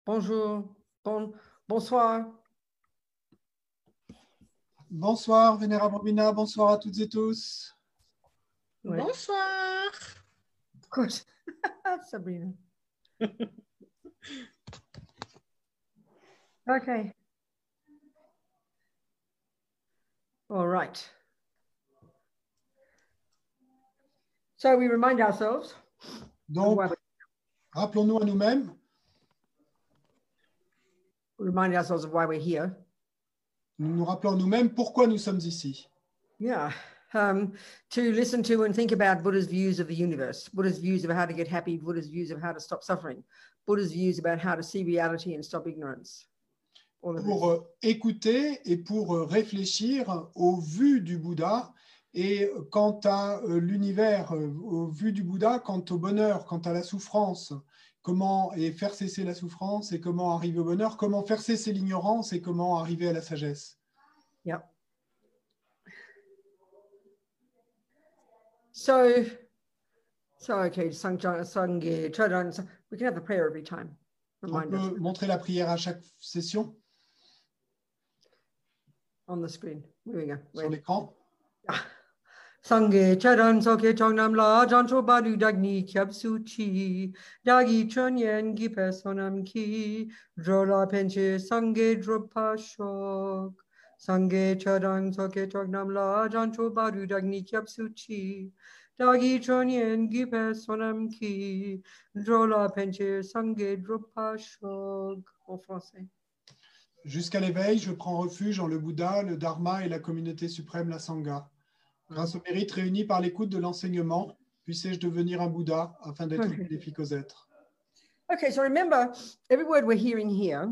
Bonjour, bonsoir. Bonsoir, Vénérable Robina, bonsoir à toutes et tous. Ouais. Bonsoir. Good. Sabrina. Okay. All right. So we remind ourselves. Donc, rappelons-nous à nous-mêmes. Remind ourselves of why we're here. Nous nous rappelons nous-mêmes pourquoi nous sommes ici. Yeah. To listen to and think about Buddha's views of the universe, Buddha's views of how to get happy, Buddha's views of how to stop suffering, Buddha's views about how to see reality and stop ignorance. Pour écouter et pour réfléchir aux vues du Bouddha et quant à l'univers, aux vues du Bouddha, quant au bonheur, quant à la souffrance, comment et faire cesser la souffrance et comment arriver au bonheur, comment faire cesser l'ignorance et comment arriver à la sagesse. Yeah. So okay, Sangye, Chodon, we can have the prayer every time. On peut montrer la prière à chaque session. On the screen. Here we go. Sur l'écran. Sangye Chodon Soke Chongnam La Jancho Badu Dagni Kyab Suchi Dagi Chonyen Gipe Sonam Ki Drola Penche Sangye Dropa Shok Sangye Chodon Soke Chongnam La Jancho Badu Dagni Kyab Suchi Dagi Chonyen Gipe Sonam Ki Drola Penche Sangye Dropa Shok. En français. Jusqu'à l'éveil, je prends refuge en le Bouddha, le Dharma et la communauté suprême, la Sangha. Grâce au mérite réuni par l'écoute de l'enseignement, puissais-je devenir un Bouddha afin d'être bénéfique aux êtres. Okay, so remember, every word we're hearing here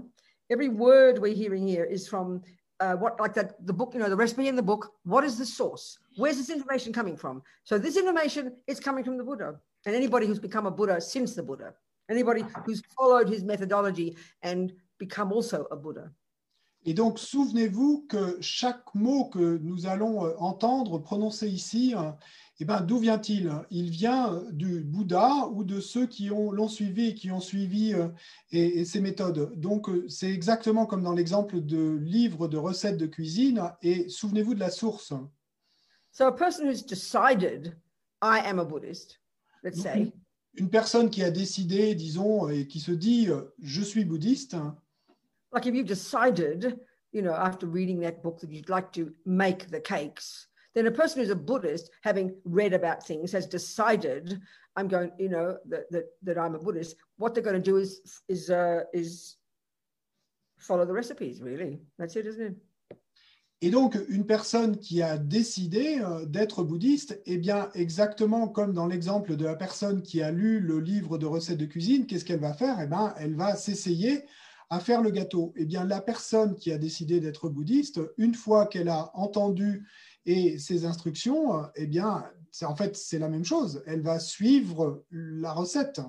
is from what, like that, the book, the recipe in the book. What is the source? Where's this information coming from? So this information is coming from the Buddha, and anybody who's become a Buddha since the Buddha, anybody who's followed his methodology and become also a Buddha. Et donc, souvenez-vous que chaque mot que nous allons entendre, prononcer ici, eh ben, d'où vient-il? Il vient du Bouddha ou de ceux qui l'ont suivi et qui ont suivi et ses méthodes. Donc, c'est exactement comme dans l'exemple de livre de recettes de cuisine. Et souvenez-vous de la source. So a person who's decided, I am a Buddhist, let's say. Une personne qui a décidé, disons, et qui se dit, je suis bouddhiste. Like if you've decided, after reading that book that you'd like to make the cakes, then a person who's a Buddhist, having read about things, has decided, I'm going, that I'm a Buddhist. What they're going to do is follow the recipes, really. That's it, isn't it? Et donc, une personne qui a décidé d'être bouddhiste, eh bien, exactement comme dans l'exemple de la personne qui a lu le livre de recettes de cuisine, qu'est-ce qu'elle va faire? Eh bien, elle va s'essayer à faire le gâteau. Eh bien, la personne qui a décidé d'être bouddhiste, une fois qu'elle a entendu ses instructions, eh bien, en fait, c'est la même chose. Elle va suivre la recette.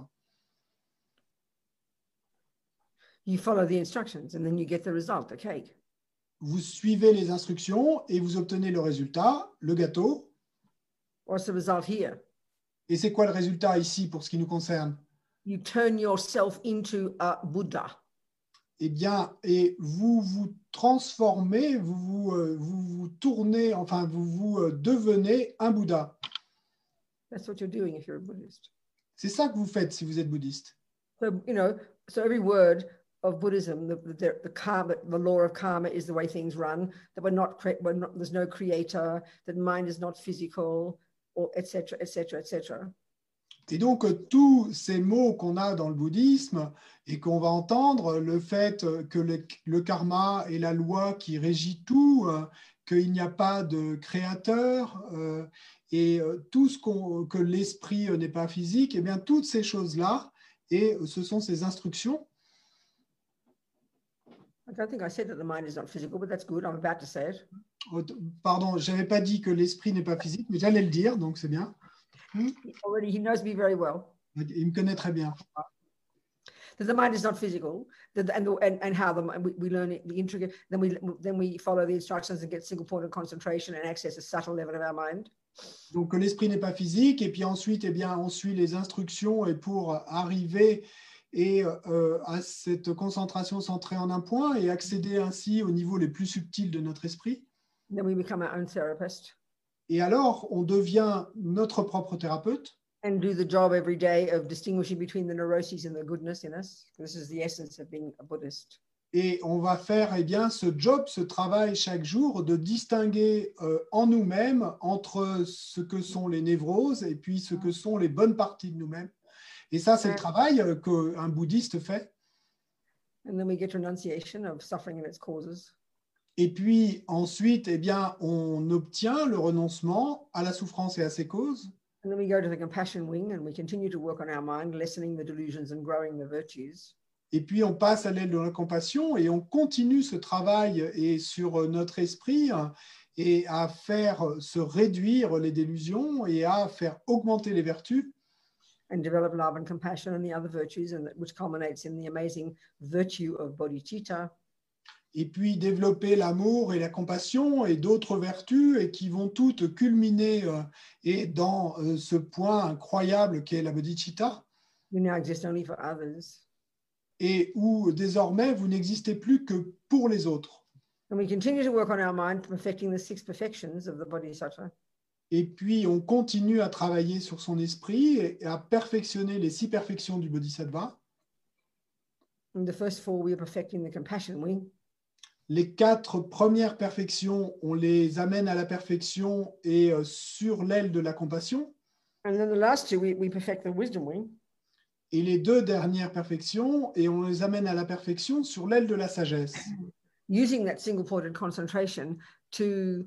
You follow the instructions and then you get the result, the cake. Vous suivez les instructions et vous obtenez le résultat, le gâteau. What's the result here? Et c'est quoi le résultat ici pour ce qui nous concerne? You turn yourself into a Buddha. Eh bien, et vous vous transformez, vous tournez, enfin, vous devenez un Bouddha. That's what you're doing if you're a Buddhist. C'est ça que vous faites si vous êtes bouddhiste. So, so every word of Buddhism, the karma, the law of karma is the way things run, that there's no creator, that mind is not physical, or etc., etc., etc. Et donc, tous ces mots qu'on a dans le bouddhisme et qu'on va entendre, le fait que le karma est la loi qui régit tout, qu'il n'y a pas de créateur et tout que l'esprit n'est pas physique, eh bien, toutes ces choses-là, et ce sont ces instructions. I don't think I said that the mind is not physical, but that's good. I'm about to say it. Pardon, je n'avais pas dit que l'esprit n'est pas physique, mais j'allais le dire, donc c'est bien. Already, he knows me very well. Il me connaît très bien. That the mind is not physical, and how we learn it, the intricate. Then we follow the instructions and get single point of concentration and access a subtle level of our mind. Donc l'esprit n'est pas physique, et puis ensuite, eh bien, on suit les instructions et pour arriver et à cette concentration centrée en un point et accéder ainsi au niveau les plus subtils de notre esprit. Then we become our own therapist Et alors, on devient notre propre thérapeute and do the job every day of distinguishing between the neuroses and the goodness in us. This is the essence of being a Buddhist. et on va faire eh bien, ce job, ce travail chaque jour de distinguer en nous-mêmes entre ce que sont les névroses et puis ce que sont les bonnes parties de nous-mêmes. Et ça, c'est le travail qu'un bouddhiste fait. And then we get renunciation of suffering and its causes. Et puis ensuite, eh bien, on obtient le renoncement à la souffrance et à ses causes. And then we go to the compassion wing and we continue to work on our mind, lessening the delusions and growing the virtues. Et puis on passe à l'aile de la compassion et on continue ce travail et sur notre esprit et à faire se réduire les délusions et à faire augmenter les vertus. And develop love and compassion and the other virtues, and which culminates in the amazing virtue of bodhicitta. Et puis développer l'amour et la compassion et d'autres vertus et qui vont toutes culminer et dans ce point incroyable qu'est la bodhicitta. You now exist only for others. Et où désormais vous n'existez plus que pour les autres. And we continue to work on our mind, perfecting the 6 perfections of the bodhisattva. Et puis on continue à travailler sur son esprit et à perfectionner les 6 perfections du bodhisattva. In the first 4, we are perfecting the compassion wing. Les 4 premières perfections, on les amène à la perfection et sur l'aile de la compassion. And then the last 2, we perfect the wisdom wing. Et les 2 dernières perfections, et on les amène à la perfection sur l'aile de la sagesse. Using that single-pointed concentration to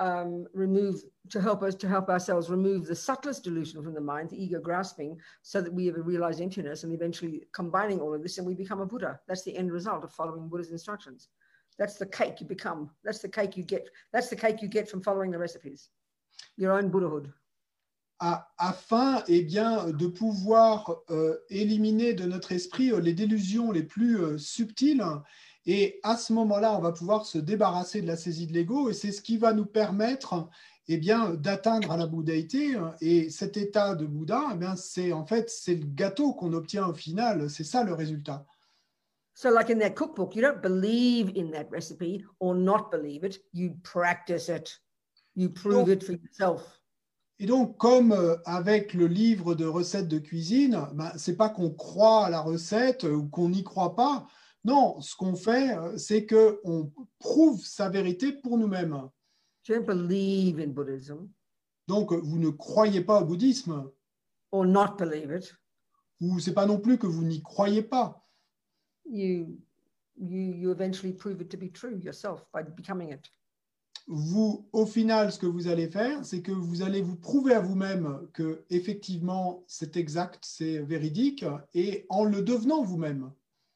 help ourselves remove the subtlest delusion from the mind, the ego grasping, so that we ever realize emptiness, and eventually combining all of this, and we become a Buddha. That's the end result of following Buddha's instructions. That's the cake you become. That's the cake you get. That's the cake you get from following the recipes. Your own Buddhahood. Afin eh bien, de pouvoir éliminer de notre esprit les délusions les plus subtiles. Et à ce moment-là, on va pouvoir se débarrasser de la saisie de l'ego. Et c'est ce qui va nous permettre eh bien, d'atteindre à la bouddhaïté. Et cet état de Bouddha, eh bien, c'est le gâteau qu'on obtient au final. C'est ça le résultat. So like in that cookbook, you don't believe in that recipe or not believe it. You practice it. You prove it for yourself. Et donc, comme avec le livre de recettes de cuisine, ce n'est pas qu'on croit à la recette ou qu'on n'y croit pas. Non, ce qu'on fait, c'est qu'on prouve sa vérité pour nous-mêmes. You don't believe in Buddhism. Donc, vous ne croyez pas au bouddhisme. Or not believe it. Ou ce n'est pas non plus que vous n'y croyez pas. You eventually prove it to be true yourself by becoming it. Vous, au final, ce que vous allez faire, c'est que vous allez vous prouver à vous-même que effectivement c'est exact, c'est véridique, et en le devenant vous-même.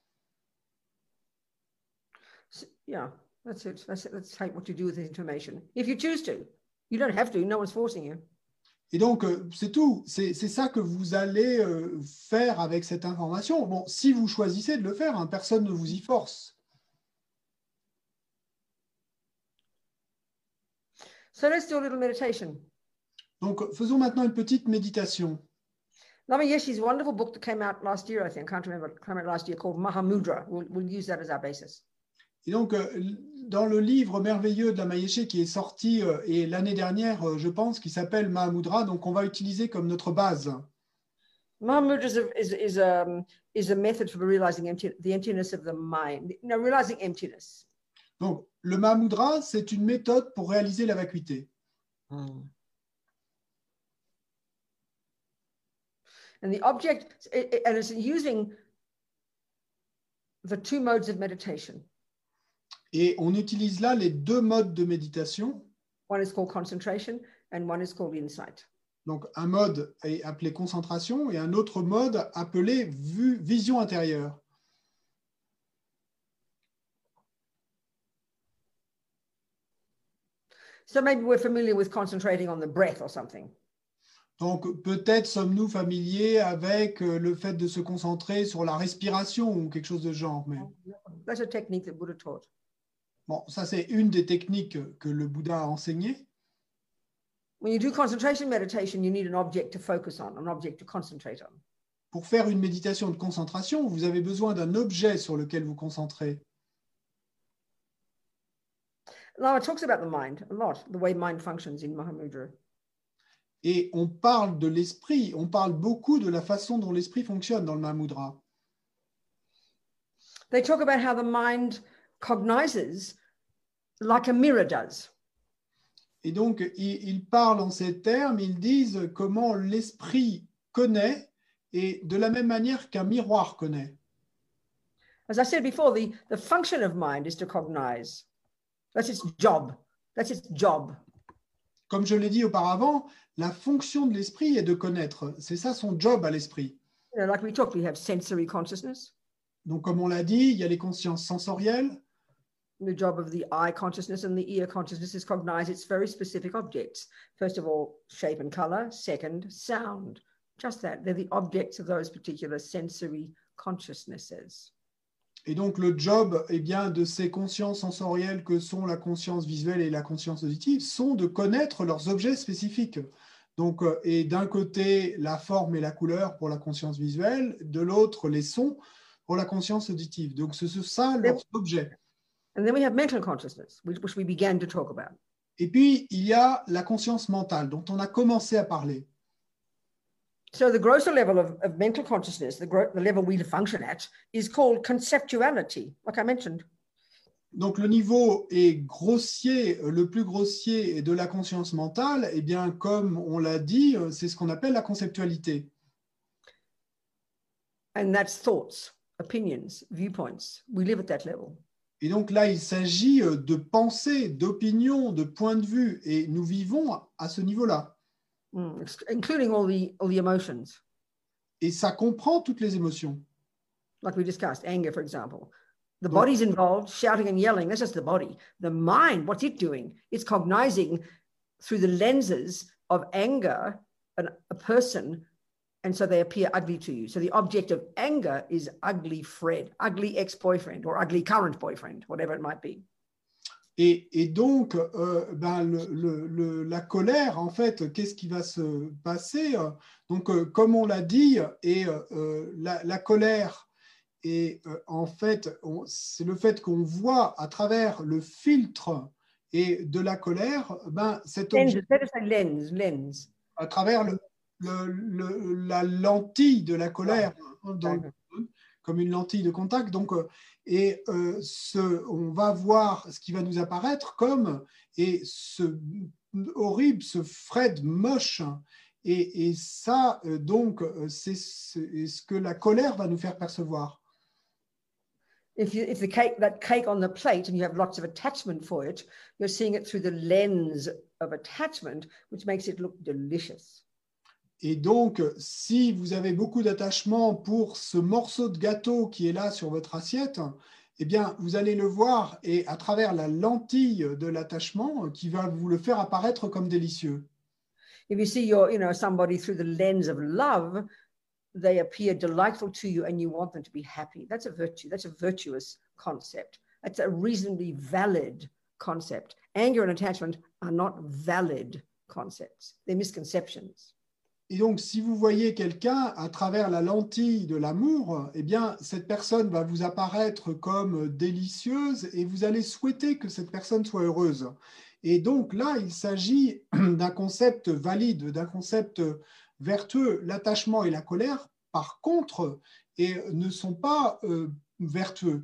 Yeah, that's it. Let's take what you do with this information. If you choose to, you don't have to. No one's forcing you. Et donc, c'est tout. C'est ça que vous allez faire avec cette information. Bon, si vous choisissez de le faire, hein, personne ne vous y force. So let's do a little meditation. Donc, faisons maintenant une petite méditation. Lama Yeshe's wonderful book that came out last year, I think, can't remember, came out last year, called Mahamudra. We'll use that as our basis. Et donc, dans le livre merveilleux de Lama Yeshe qui est sorti et l'année dernière, je pense, qui s'appelle Mahamudra, donc on va utiliser comme notre base. Mahamudra is a method for realizing the emptiness of the mind. No, realizing emptiness. Donc, le Mahamudra, c'est une méthode pour réaliser la vacuité. And the object, and it's using the 2 modes of meditation. Et on utilise là les 2 modes de méditation. One is called concentration and one is called insight. Donc, un mode est appelé concentration et un autre mode appelé vision intérieure. So maybe we're familiar with concentrating on the breath or something. Donc, peut-être sommes-nous familiers avec le fait de se concentrer sur la respiration ou quelque chose de genre. Mais... That's a technique that Buddha taught. Bon, ça, c'est une des techniques que le Bouddha a enseignées. When you do concentration meditation, you need an object to focus on, an object to concentrate on. pour faire une méditation de concentration, vous avez besoin d'un objet sur lequel vous concentrez. Now it talks about the mind a lot, the way mind functions in Mahamudra. Et on parle de l'esprit, on parle beaucoup de la façon dont l'esprit fonctionne dans le Mahamudra. They talk about how the mind cognizes like a mirror does. Et donc, ils parlent en ces termes, ils disent comment l'esprit connaît et de la même manière qu'un miroir connaît. As I said before, the function of mind is to cognize. That's its job. That's its job. Comme je l'ai dit auparavant, la fonction de l'esprit est de connaître. C'est ça son job à l'esprit. You know, like we talked, we have sensory consciousness. Donc, comme on l'a dit, il y a les consciences sensorielles. The job of the eye consciousness and the ear consciousness is cognize its very specific objects. First of all, shape and color. Second, sound. Just that. They're the objects of those particular sensory consciousnesses. Et donc, le job bien, de ces consciences sensorielles que sont la conscience visuelle et la conscience auditive sont de connaître leurs objets spécifiques. Donc, et d'un côté, la forme et la couleur pour la conscience visuelle, de l'autre, les sons pour la conscience auditive. Donc, c'est ça leurs objets. And then we have mental consciousness, which we began to talk about. Et puis, il y a la conscience mentale dont on a commencé à parler. So the grosser level of mental consciousness, the level we function at, is called conceptuality, like I mentioned. Donc, le niveau est grossier, le plus grossier de la conscience mentale, eh bien, comme on l'a dit, c'est ce qu'on appelle la conceptualité. And that's thoughts, opinions, viewpoints. We live at that level. Et donc là, il s'agit de pensée, d'opinion, de point de vue, et nous vivons à ce niveau-là. Including all the emotions. Et ça comprend toutes les émotions. Like we discussed, anger, for example. The body's involved, shouting and yelling, that's just the body. The mind, what's it doing? It's cognizing through the lenses of anger a person, and so they appear ugly to you. So the object of anger is ugly Fred, ugly ex-boyfriend, or ugly current boyfriend, whatever it might be. Et donc, la colère, en fait, qu'est-ce qui va se passer? Donc, comme on l'a dit, et la colère, et en fait, c'est le fait qu'on voit à travers le filtre et de la colère, cet objet, lens. à travers la lentille de la colère, comme une lentille de contact. Donc, on va voir ce qui va nous apparaître comme ce horrible, ce Fred moche. Et ça, donc, c'est ce que la colère va nous faire percevoir. If that cake on the plate and you have lots of attachment for it, you're seeing it through the lens of attachment, which makes it look delicious. Et donc, si vous avez beaucoup d'attachement pour ce morceau de gâteau qui est là sur votre assiette, eh bien, vous allez le voir et à travers la lentille de l'attachement qui va vous le faire apparaître comme délicieux. If you see somebody through the lens of love, they appear delightful to you and you want them to be happy. That's a virtue. That's a virtuous concept. That's a reasonably valid concept. Anger and attachment are not valid concepts. They're misconceptions. Et donc, si vous voyez quelqu'un à travers la lentille de l'amour, eh bien, cette personne va vous apparaître comme délicieuse et vous allez souhaiter que cette personne soit heureuse. Et donc là, il s'agit d'un concept valide, d'un concept vertueux. L'attachement et la colère, par contre, ne sont pas vertueux.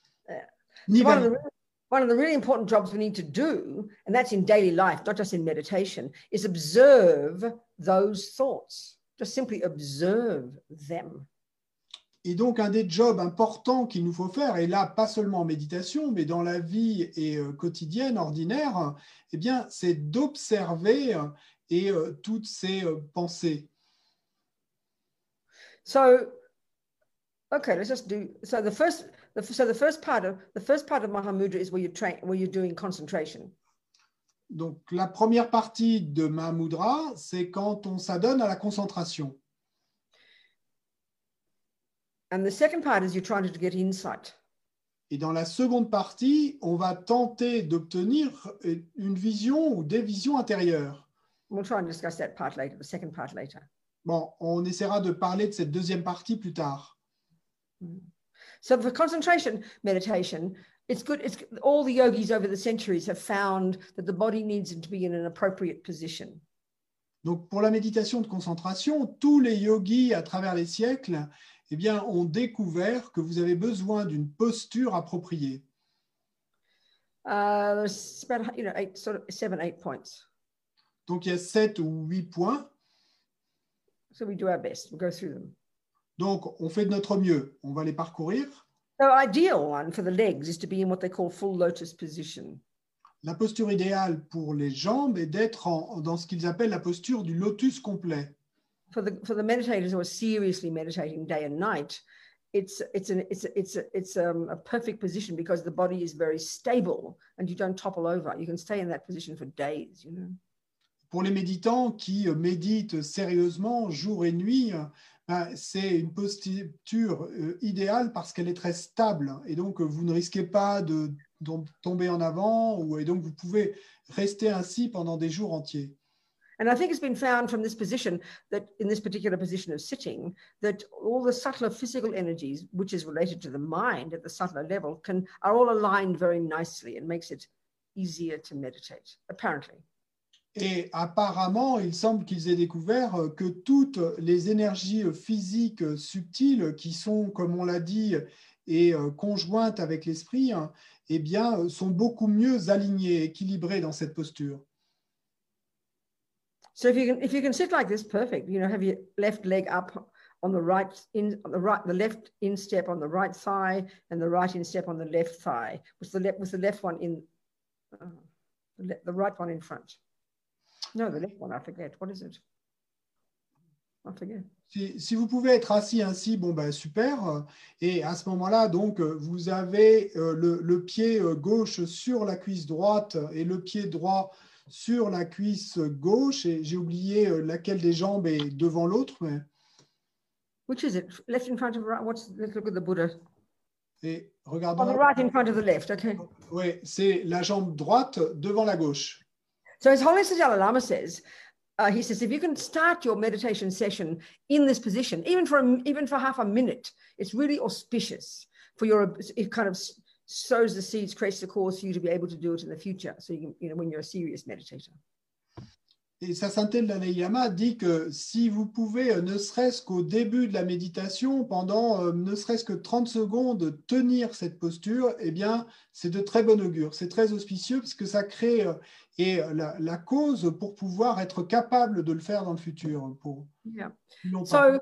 One of the really important jobs we need to do, and that's in daily life, not just in meditation, is observe those thoughts. Just simply observe them. Et donc, un des jobs importants qu'il nous faut faire, et là, pas seulement en méditation, mais dans la vie quotidienne, ordinaire, eh bien, c'est d'observer toutes ces pensées. So, okay, let's just do. So the first part of Mahamudra is where you're doing concentration. Donc, la première partie de Mahamudra, c'est quand on s'adonne à la concentration. And the second part is you're trying to get insight. Et dans la seconde partie, on va tenter d'obtenir une vision ou des visions intérieures. We'll try and discuss that part later, the second part later. Bon, on essaiera de parler de cette deuxième partie plus tard. So for concentration meditation, it's good. All the yogis over the centuries have found that the body needs to be in an appropriate position. Donc, pour la méditation de concentration, tous les yogis à travers les siècles, eh bien, ont découvert que vous avez besoin d'une posture appropriée. There's about 7-8 points. Donc, il y a 7 ou 8 points. So we do our best. We'll go through them. Donc, on fait de notre mieux. On va les parcourir. The ideal one for the legs is to be in what they call full lotus position. La posture idéale pour les jambes est d'être dans ce qu'ils appellent la posture du lotus complet. For the meditators who are seriously meditating day and night, it's a perfect position because the body is very stable and you don't topple over. You can stay in that position for days, you know. Pour les méditants qui méditent sérieusement jour et nuit, c'est une posture idéale parce qu'elle est très stable et donc vous ne risquez pas de tomber en avant et donc vous pouvez rester ainsi pendant des jours entiers. And I think it's been found from this position that in this particular position of sitting, that all the subtler physical energies, which is related to the mind at the subtler level, are all aligned very nicely and makes it easier to meditate, apparently. Et apparemment, il semble qu'ils aient découvert que toutes les énergies physiques subtiles qui sont, comme on l'a dit, et conjointes avec l'esprit, eh bien, sont beaucoup mieux alignées, équilibrées dans cette posture. So if you can sit like this, perfect. You know, have your left leg up on the the left instep on the right thigh, and the right instep on the left thigh. With the left one in the right one in front. No, the left one, I forget. What is it? I forget. Si vous pouvez être assis ainsi, bon ben super. Et à ce moment-là, donc, vous avez le pied gauche sur la cuisse droite et le pied droit sur la cuisse gauche. Et j'ai oublié laquelle des jambes est devant l'autre. Mais... Which is it? Left in front of right? Let's look at the Buddha. Et regardons. On the right in front of the left, okay. Oui, c'est la jambe droite devant la gauche. So His Holiness the Dalai Lama says, he says, if you can start your meditation session in this position, even for half a minute, it's really auspicious for it kind of sows the seeds, creates the cause for you to be able to do it in the future. So you can, when you're a serious meditator. Et Sa Sainteté le Dalai Lama dit que si vous pouvez, ne serait-ce qu'au début de la méditation, pendant ne serait-ce que 30 secondes, tenir cette posture, eh bien, c'est de très bon augure. C'est très auspicieux parce que ça crée la cause pour pouvoir être capable de le faire dans le futur. Yeah. So,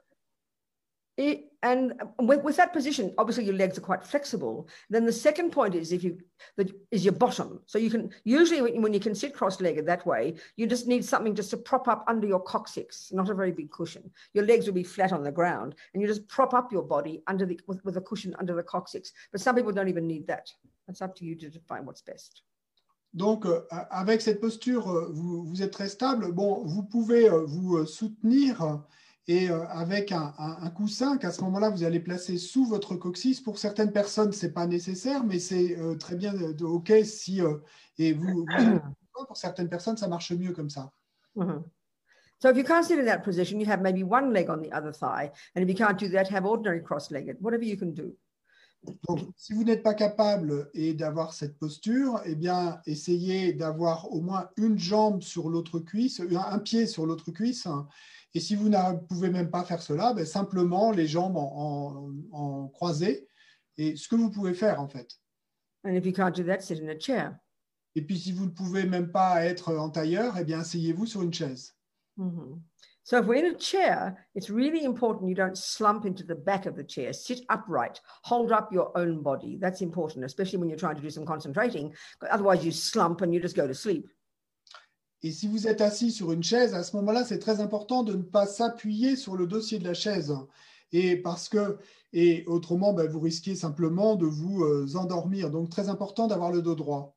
and with that position, obviously your legs are quite flexible. Then the second point is is your bottom. So you can usually when you can sit cross-legged that way, you just need something just to prop up under your coccyx, not a very big cushion. Your legs will be flat on the ground, and you just prop up your body with a cushion under the coccyx. But some people don't even need that. That's up to you to define what's best. Donc, avec cette posture, vous êtes très stable. Bon, vous pouvez vous soutenir et avec un coussin qu'à ce moment-là, vous allez placer sous votre coccyx. Pour certaines personnes, ce n'est pas nécessaire, mais c'est très bien OK si... et pour certaines personnes, ça marche mieux comme ça. Mm-hmm. So if you can't sit in that position, you have maybe one leg on the other thigh. And if you can't do that, have ordinary cross-legged, whatever you can do. Donc, si vous n'êtes pas capable d'avoir cette posture, eh bien, essayez d'avoir au moins une jambe sur l'autre cuisse, un pied sur l'autre cuisse. Et si vous ne pouvez même pas faire cela, ben, simplement les jambes en croisées. Et ce que vous pouvez faire, en fait. And if you can't do that, sit in a chair. Et puis, si vous ne pouvez même pas être en tailleur, eh bien, asseyez-vous sur une chaise. Mm-hmm. So if we're in a chair, it's really important you don't slump into the back of the chair. Sit upright. Hold up your own body. That's important, especially when you're trying to do some concentrating. Otherwise, you slump and you just go to sleep. Et si vous êtes assis sur une chaise, à ce moment-là, c'est très important de ne pas s'appuyer sur le dossier de la chaise. Et autrement, ben, vous risquez simplement de vous endormir. Donc, très important d'avoir le dos droit.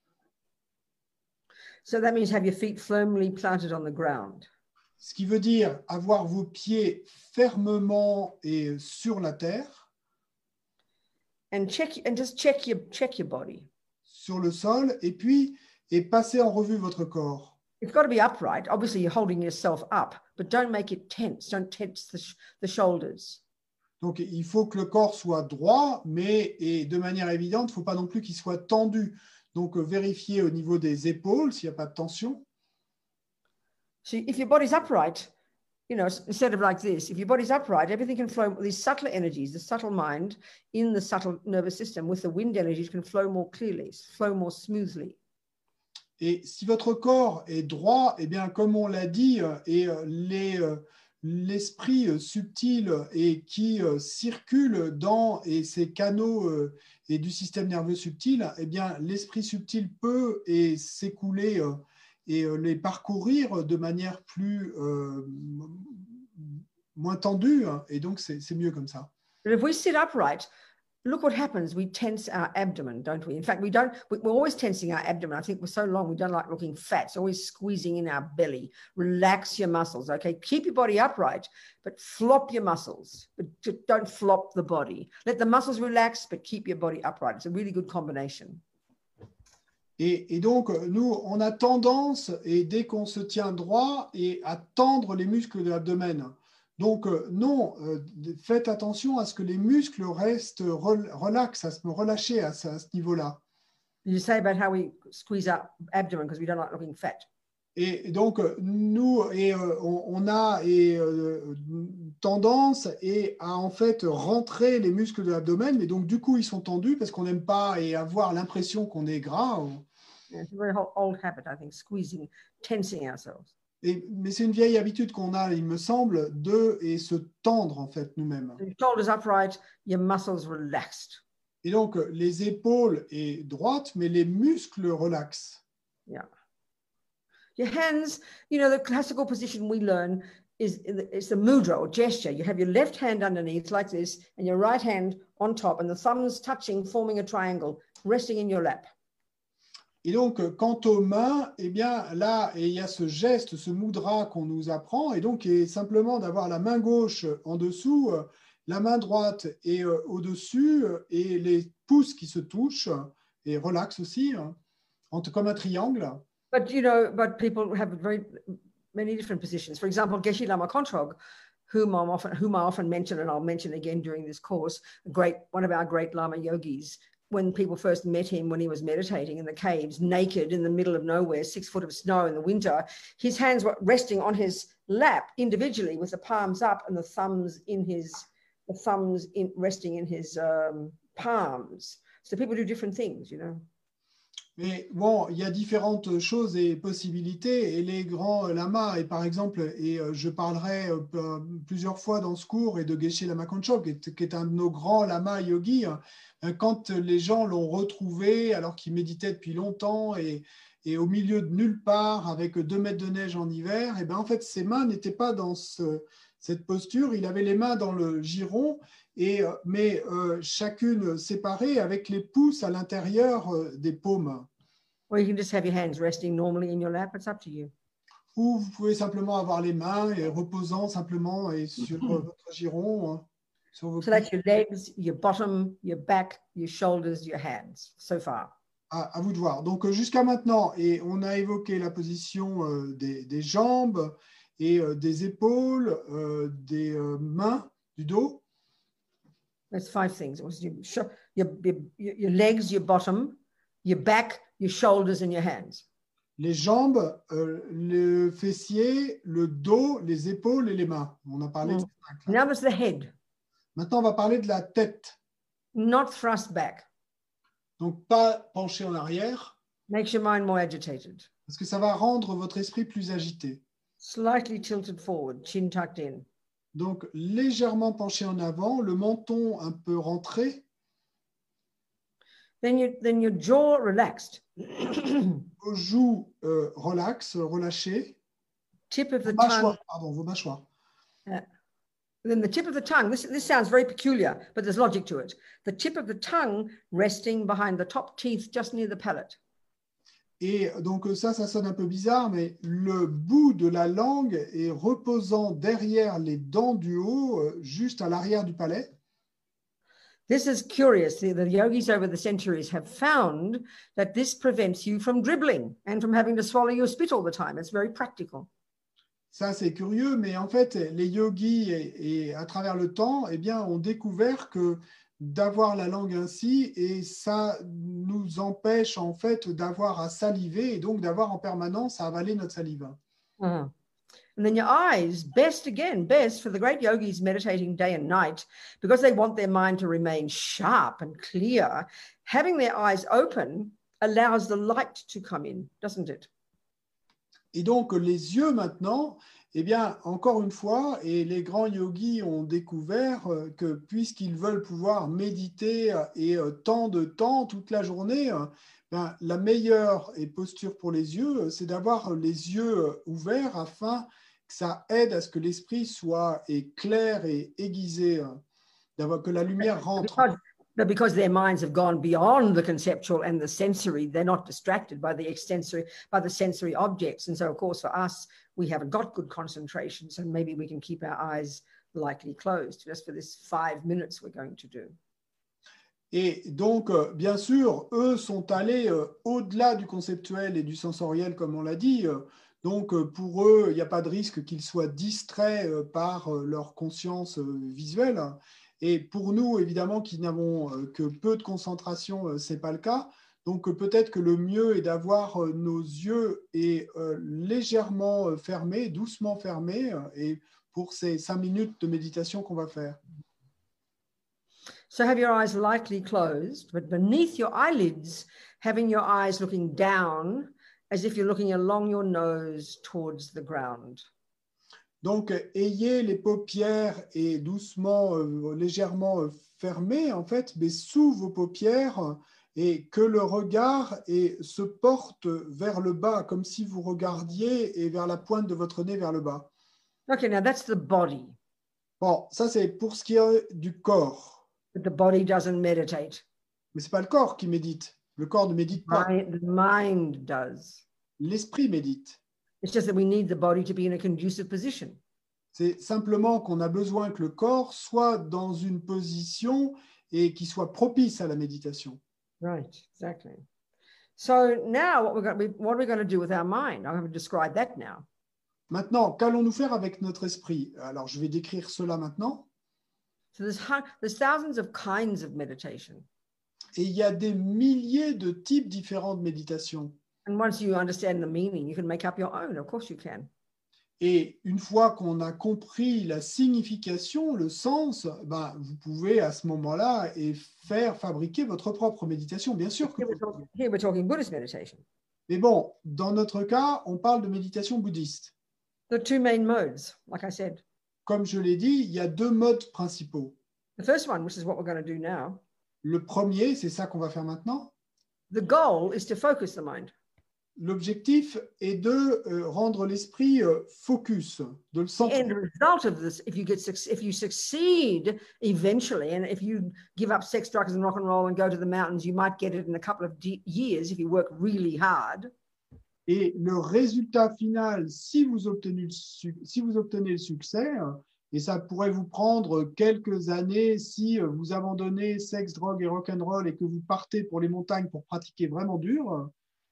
So that means have your feet firmly planted on the ground. Ce qui veut dire avoir vos pieds fermement et sur la terre. And just check your body. Sur le sol, et passer en revue votre corps. It's got to be upright. Obviously, you're holding yourself up but don't make it tense. Don't tense the shoulders. Donc, il faut que le corps soit droit, mais et de manière évidente, il ne faut pas non plus qu'il soit tendu. Donc, vérifier au niveau des épaules s'il n'y a pas de tension. So if your body's upright, you know, instead of like this, if your body's upright, everything can flow, these subtle energies, the subtle mind in the subtle nervous system with the wind energies can flow more clearly, flow more smoothly. Et si votre corps est droit, eh bien, comme on l'a dit, et l'esprit subtil et qui circule dans ces canaux et du système nerveux subtil, eh bien, l'esprit subtil peut s'écouler et les parcourir de manière moins tendue, hein, et donc c'est mieux comme ça. But if we sit upright, look what happens. We tense our abdomen, don't we? In fact, we're always tensing our abdomen. I think we're so long, we don't like looking fat. It's always squeezing in our belly. Relax your muscles, okay? Keep your body upright, but flop your muscles. But don't flop the body. Let the muscles relax, but keep your body upright. It's a really good combination. Et donc, nous, on a tendance, et dès qu'on se tient droit, à tendre les muscles de l'abdomen. Donc, non, faites attention à ce que les muscles restent relax, à se relâcher à ce niveau-là. You say about how we squeeze our abdomen because we don't like looking fat. Et donc, nous, on a tendance à en fait rentrer les muscles de l'abdomen, mais donc du coup, ils sont tendus parce qu'on n'aime pas avoir l'impression qu'on est gras. Yeah, it's a very old habit, I think, squeezing, tensing ourselves. Mais c'est une vieille habitude qu'on a, il me semble, et se tendre en fait nous-mêmes. Your shoulders upright, your muscles relaxed. Et donc, les épaules est droite, mais les muscles relaxent. Yeah. Your hands, you know, the classical position we learn is the mudra or gesture. You have your left hand underneath like this and your right hand on top and the thumbs touching, forming a triangle, resting in your lap. Et donc, quant aux mains, eh bien, là, il y a ce geste, ce mudra qu'on nous apprend, et donc, simplement d'avoir la main gauche en dessous, la main droite et au-dessus, et les pouces qui se touchent, et relax aussi, comme un triangle. But, you know, people have many different positions. For example, Geshe Lama Kontrog, whom I often mention, and I'll mention again during this course, one of our great Lama yogis, when people first met him when he was meditating in the caves, naked in the middle of nowhere, 6 foot of snow in the winter, his hands were resting on his lap individually with the palms up and the thumbs resting in his palms. So people do different things, you know. Mais bon, il y a différentes choses et possibilités, et les grands lamas, et par exemple, et je parlerai plusieurs fois dans ce cours, et de Geshe Lama Kontrog, qui est un de nos grands lamas yogis, quand les gens l'ont retrouvé, alors qu'il méditait depuis longtemps, et au milieu de nulle part, avec 2 mètres de neige en hiver, et bien en fait, ses mains n'étaient pas dans cette posture, il avait les mains dans le giron, mais chacune séparée avec les pouces à l'intérieur des paumes. Or you can just have your hands resting normally in your lap. It's up to you. Ou vous pouvez simplement avoir les mains reposant simplement sur votre giron. Sur vos so that's your legs, your bottom, your back, your shoulders, your hands, so far. À vous de voir. Donc jusqu'à maintenant, et on a évoqué la position des jambes et des épaules, des mains, du dos. That's 5 things. It was your legs, your bottom, your back, your shoulders, and your hands. Les jambes, le fessier, le dos, les épaules et les mains. On a parlé de ces 5. Now there's the head. Maintenant, on va parler de la tête. Not thrust back. Donc, pas penché en arrière. Makes your mind more agitated. Parce que ça va rendre votre esprit plus agité. Slightly tilted forward, chin tucked in. Donc, légèrement penché en avant, le menton un peu rentré. Then your jaw relaxed. Vos joues relâchées. Tip of the tongue. Pardon, vos mâchoires. Then the tip of the tongue, this sounds very peculiar, but there's logic to it. The tip of the tongue resting behind the top teeth just near the palate. Et donc ça sonne un peu bizarre, mais le bout de la langue est reposant derrière les dents du haut, juste à l'arrière du palais. This is curious. The yogis over the centuries have found that this prevents you from dribbling and from having to swallow your spit all the time. It's very practical. Ça, c'est curieux, mais en fait, les yogis, et à travers le temps, eh bien, ont découvert que d'avoir la langue ainsi, et ça nous empêche en fait d'avoir à saliver et donc d'avoir en permanence à avaler notre salive. Uh-huh. And then your eyes, best for the great yogis meditating day and night, because they want their mind to remain sharp and clear, having their eyes open allows the light to come in, doesn't it? Et donc, les yeux maintenant, eh bien, encore une fois, et les grands yogis ont découvert que puisqu'ils veulent pouvoir méditer et tant de temps, toute la journée, ben, la meilleure posture pour les yeux, c'est d'avoir les yeux ouverts afin que ça aide à ce que l'esprit soit clair et aiguisé, que la lumière rentre. Because their minds have gone beyond the conceptual and the sensory, they're not distracted by the sensory objects. And so, of course, for us, we haven't got good concentration. So maybe we can keep our eyes lightly closed just for this 5 minutes we're going to do. Et donc, bien sûr, eux sont allés au-delà du conceptuel et du sensoriel, comme on l'a dit. Donc, pour eux, il n'y a pas de risque qu'ils soient distraits par leur conscience visuelle. Et pour nous, évidemment, qui n'avons que peu de concentration, ce n'est pas le cas. Donc, peut-être que le mieux est d'avoir nos yeux légèrement fermés, doucement fermés, et pour ces 5 minutes de méditation qu'on va faire. So have your eyes lightly closed, but beneath your eyelids, having your eyes looking down as if you're looking along your nose towards the ground. Donc, ayez les paupières et doucement, légèrement fermées, en fait, mais sous vos paupières, et que le regard se porte vers le bas, comme si vous regardiez et vers la pointe de votre nez vers le bas. Okay, now that's the body. Bon, ça c'est pour ce qui est du corps. But the body doesn't meditate. Mais ce n'est pas le corps qui médite. Le corps ne médite pas. The mind does. L'esprit médite. It's just that we need the body to be in a conducive position. C'est simplement qu'on a besoin que le corps soit dans une position et qui soit propice à la méditation. Right, exactly. So now what are we going to do with our mind? I'm going to describe that now. Maintenant, qu'allons-nous faire avec notre esprit? Alors, je vais décrire cela maintenant. So there's thousands of kinds of meditation. Et il y a des milliers de types différents de méditation. And once you understand the meaning, you can make up your own. Of course you can. Et une fois qu'on a compris la signification, le sens, ben, vous pouvez à ce moment-là faire fabriquer votre propre méditation, bien sûr. Here we're talking Buddhist meditation. Mais bon, dans notre cas, on parle de méditation bouddhiste. There are two main modes, like I said. Comme je l'ai dit, il y a 2 modes principaux. The first one, which is what we're going to do now. Le premier, c'est ça qu'on va faire maintenant. The goal is to focus the mind. L'objectif est de rendre l'esprit focus, de le The centrer. end result of this, if you succeed eventually, and if you give up sex, drugs, and rock and roll and go to the mountains, you might get it in a couple of years if you work really hard. Et le résultat final, si vous obtenez le succès, et ça pourrait vous prendre quelques années si vous abandonnez sexe, drogue et rock'n'roll et que vous partez pour les montagnes pour pratiquer vraiment dur.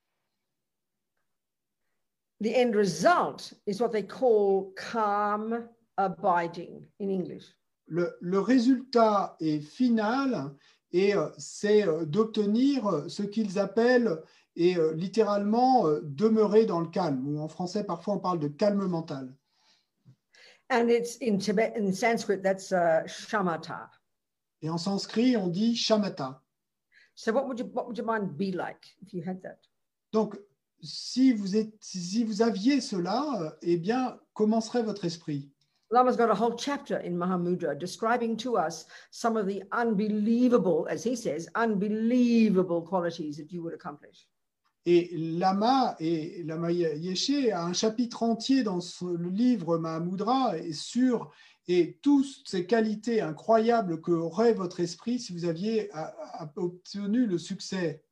The end result is what they call calm abiding in English. Le résultat est final et c'est d'obtenir ce qu'ils appellent littéralement demeurer dans le calme, ou en français parfois on parle de calme mental. And it's in Sanskrit, that's shamatha. Et en sanskrit, on dit shamatha. So what would your mind be like if you had that? Donc, si vous aviez cela, eh bien, comment serait votre esprit? Lama's got a whole chapter in Mahamudra describing to us some of the unbelievable, as he says, unbelievable qualities that you would accomplish. Et Lama Yeshe a un chapitre entier dans le livre Mahamudra sur toutes ces qualités incroyables qu'aurait votre esprit si vous aviez obtenu le succès.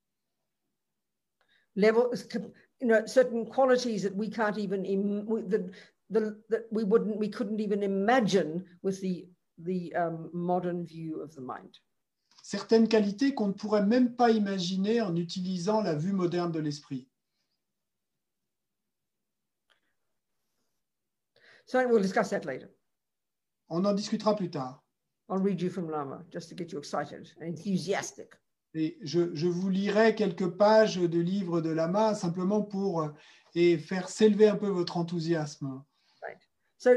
Certain qualities that we can't even we couldn't even imagine with the modern view of the mind. Certaines qualités qu'on ne pourrait même pas imaginer en utilisant la vue moderne de l'esprit. So we'll discuss that later. On en discutera plus tard. I'll read you from Lama just to get you excited and enthusiastic. Et je vous lirai quelques pages de livres de Lama simplement pour et faire s'élever un peu votre enthousiasme. Right. So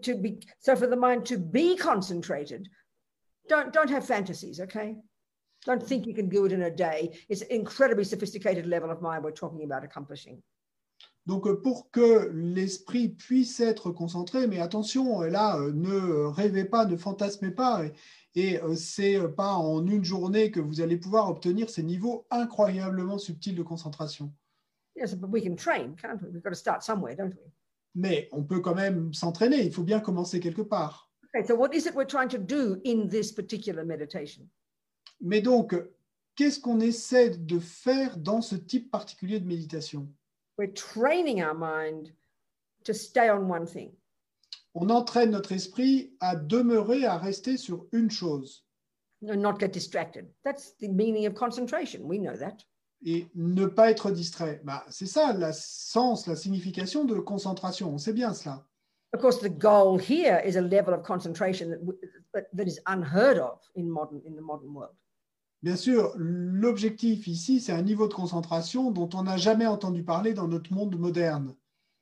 so for the mind to be concentrated, don't have fantasies, okay? Don't think you can do it in a day. It's an incredibly sophisticated level of mind we're talking about accomplishing. Donc, pour que l'esprit puisse être concentré, mais attention, là, ne rêvez pas, ne fantasmez pas, et c'est pas en une journée que vous allez pouvoir obtenir ces niveaux incroyablement subtils de concentration. Yes, but we can train, can't we? We've got to start somewhere, don't we? Mais on peut quand même s'entraîner, il faut bien commencer quelque part. Okay, so what is it we're trying to do in this particular meditation? Mais donc, qu'est-ce qu'on essaie de faire dans ce type particulier de méditation? We're training our mind to stay on one thing. On entraîne notre esprit à demeurer, à rester sur une chose. And not get distracted. That's the meaning of concentration. We know that. Et ne pas être distrait. C'est ça le sens, la signification de concentration. On sait bien cela. Of course, the goal here is a level of concentration that is unheard of in the modern world. Bien sûr, l'objectif ici, c'est un niveau de concentration dont on n'a jamais entendu parler dans notre monde moderne.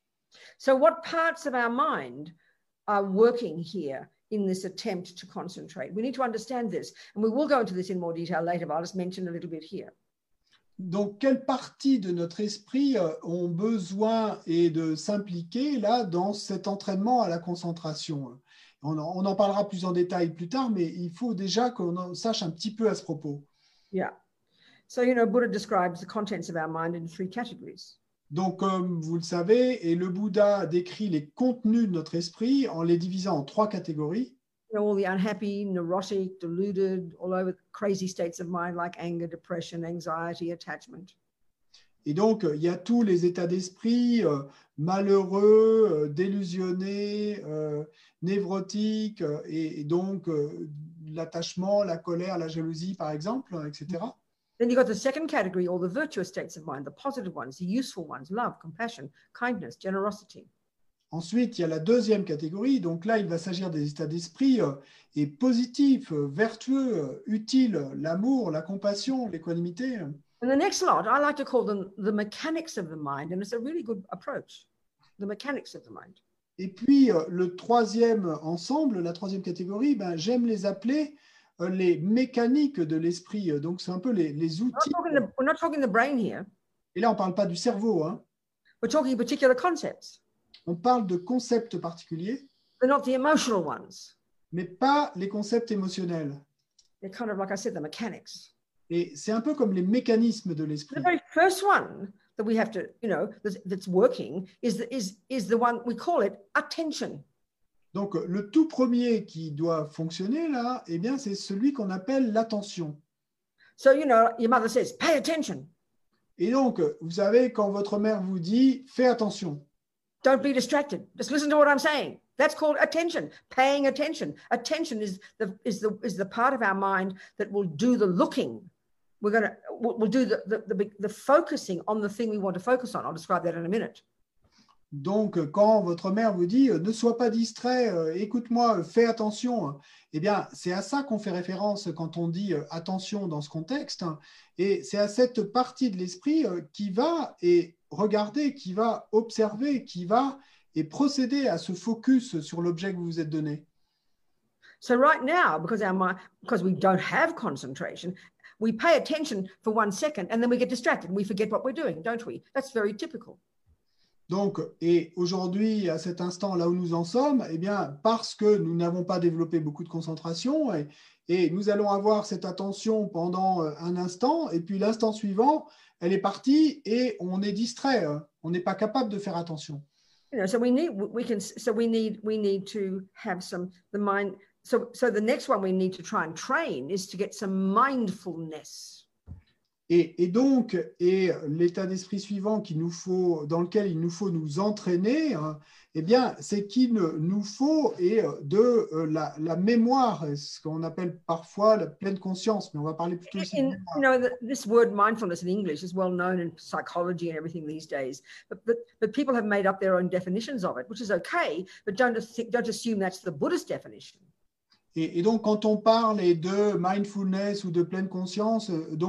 So what parts of our mind are working here in this attempt to concentrate? We need to understand this, and we will go into this in more detail later, but I'll just mention a little bit here. Donc, quelles parties de notre esprit ont besoin de s'impliquer là dans cet entraînement à la concentration? On en parlera plus en détail plus tard, mais il faut déjà qu'on sache un petit peu à ce propos. Yeah. So, Buddha describes the contents of our mind in 3 categories. Donc, comme vous le savez, et le Bouddha décrit les contenus de notre esprit en les divisant en 3 catégories. All the unhappy, neurotic, deluded, all over crazy states of mind like anger, depression, anxiety, attachment. Et donc, il y a tous les états d'esprit malheureux, délusionnés, névrotiques, et donc l'attachement, la colère, la jalousie, par exemple, etc. Then you've got the second category, all the virtuous states of mind, the positive ones, the useful ones, love, compassion, kindness, generosity. Ensuite, il y a la deuxième catégorie. Donc là, il va s'agir des états d'esprit positifs, vertueux, utiles, l'amour, la compassion, l'équanimité. And the next lot, I like to call them the mechanics of the mind, and it's a really good approach, the mechanics of the mind. Et puis, le troisième ensemble, la troisième catégorie, j'aime les appeler les mécaniques de l'esprit. Donc, c'est un peu les outils. We're not talking the brain here. Et là, on ne parle pas du cerveau. Hein. We're talking particular concepts. On parle de concepts particuliers. They're not the emotional ones. Mais pas les concepts émotionnels. They're kind of, like I said, the mechanics. Et c'est un peu comme les mécanismes de l'esprit. The very first one that we have to, that's working is the one, we call it attention. Donc, le tout premier qui doit fonctionner là, eh bien, c'est celui qu'on appelle l'attention. So, your mother says, pay attention. Et donc, vous savez, quand votre mère vous dit, fais attention. Don't be distracted. Just listen to what I'm saying. That's called attention, paying attention. Attention is the part of our mind that will do the looking. We'll do the focusing on the thing we want to focus on. I'll describe that in a minute. Donc, quand votre mère vous dit ne sois pas distrait, écoute-moi, fais attention, eh bien, c'est à ça qu'on fait référence quand on dit attention dans ce contexte. Et c'est à cette partie de l'esprit qui va regarder, qui va observer, qui va procéder à ce focus sur l'objet que vous vous êtes donné. So right now, because we don't have concentration, we pay attention for 1 second and then we get distracted and we forget what we're doing, don't we? That's very typical. Donc, et aujourd'hui, à cet instant, là où nous en sommes, eh bien, parce que nous n'avons pas développé beaucoup de concentration, et nous allons avoir cette attention pendant un instant, et puis l'instant suivant, elle est partie et on est distrait. On n'est pas capable de faire attention. So we need to have the mind. So the next one we need to try and train is to get some mindfulness. Et donc, l'état d'esprit suivant dans lequel il nous faut nous entraîner, hein, eh bien, c'est qu'il nous faut la mémoire, ce qu'on appelle parfois la pleine conscience, mais on va parler plutôt ici de mémoire. You know, this word mindfulness in English is well known in psychology and everything these days, but people have made up their own definitions of it, which is okay, but don't assume that's the Buddhist definition. Et donc, quand on parle de mindfulness ou de pleine conscience,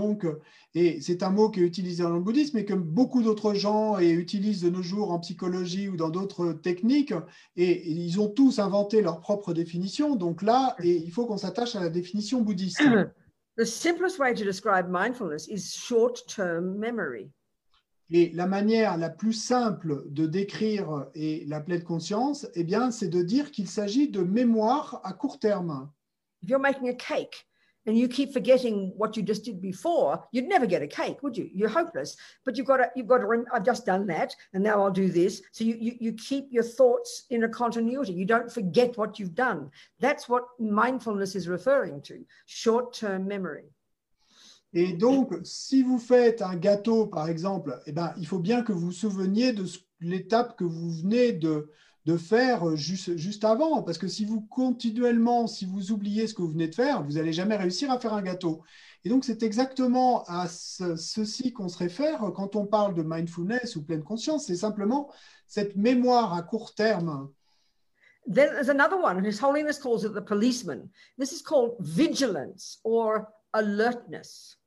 et c'est un mot qui est utilisé dans le bouddhisme et que beaucoup d'autres gens utilisent de nos jours en psychologie ou dans d'autres techniques, et ils ont tous inventé leur propre définition. Donc là, il faut qu'on s'attache à la définition bouddhiste. The simplest way to describe mindfulness is short-term memory. Et la manière la plus simple de décrire la pleine conscience, eh bien, c'est de dire qu'il s'agit de mémoire à court terme. If you're making a cake and you keep forgetting what you just did before, you'd never get a cake, would you? You're hopeless. But you've got to I've just done that, and now I'll do this. So you keep your thoughts in a continuity. You don't forget what you've done. That's what mindfulness is referring to, short-term memory. Et donc, si vous faites un gâteau, par exemple, eh ben, il faut bien que vous vous souveniez de l'étape que vous venez de faire juste avant. Parce que si vous oubliez ce que vous venez de faire, vous n'allez jamais réussir à faire un gâteau. Et donc, c'est exactement à ceci qu'on se réfère quand on parle de mindfulness ou pleine conscience. C'est simplement cette mémoire à court terme. Then there's another one, and His Holiness calls it the policeman. This is called vigilance or alertness.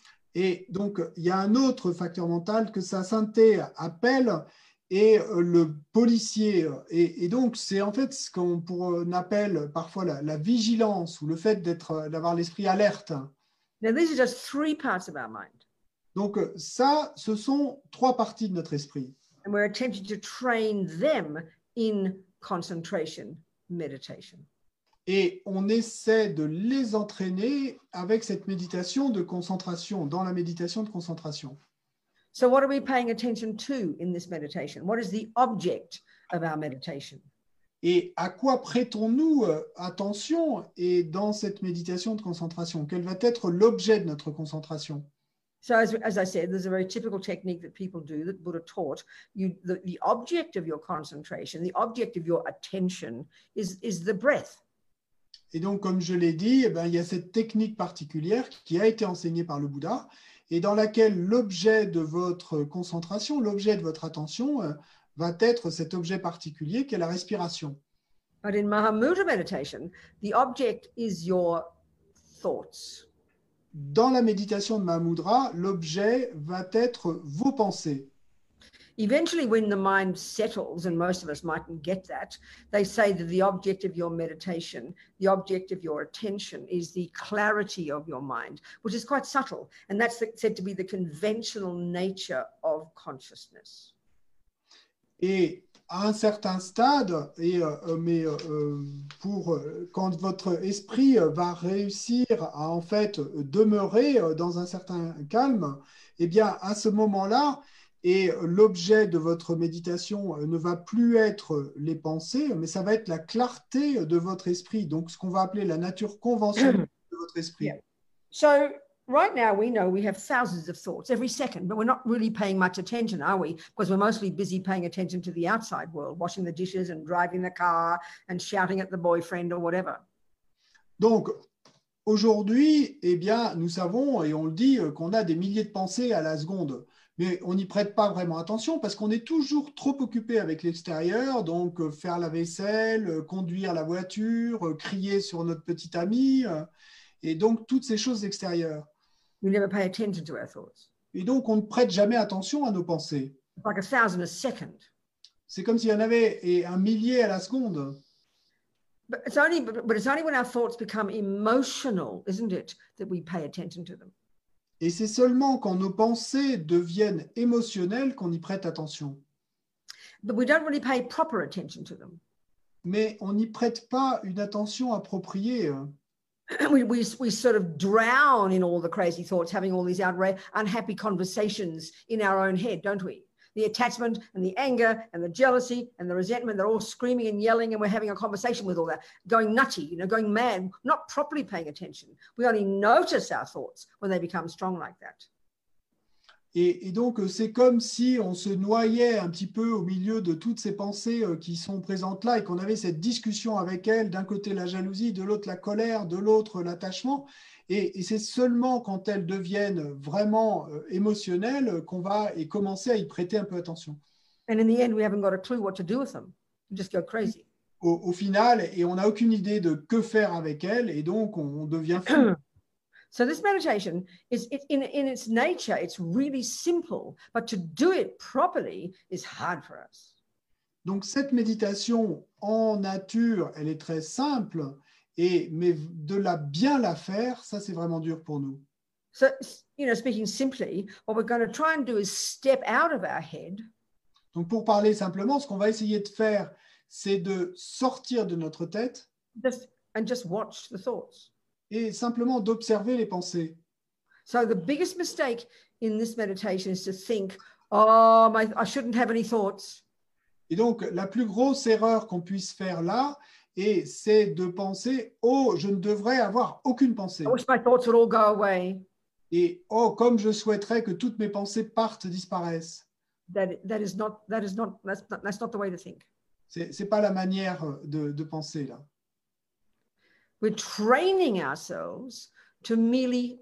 Et donc, il y a un autre facteur mental que sa sainteté appelle, et le policier. Et donc, c'est en fait ce qu'on appelle parfois la vigilance ou le fait d'avoir l'esprit alerte. Now, these are just 3 parts of our mind. Donc, ça, ce sont 3 parties de notre esprit. And we're attempting to train them in concentration, meditation. Et on essaie de les entraîner avec cette méditation de concentration, dans la méditation de concentration. So what are we paying attention to in this meditation? What is the object of our meditation? Et à quoi prêtons-nous attention et dans cette méditation de concentration? Quel va être l'objet de notre concentration? So as I said, there's a very typical technique that people do that Buddha taught. The object of your concentration, the object of your attention is the breath. Et donc, comme je l'ai dit, eh ben, il y a cette technique particulière qui a été enseignée par le Bouddha et dans laquelle l'objet de votre concentration, l'objet de votre attention va être cet objet particulier qui est la respiration. But in Mahamudra meditation, the object is your thoughts. Dans la méditation de Mahamudra, l'objet va être vos pensées. Eventually, when the mind settles, and most of us mightn't get that, they say that the object of your meditation, the object of your attention is the clarity of your mind, which is quite subtle. And that's said to be the conventional nature of consciousness. Et à un certain stade, quand votre esprit va réussir à en fait demeurer dans un certain calme, eh bien à ce moment-là, et l'objet de votre méditation ne va plus être les pensées, mais ça va être la clarté de votre esprit, donc ce qu'on va appeler la nature conventionnelle de votre esprit. Yeah. So right now we know we have thousands of thoughts every second, but we're not really paying much attention, are we? Because we're mostly busy paying attention to the outside world, washing the dishes and driving the car and shouting at the boyfriend or whatever. Donc, aujourd'hui, eh bien, nous savons, et on le dit, qu'on a des milliers de pensées à la seconde. Mais on n'y prête pas vraiment attention parce qu'on est toujours trop occupé avec l'extérieur, donc faire la vaisselle, conduire la voiture, crier sur notre petit ami, et donc toutes ces choses extérieures. We never pay attention to our thoughts. Et donc on ne prête jamais attention à nos pensées. It's like 1,000 a second. C'est comme s'il y en avait un millier à la seconde. But it's only when our thoughts become emotional, isn't it, that we pay attention to them. Et c'est seulement quand nos pensées deviennent émotionnelles qu'on y prête attention. But we don't really pay proper attention to them. Mais on n'y prête pas une attention appropriée. We sort of drown in all the crazy thoughts, having all these unhappy conversations in our own head, don't we? The attachment and the anger and the jealousy and the resentment, they're all screaming and yelling, and we're having a conversation with all that, going nutty, going mad, not properly paying attention. We only notice our thoughts when they become strong like that. Et donc, c'est comme si on se noyait un petit peu au milieu de toutes ces pensées qui sont présentes là et qu'on avait cette discussion avec elles, d'un côté la jalousie, de l'autre la colère, de l'autre l'attachement. Et c'est seulement quand elles deviennent vraiment émotionnelles qu'on va et commencer à y prêter un peu attention. And in the end, we haven't got a clue what to do with them. We just go crazy. Au final, et on n'a aucune idée de que faire avec elles, et donc on devient fou. So this meditation is in its nature, it's really simple, but to do it properly is hard for us. Donc cette méditation en nature, elle est très simple, mais de bien la faire, ça c'est vraiment dur pour nous. So, speaking simply, what we're going to try and do is step out of our head. Donc pour parler simplement, ce qu'on va essayer de faire, c'est de sortir de notre tête just watch the thoughts. Et simplement d'observer les pensées. So the biggest mistake in this meditation is to think, oh, I shouldn't have any thoughts. Et donc, la plus grosse erreur qu'on puisse faire là, c'est de penser, oh, je ne devrais avoir aucune pensée. I wish my thoughts would all go away. Et oh, comme je souhaiterais que toutes mes pensées partent, disparaissent. That's not the way to think. C'est pas la manière de penser là. We're training ourselves to merely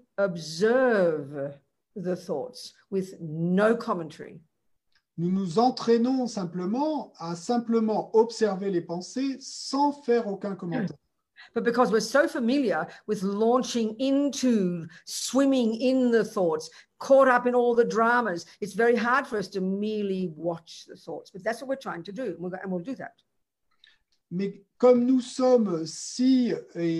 observe the thoughts with no commentary. Nous nous entraînons simplement à simplement observer les pensées sans faire aucun commentaire. But because we're so familiar with launching into, swimming in the thoughts, caught up in all the dramas, it's very hard for us to merely watch the thoughts. But that's what we're trying to do, and we'll do that. Mais comme nous sommes si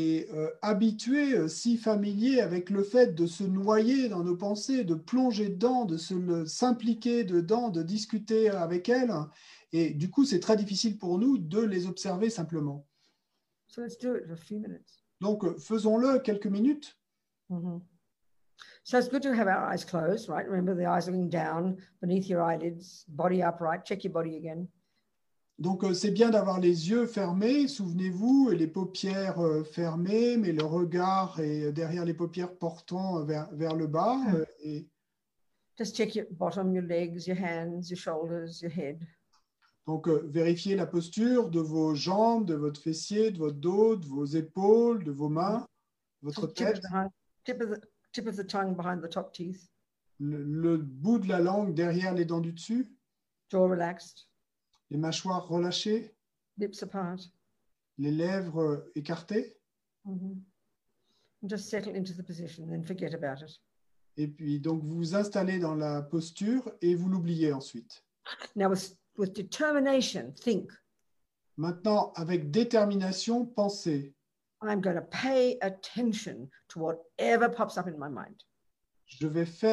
habitués, si familiers avec le fait de se noyer dans nos pensées, de plonger dedans, de s'impliquer dedans, de discuter avec elles, et du coup, c'est très difficile pour nous de les observer simplement. So let's do it for a few minutes. Donc, faisons-le quelques minutes. Mm-hmm. So it's good to have our eyes closed, right? Remember, the eyes looking down beneath your eyelids, body upright. Check your body again. Donc, c'est bien d'avoir les yeux fermés, souvenez-vous, et les paupières fermées, mais le regard est derrière les paupières portant vers le bas. Et... Just check your bottom, your legs, your hands, your shoulders, your head. Donc, vérifiez la posture de vos jambes, de votre fessier, de votre dos, de vos épaules, de vos mains, votre tête. Tip of the tongue behind the top teeth. Le bout de la langue derrière les dents du dessus. Jaw relaxed. Les mâchoires relâchées. Lips apart. Les lèvres écartées. Mm-hmm. Just settle into the position and forget about it. Et puis, donc, vous vous installez dans la posture et vous l'oubliez ensuite. Now, with determination, think. Maintenant, avec détermination, pensez. I'm going to pay attention to whatever pops up in my mind. Je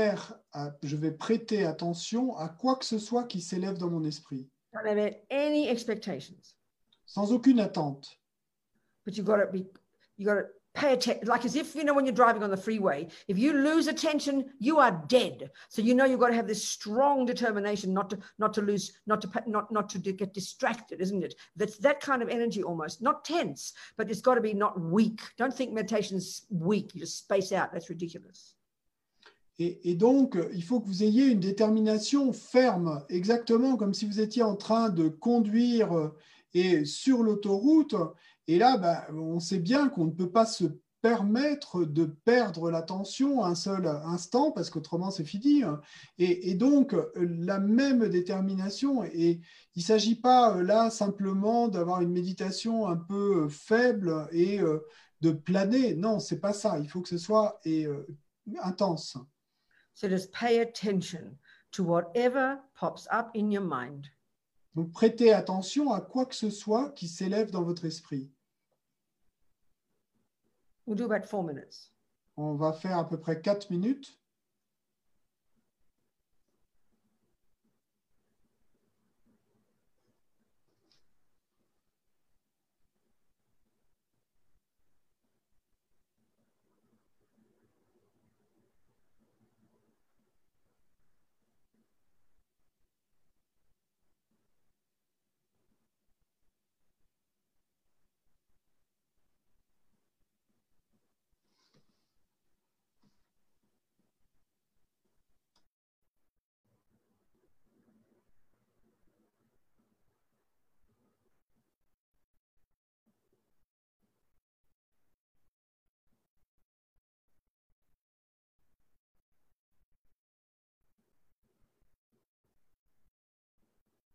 vais prêter attention à quoi que ce soit qui s'élève dans mon esprit. Don't have any expectations. Sans aucune attente. But you got to pay attention, like as if, when you're driving on the freeway, if you lose attention, you are dead. So you've got to have this strong determination not to get distracted, isn't it? That's that kind of energy almost, not tense, but it's got to be not weak. Don't think meditation's weak. You just space out. That's ridiculous. Et donc, il faut que vous ayez une détermination ferme, exactement comme si vous étiez en train de conduire et sur l'autoroute. Et là, on sait bien qu'on ne peut pas se permettre de perdre l'attention un seul instant, parce qu'autrement, c'est fini. Et donc, la même détermination, et il ne s'agit pas là simplement d'avoir une méditation un peu faible et de planer. Non, ce n'est pas ça. Il faut que ce soit intense. So just pay attention to whatever pops up in your mind. Donc, prêtez attention à quoi que ce soit qui s'élève dans votre esprit. We'll do about 4 minutes. On va faire à peu près 4 minutes.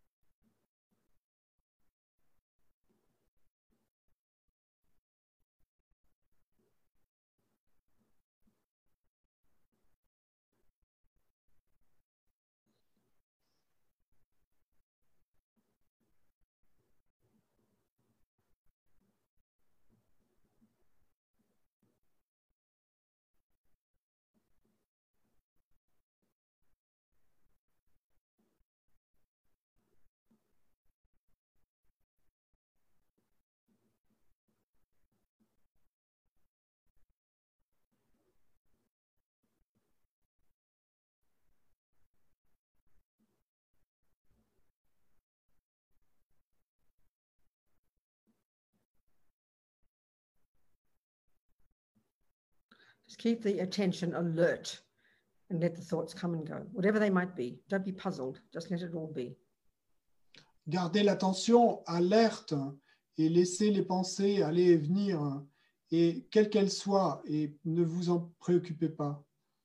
Just keep the attention alert and let the thoughts come and go, whatever they might be. Don't be puzzled. Just let it all be. Gardez l'attention alerte et laissez les pensées aller et venir, et quelles qu'elles soient, et ne vous en préoccupez pas.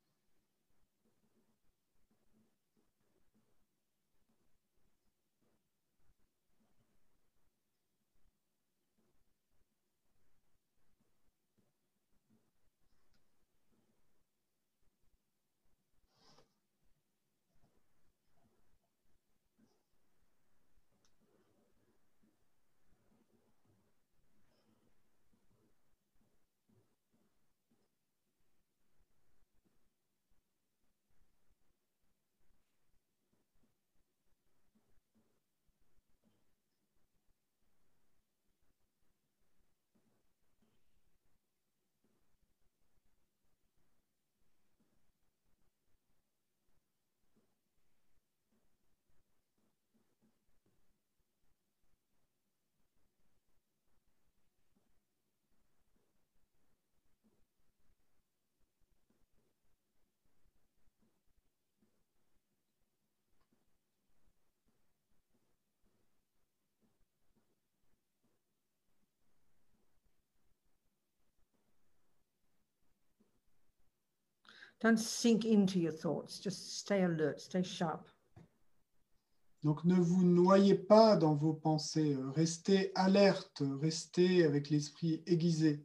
Don't sink into your thoughts. Just stay alert, stay sharp. Donc ne vous noyez pas dans vos pensées, restez alerte, restez avec l'esprit aiguisé.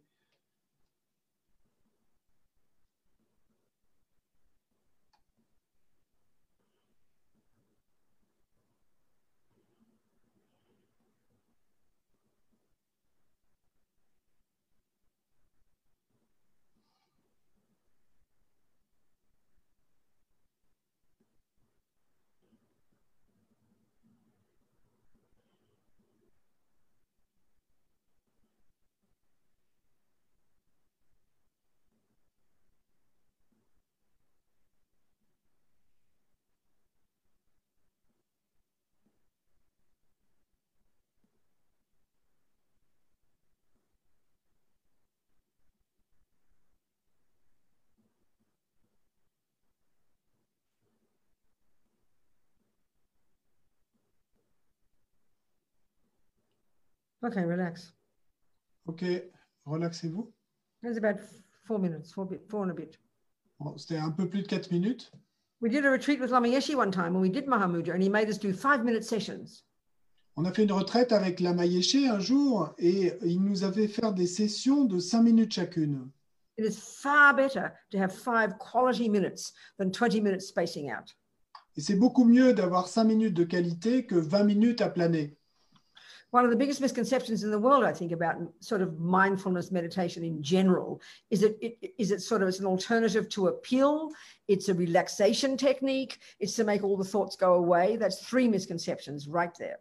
Okay, relax. Ok, relaxez-vous. It's about 4 minutes, four and a bit. Bon, c'était un peu plus de 4 minutes. We did a retreat with Lama Yeshe one time when we did Mahamudra, and he made us do 5-minute sessions. On a fait une retraite avec Lama Yeshe un jour et il nous avait fait des sessions de 5 minutes chacune. It is far better to have 5 quality minutes than 20 minutes spacing out. Et c'est beaucoup mieux d'avoir 5 minutes de qualité que 20 minutes à planer. One of the biggest misconceptions in the world, I think, about sort of mindfulness meditation in general is that it's an alternative to a pill. It's a relaxation technique. It's to make all the thoughts go away. That's 3 misconceptions right there.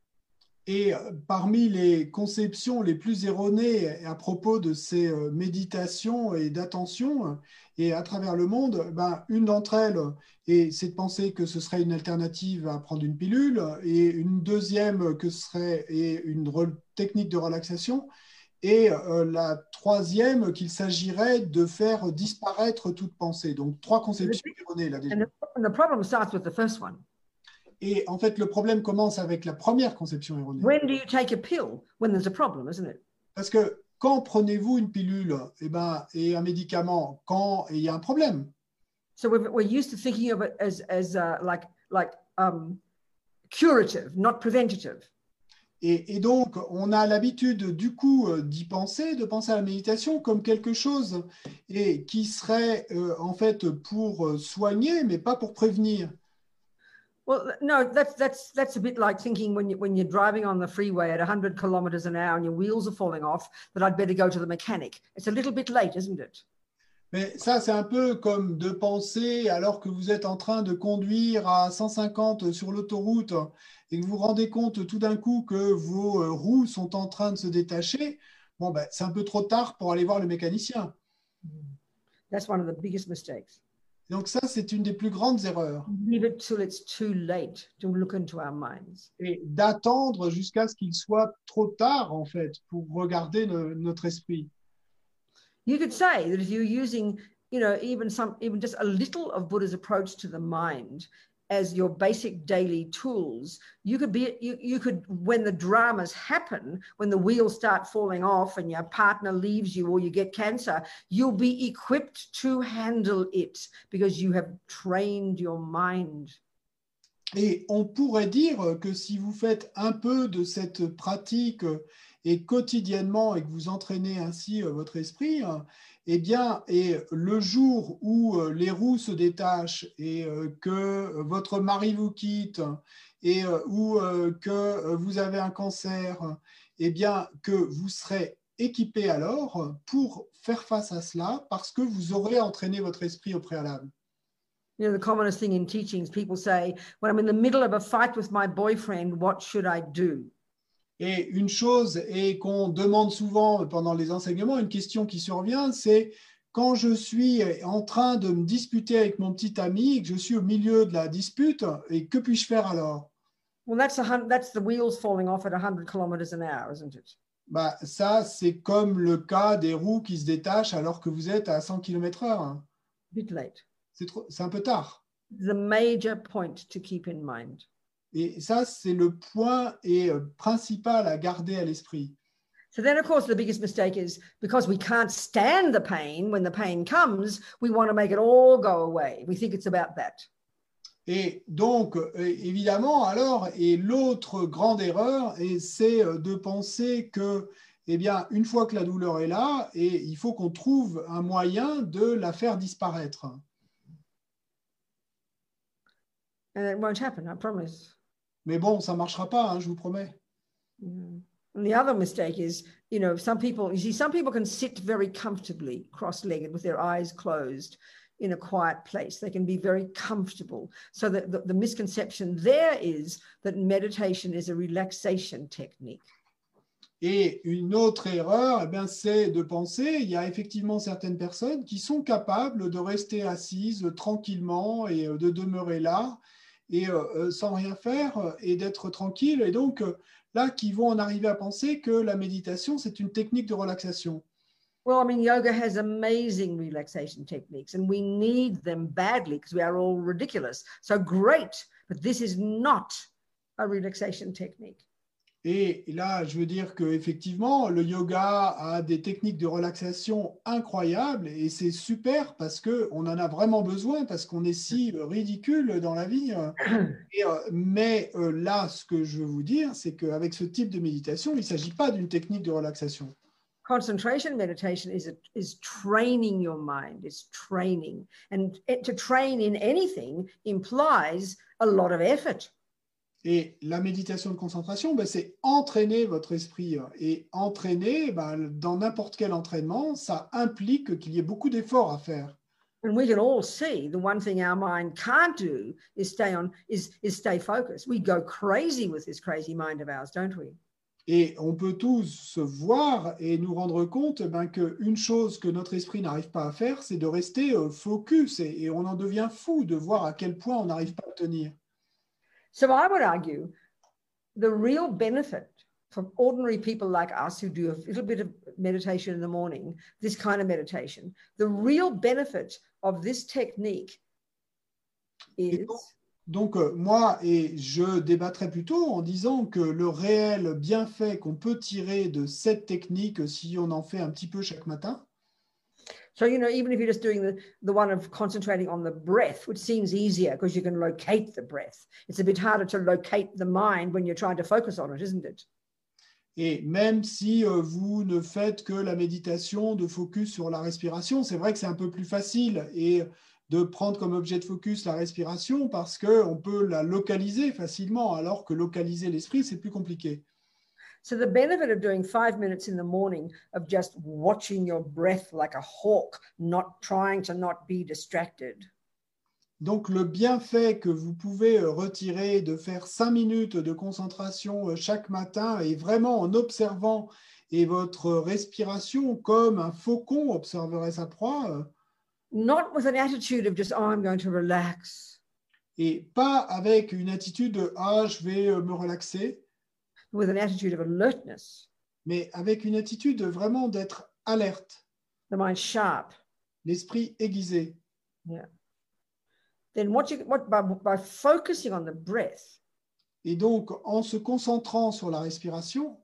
Et parmi les conceptions les plus erronées à propos de ces méditations et d'attention et à travers le monde, une d'entre elles, c'est de penser que ce serait une alternative à prendre une pilule, et une deuxième que ce serait une technique de relaxation, et la troisième qu'il s'agirait de faire disparaître toute pensée. Donc 3 conceptions erronées là déjà. And the problem starts with the first one. Et en fait, le problème commence avec la première conception erronée. When do you take a pill? When there's a problem, isn't it? Parce que quand prenez-vous une pilule et un médicament quand il y a un problème? So we're used to thinking of it as curative, not preventative. Et donc, on a l'habitude du coup d'y penser, de penser à la méditation comme quelque chose et qui serait en fait pour soigner, mais pas pour prévenir. Well, no, that's a bit like thinking when you're driving on the freeway at 100 kilometers an hour and your wheels are falling off, that I'd better go to the mechanic. It's a little bit late, isn't it? Mais ça, c'est un peu comme de penser, alors que vous êtes en train de conduire à 150 sur l'autoroute et que vous vous rendez compte tout d'un coup que vos roues sont en train de se détacher, bon, ben, c'est un peu trop tard pour aller voir le mécanicien. That's one of the biggest mistakes. Donc ça, c'est une des plus grandes erreurs. Leave it till it's too late to look into our minds. Et d'attendre jusqu'à ce qu'il soit trop tard, en fait, pour regarder notre esprit. You could say that if you're using, even just a little of Buddha's approach to the mind as your basic daily tools, you could, when the dramas happen, when the wheels start falling off and your partner leaves you or you get cancer, you'll be equipped to handle it because you have trained your mind. Et on pourrait dire que si vous faites un peu de cette pratique et quotidiennement et que vous entraînez ainsi votre esprit, eh bien, et le jour où les roues se détachent et que votre mari vous quitte et ou que vous avez un cancer, eh bien, que vous serez équipé alors pour faire face à cela parce que vous aurez entraîné votre esprit au préalable. The commonest thing in teachings, people say, when I'm in the middle of a fight with my boyfriend, what should I do? Et une chose et qu'on demande souvent pendant les enseignements, une question qui survient, c'est quand je suis en train de me disputer avec mon petit ami et que je suis au milieu de la dispute, et que puis-je faire alors? Well, that's the wheels falling off at 100 kilometers an hour, isn't it? Bah, ça, c'est comme le cas des roues qui se détachent alors que vous êtes à 100 km/h. Bit late. C'est un peu tard. The major point to keep in mind. Et ça, c'est le point principal à garder à l'esprit. So then, of course, the biggest mistake is because we can't stand the pain, when the pain comes, we want to make it all go away. We think it's about that. Et donc, évidemment, alors, et l'autre grande erreur, c'est de penser que, eh bien, une fois que la douleur est là, et il faut qu'on trouve un moyen de la faire disparaître. And it won't happen, I promise. Mais bon, ça ne marchera pas, hein, je vous promets. Yeah. And the other mistake is, some people can sit very comfortably cross-legged with their eyes closed in a quiet place. They can be very comfortable. So that the misconception there is that meditation is a relaxation technique. Et une autre erreur, eh bien, c'est de penser, il y a effectivement certaines personnes qui sont capables de rester assises tranquillement et de demeurer là et sans rien faire et d'être tranquille. Et donc, là, qui vont en arriver à penser que la méditation, c'est une technique de relaxation. Well, I mean, yoga has amazing relaxation techniques and we need them badly because we are all ridiculous. So great, but this is not a relaxation technique. Et là, je veux dire qu'effectivement, le yoga a des techniques de relaxation incroyables et c'est super parce qu'on en a vraiment besoin, parce qu'on est si ridicule dans la vie. Mais là, ce que je veux vous dire, c'est qu'avec ce type de méditation, il ne s'agit pas d'une technique de relaxation. Concentration meditation is training your mind, it's training. And to train in anything implies a lot of effort. Et la méditation de concentration, ben, c'est entraîner votre esprit. Et entraîner, ben, dans n'importe quel entraînement, ça implique qu'il y ait beaucoup d'efforts à faire. And we can all see the one thing our mind can't do is stay focused. We go crazy with this crazy mind of ours, don't we? Et on peut tous voir et nous rendre compte ben, qu'une chose que notre esprit n'arrive pas à faire, c'est de rester focus. Et on en devient fou de voir à quel point on n'arrive pas à tenir. So I would argue the real benefit for ordinary people like us who do a little bit of meditation in the morning, this kind of meditation, the real benefit of this technique is... Donc, moi, et je débattrai plutôt en disant que le réel bienfait qu'on peut tirer de cette technique, si on en fait un petit peu chaque matin, So, you know, even if you're just doing the one of concentrating on the breath, which seems easier because you can locate the breath, it's a bit harder to locate the mind when you're trying to focus on it, isn't it? Et même si vous ne faites que la méditation de focus sur la respiration, c'est vrai que c'est un peu plus facile et de prendre comme objet de focus la respiration parce qu'on peut la localiser facilement, alors que localiser l'esprit, c'est plus compliqué. So the benefit of doing 5 minutes in the morning of just watching your breath like a hawk, not trying to not be distracted. Donc, le bienfait que vous pouvez retirer de faire 5 minutes de concentration chaque matin et vraiment en observant et votre respiration comme un faucon observerait sa proie. Not with an attitude of just, oh, I'm going to relax. Et pas avec une attitude de « ah, je vais me relaxer », with an attitude of alertness, mais avec une attitude vraiment d'être alerte, the mind sharp. l'esprit aiguisé. Yeah. Then by focusing on the breath, et donc en se concentrant sur la respiration,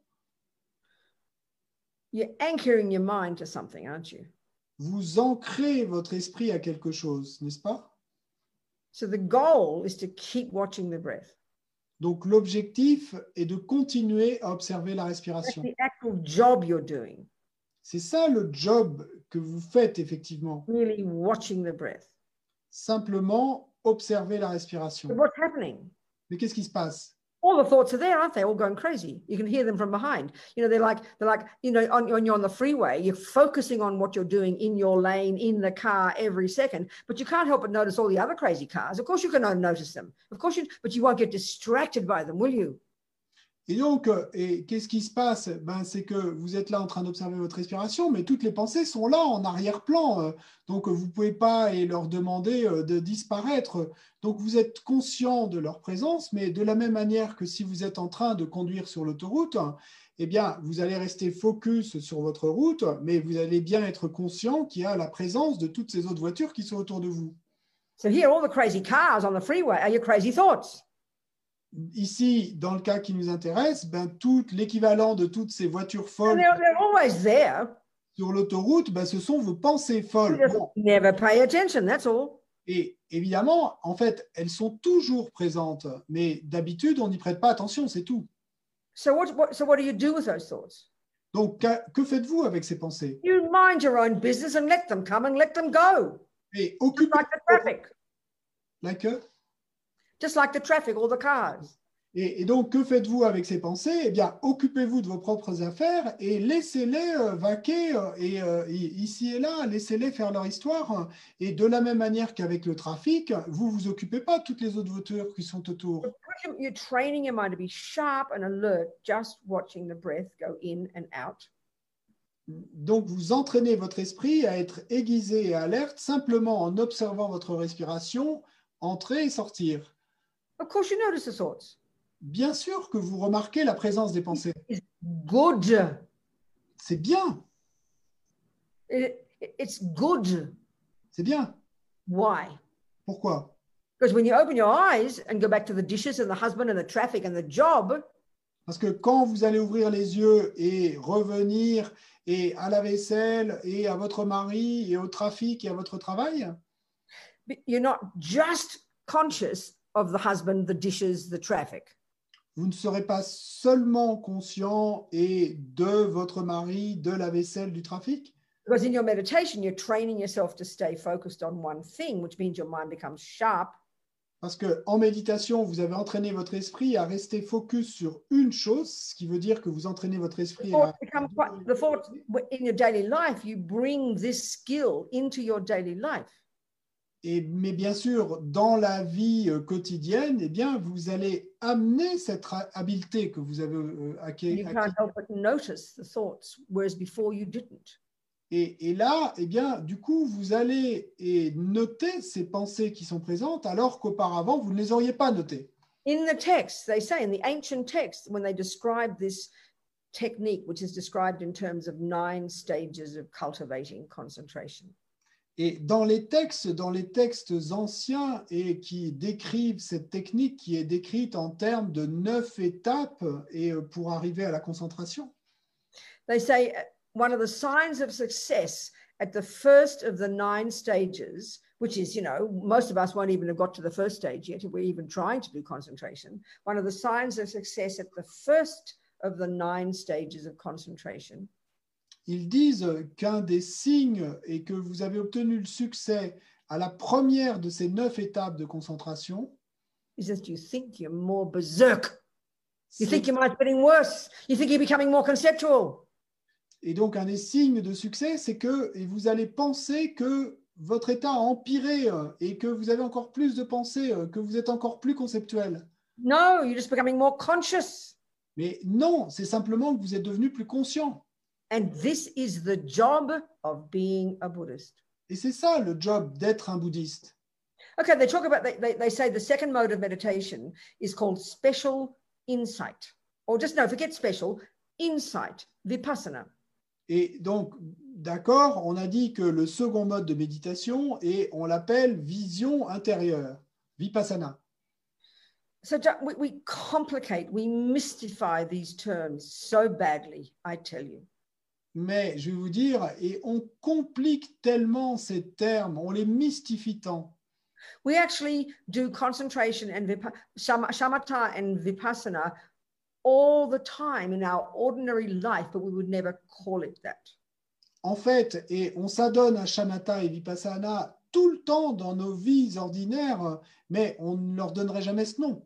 you're anchoring your mind to something, aren't you? Vous ancrez votre esprit à quelque chose, n'est-ce pas? So the goal is to keep watching the breath. Donc l'objectif est de continuer à observer la That's respiration. the actual job you're doing. C'est ça le job que vous faites effectivement. Really watching the breath. Simplement observer la respiration. But what's happening? Mais qu'est-ce qui se passe? All the thoughts are there, aren't they? All going crazy. You can hear them from behind. You know, they're like, you know, when you're on the freeway, you're focusing on what you're doing in your lane, in the car every second, but you can't help but notice all the other crazy cars. Of course you can notice them. Of course but you won't get distracted by them, will you? Et donc, qu'est-ce qui se passe? C'est que vous êtes là en train d'observer votre respiration, mais toutes les pensées sont là en arrière-plan. Donc, vous ne pouvez pas leur demander de disparaître. Donc, vous êtes conscient de leur présence, mais de la même manière que si vous êtes en train de conduire sur l'autoroute, eh bien, vous allez rester focus sur votre route, mais vous allez bien être conscient qu'il y a la présence de toutes ces autres voitures qui sont autour de vous. So here, all the crazy cars on the freeway are your crazy thoughts. Ici, dans le cas qui nous intéresse, tout l'équivalent de toutes ces voitures folles They're always there. sur l'autoroute, ce sont vos pensées folles. You just never pay attention, that's all. Et évidemment, en fait, elles sont toujours présentes, mais d'habitude, on n'y prête pas attention, c'est tout. So what do you do with those thoughts? Donc, que faites-vous avec ces pensées? You mind your own business and let them come and let them go. Et Just like the traffic. Just like the traffic, all the cars. Et donc, que faites-vous avec ces pensées? Eh bien, occupez-vous de vos propres affaires et laissez-les vaquer ici et là, laissez-les faire leur histoire. Et de la même manière qu'avec le trafic, vous vous occupez pas de toutes les autres voitures qui sont autour. You're training your mind to be sharp and alert, just watching the breath go in and out. Donc, vous entraînez votre esprit à être aiguisé et alerte simplement en observant votre respiration, entrer et sortir. Of course, you notice the thoughts. Bien sûr que vous remarquez la présence des pensées. It's good. C'est bien. It's good. C'est bien. Why? Pourquoi? Because when you open your eyes and go back to the dishes and the husband and the traffic and the job, parce que quand vous allez ouvrir les yeux et revenir et à la vaisselle et à votre mari et au trafic et à votre travail, you're not just conscious of the husband, the dishes, the traffic. Vous ne serez pas seulement conscient et de votre mari, de la vaisselle, du trafic. Because in your meditation, you're training yourself to stay focused on one thing, which means your mind becomes sharp. Parce que en méditation, vous avez entraîné votre esprit à rester focus sur une chose, ce qui veut dire que vous entraînez votre esprit à... The thought in your daily life, you bring this skill into your daily life. Mais bien sûr, dans la vie quotidienne, eh bien, vous allez amener cette habileté que vous avez acquis. You can't help but notice the thoughts, whereas before you didn't. Et là, eh bien, du coup, vous allez noter ces pensées qui sont présentes, alors qu'auparavant, vous ne les auriez pas notées. In the text, they say, in the ancient text, when they describe this technique, which is described in terms of 9 stages of cultivating concentration. Et dans les textes anciens et qui décrivent cette technique qui est décrite en termes de 9 étapes et pour arriver à la concentration. They say one of the signs of success at the first of the 9 stages, which is, you know, most of us won't even have got to the first stage yet if we're even trying to do concentration. One of the signs of success at the first of the 9 stages of concentration Ils disent qu'un des signes est que vous avez obtenu le succès à la première de ces 9 étapes de concentration. is that you think you're more berserk. You c'est- think your mind's getting worse. You think you're becoming more conceptual. Et donc, un des signes de succès, c'est que et vous allez penser que votre état a empiré et que vous avez encore plus de pensées, que vous êtes encore plus conceptuel. No, you're just becoming more conscious. Mais non, c'est simplement que vous êtes devenu plus conscient. And this is the job of being a Buddhist. Et c'est ça le job d'être un bouddhiste. Okay, they talk about, they say the second mode of meditation is called special insight. Or just, no, forget special, insight, vipassana. Et donc, d'accord, on a dit que le second mode de méditation, et on l'appelle vision intérieure, vipassana. So we complicate, we mystify these terms so badly, I tell you. Mais je vais vous dire, et on complique tellement ces termes, on les mystifie tant. We actually do concentration and shamatha and vipassana all the time in our ordinary life, but we would never call it that. En fait, et on s'adonne à shamatha et vipassana tout le temps dans nos vies ordinaires, mais on ne leur donnerait jamais ce nom.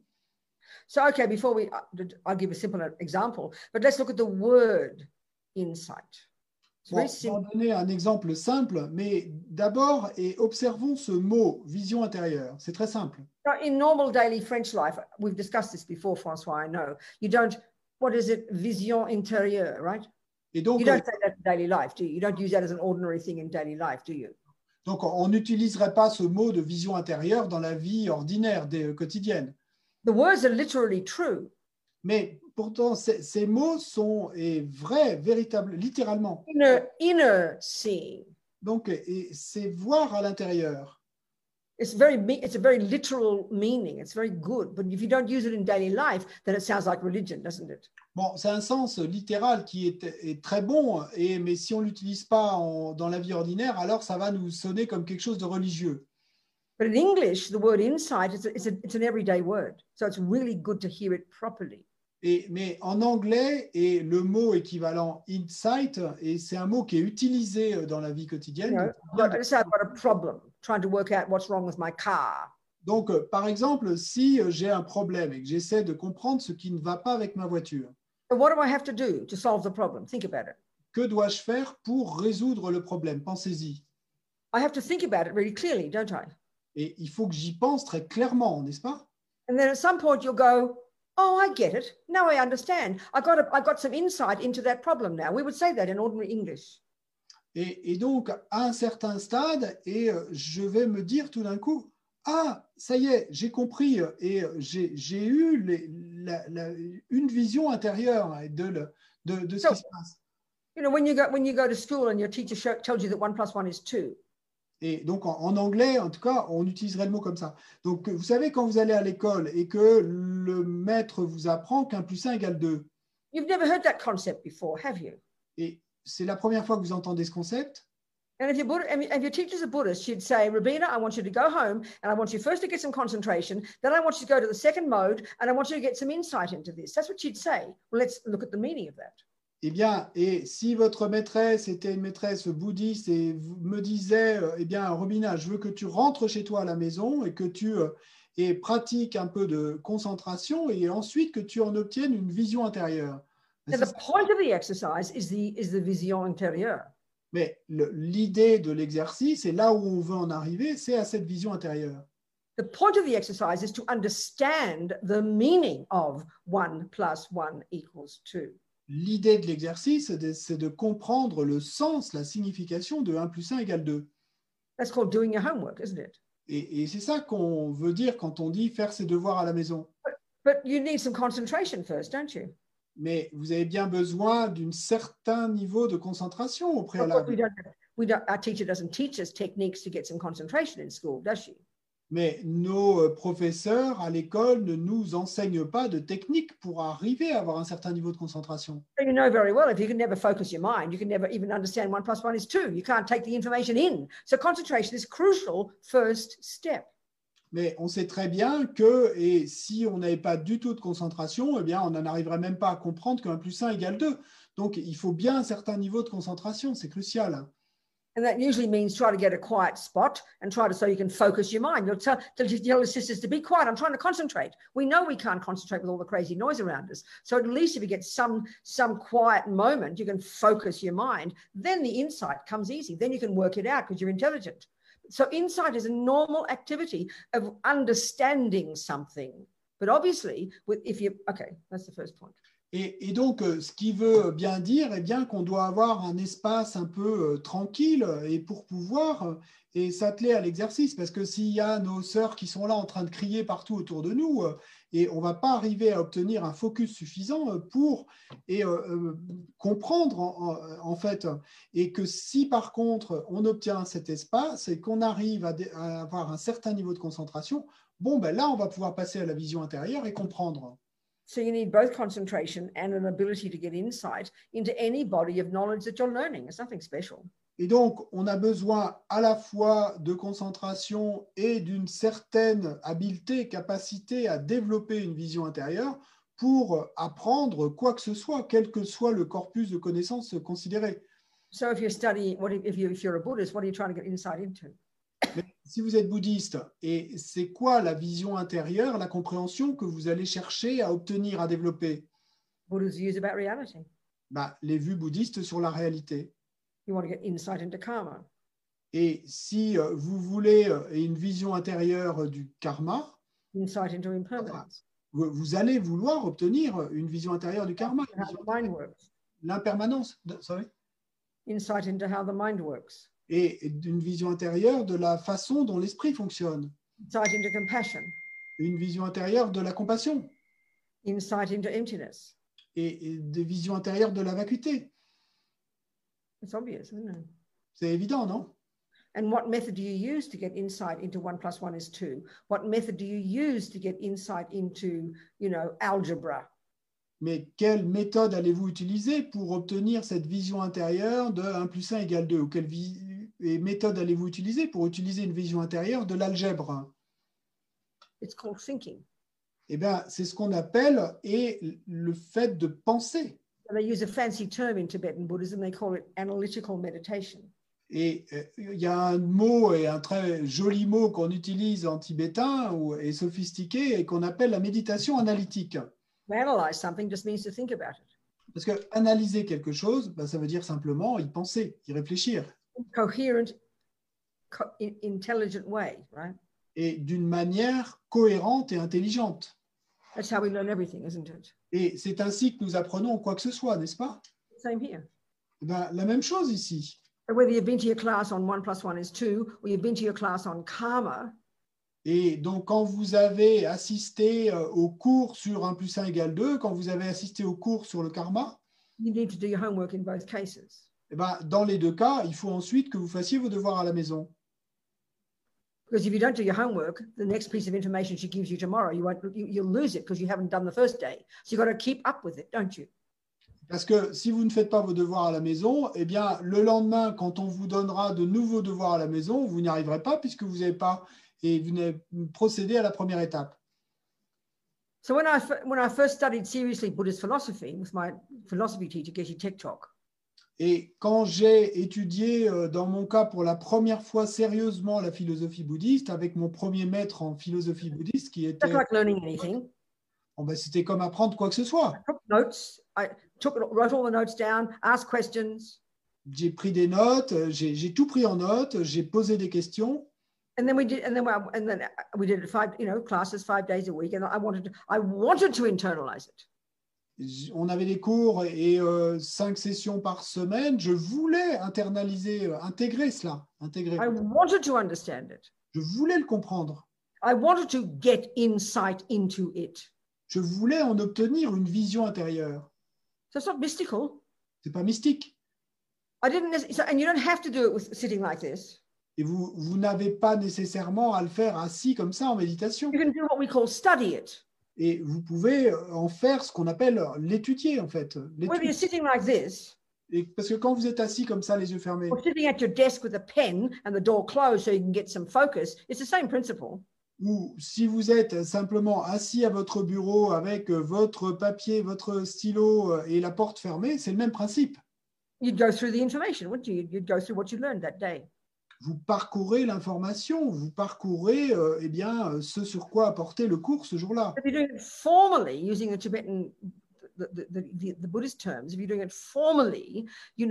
So, okay, before I'll give a simple example, but let's look at the word insight. It's Bon, very je vais en simple. donner un exemple simple, mais d'abord, et observons ce mot, vision intérieure. C'est très simple. Now, in normal daily French life, we've discussed this before, Francois, I know. You don't, what is it, vision intérieure, right? Et donc, You don't say that in daily life, do you? You don't use that as an ordinary thing in daily life, do you? donc on n'utiliserait pas ce mot de vision intérieure dans la vie ordinaire, quotidienne. The words are literally true. Mais pourtant, ces mots sont vrais, véritables, littéralement. Inner seeing. Donc, et c'est voir à l'intérieur. It's a very literal meaning. It's very good. But if you don't use it in daily life, then it sounds like religion, doesn't it? Bon, c'est un sens littéral qui est très bon, mais si on ne l'utilise pas dans la vie ordinaire, alors ça va nous sonner comme quelque chose de religieux. But in English, the word insight, it's an everyday word. So it's really good to hear it properly. Mais en anglais, et le mot équivalent insight, et c'est un mot qui est utilisé dans la vie quotidienne. Let's say I've got a problem, trying to work out what's wrong with my car. Donc, par exemple, si j'ai un problème et que j'essaie de comprendre ce qui ne va pas avec ma voiture, So what do I have to do to solve the problem? Think about it. que dois-je faire pour résoudre le problème? Pensez-y. I have to think about it really clearly, don't I? Et il faut que j'y pense très clairement, n'est-ce pas? And then at some point you'll go, oh, I get it. Now I understand. I got some insight into that problem now. We would say that in ordinary English. Et donc, à un certain stade, je vais me dire tout d'un coup, ah, ça y est, j'ai compris et j'ai eu une vision intérieure de ce qui se passe. You know, when you go to school and your teacher tells you that 1 + 1 is 2. Et donc, en anglais, en tout cas, on utiliserait le mot comme ça. Donc, vous savez, quand vous allez à l'école et que le maître vous apprend qu'1 + 1 = 2. You've never heard that concept before, have you? Et c'est la première fois que vous entendez ce concept. And if your teacher's a Buddhist, she'd say, Rabina, I want you to go home and I want you first to get some concentration. Then I want you to go to the second mode and I want you to get some insight into this. That's what she'd say. Well, let's look at the meaning of that. Eh bien, et si votre maîtresse était une maîtresse bouddhiste et me disait, eh bien, Robina, je veux que tu rentres chez toi à la maison et que tu pratiques un peu de concentration et ensuite que tu en obtiennes une vision intérieure. And the point of the exercise is the vision intérieure. Mais l'idée de l'exercice, et là où on veut en arriver, c'est à cette vision intérieure. The point of the exercise is to understand the meaning of 1 + 1 = 2. L'idée de l'exercice, c'est de comprendre le sens, la signification de 1 + 1 = 2. That's called doing your homework, isn't it? Et c'est ça qu'on veut dire quand on dit faire ses devoirs à la maison. But you need some concentration first, don't you? Mais vous avez bien besoin d'un certain niveau de concentration au préalable. Our teacher doesn't teach us techniques to get some concentration in school, does she? Mais nos professeurs à l'école ne nous enseignent pas de techniques pour arriver à avoir un certain niveau de concentration. You know very well, if you can never focus your mind, you can never even understand 1 + 1 is 2. You can't take the information in. So concentration is crucial first step. Mais on sait très bien que, et si on n'avait pas du tout de concentration, eh bien, on n'en arriverait même pas à comprendre que 1 + 1 = 2. Donc, il faut bien un certain niveau de concentration, c'est crucial. And that usually means try to get a quiet spot and try to, so you can focus your mind. You'll tell the sisters to be quiet. I'm trying to concentrate. We know we can't concentrate with all the crazy noise around us. So at least if you get some quiet moment, you can focus your mind. Then the insight comes easy. Then you can work it out because you're intelligent. So insight is a normal activity of understanding something. But obviously, okay, that's the first point. Et donc, ce qui veut bien dire eh bien, qu'on doit avoir un espace un peu tranquille et pour pouvoir et s'atteler à l'exercice. Parce que s'il y a nos sœurs qui sont là en train de crier partout autour de nous, et on ne va pas arriver à obtenir un focus suffisant pour comprendre en fait. Et que si par contre on obtient cet espace et qu'on arrive à avoir un certain niveau de concentration, bon, ben là, on va pouvoir passer à la vision intérieure et comprendre. So you need both concentration and an ability to get insight into any body of knowledge that you're learning. It's nothing special. Et donc, on a besoin à la fois de concentration et d'une certaine habileté, capacité à développer une vision intérieure pour apprendre quoi que ce soit, quel que soit le corpus de connaissances considéré. So if you're studying, if you're a Buddhist, what are you trying to get insight into? Mais si vous êtes bouddhiste, et c'est quoi la vision intérieure, la compréhension que vous allez chercher à obtenir, à développer? Buddha's views about reality. Les vues bouddhistes sur la réalité. You want to get insight into karma. Et si vous voulez une vision intérieure du karma, insight into impermanence. Vous allez vouloir obtenir une vision intérieure du karma. L'impermanence. Sorry. Insight into how the mind works. Et d'une vision intérieure de la façon dont l'esprit fonctionne. Insight into compassion. Une vision intérieure de la compassion. Insight into emptiness. Et des visions intérieures de la vacuité. It's obvious, isn't it? C'est évident, non? And what method do you use to get insight into 1 + 1 is 2? What method do you use to get insight into, algebra? Mais quelle méthode allez-vous utiliser pour obtenir cette vision intérieure de 1 + 1 = 2? Ou quelle méthode allez-vous utiliser pour utiliser une vision intérieure de l'algèbre? It's called thinking. Eh bien, c'est ce qu'on appelle le fait de penser. And they use a fancy term in Tibetan Buddhism. They call it analytical meditation. Et il y a un mot, et un très joli mot qu'on utilise en tibétain et sophistiqué, et qu'on appelle la méditation analytique. Analyze something just means to think about it. Parce que analyser quelque chose, ça veut dire simplement y penser, y réfléchir. Coherent, intelligent way, right? Et d'une manière cohérente et intelligente. That's how we learn everything, isn't it? Et c'est ainsi que nous apprenons quoi que ce soit, n'est-ce pas? Same here. La même chose ici. Whether you've been to your class on 1 + 1 is 2, or you've been to your class on karma. Et donc, quand vous avez assisté au cours sur 1 + 1 = 2, quand vous avez assisté au cours sur le karma, you need to do your homework in both cases. Dans les deux cas, il faut ensuite que vous fassiez vos devoirs à la maison. Because if you don't do your homework, the next piece of information she gives you tomorrow, you'll lose it because you haven't done the first day. So you've got to keep up with it, don't you? Parce que si vous ne faites pas vos devoirs à la maison, eh bien, le lendemain, quand on vous donnera de nouveaux devoirs à la maison, vous n'y arriverez pas puisque vous n'avez pas procédé à la première étape. So when I first studied seriously Buddhist philosophy with my philosophy teacher, Geshe Tektok. Et quand j'ai étudié, dans mon cas, pour la première fois sérieusement la philosophie bouddhiste, avec mon premier maître en philosophie bouddhiste, qui était... Just like learning anything. C'était comme apprendre quoi que ce soit. I took notes, wrote all the notes down, asked questions. J'ai pris des notes, j'ai tout pris en note, j'ai posé des questions. And then we did it classes 5 days a week, and I wanted to internalize it. On avait des cours et 5 sessions par semaine. Je voulais intégrer cela. I wanted to understand it. Je voulais le comprendre. I wanted to get insight into it. Je voulais en obtenir une vision intérieure. So it's not mystical. C'est pas mystique. And you don't have to do it with sitting like this. Et vous n'avez pas nécessairement à le faire assis comme ça en méditation. You can do what we call study it. Et vous pouvez en faire ce qu'on appelle l'étudier, en fait. Whether you're sitting like this, Et parce que quand vous êtes assis comme ça, les yeux fermés, or sitting at your desk with a pen and the door closed so you can get some focus, it's the same principle. ou si vous êtes simplement assis à votre bureau avec votre papier, votre stylo et la porte fermée, c'est le même principe. You'd go through the information, wouldn't you? You'd go through what you learned that day. Vous parcourez l'information, vous parcourez eh bien, ce sur quoi a porté le cours ce jour-là. If you're doing it formally, using the Tibetan, the Buddhist terms, if you're doing it formally, you'd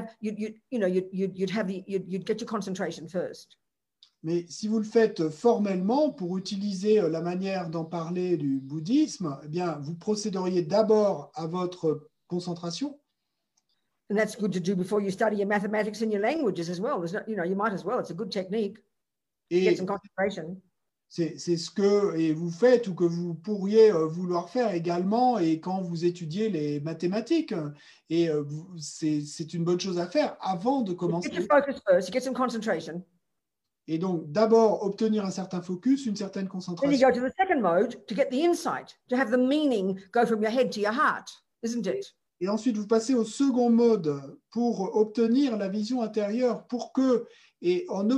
get your concentration first. Mais si vous le faites formellement, pour utiliser la manière d'en parler du bouddhisme, eh bien, vous procéderiez d'abord à votre concentration. And that's good to do before you study your mathematics and your languages as well. There's not, you might as well. It's a good technique. Get Et some concentration. c'est ce que vous faites ou que vous pourriez vouloir faire également et quand vous étudiez les mathématiques. Et c'est une bonne chose à faire avant de commencer. Get your focus first. You get some concentration. Et donc, d'abord, obtenir un certain focus, une certaine Then you concentration. go to the second mode to get the insight, to have the meaning go from your head to your heart, isn't it? Et ensuite, vous passez au second mode pour obtenir la vision intérieure, pour que, et en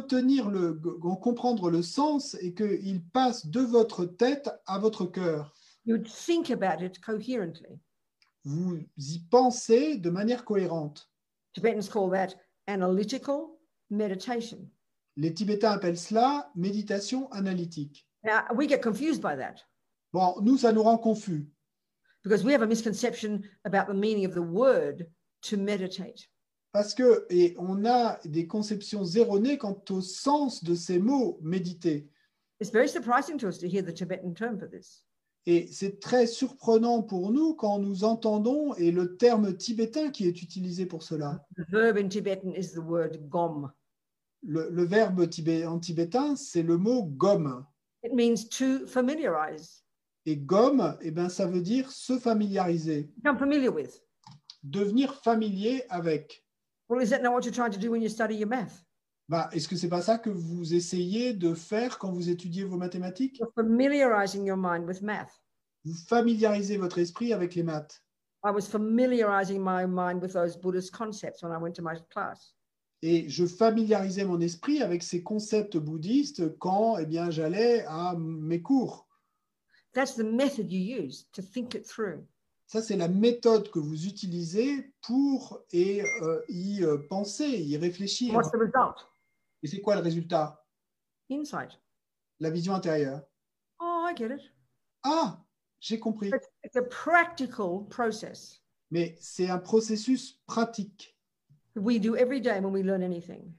comprendre le sens et qu'il passe de votre tête à votre cœur. You'd think about it coherently. Vous y pensez de manière cohérente. Tibetans call that analytical meditation. Les Tibétains appellent cela méditation analytique. Now, we get confused by that Bon, nous, ça nous rend confus. because we have a misconception about the meaning of the word to meditate. Parce que, et on a des conceptions erronées quant au sens de ces mots méditer. It's very surprising to us to hear the Tibetan term for this. Et c'est très surprenant pour nous quand nous entendons et le terme tibétain qui est utilisé pour cela. The verb in Tibetan is the word gom. Le verbe en tibétain, c'est le mot gom. It means to familiarize, Et gom, eh ben, ça veut dire se familiariser, become familiar with. devenir familier avec. Well, is that not what you're trying to do when you study your math? Bah, est-ce que c'est pas ça que vous essayez de faire quand vous étudiez vos mathématiques? You're familiarizing your mind with math. Vous familiarisez votre esprit avec les maths. I was familiarizing my mind with those Buddhist concepts when I went to my class. Et je familiarisais mon esprit avec ces concepts bouddhistes quand eh bien, j'allais à mes cours. That's the method you use to think it through. Ça, c'est la méthode que vous utilisez pour y penser, y réfléchir. What's the result? Et c'est quoi le résultat? Insight. La vision intérieure. Oh, I get it. Ah, j'ai compris. It's a practical process Mais c'est un processus pratique that we do every day when we learn anything.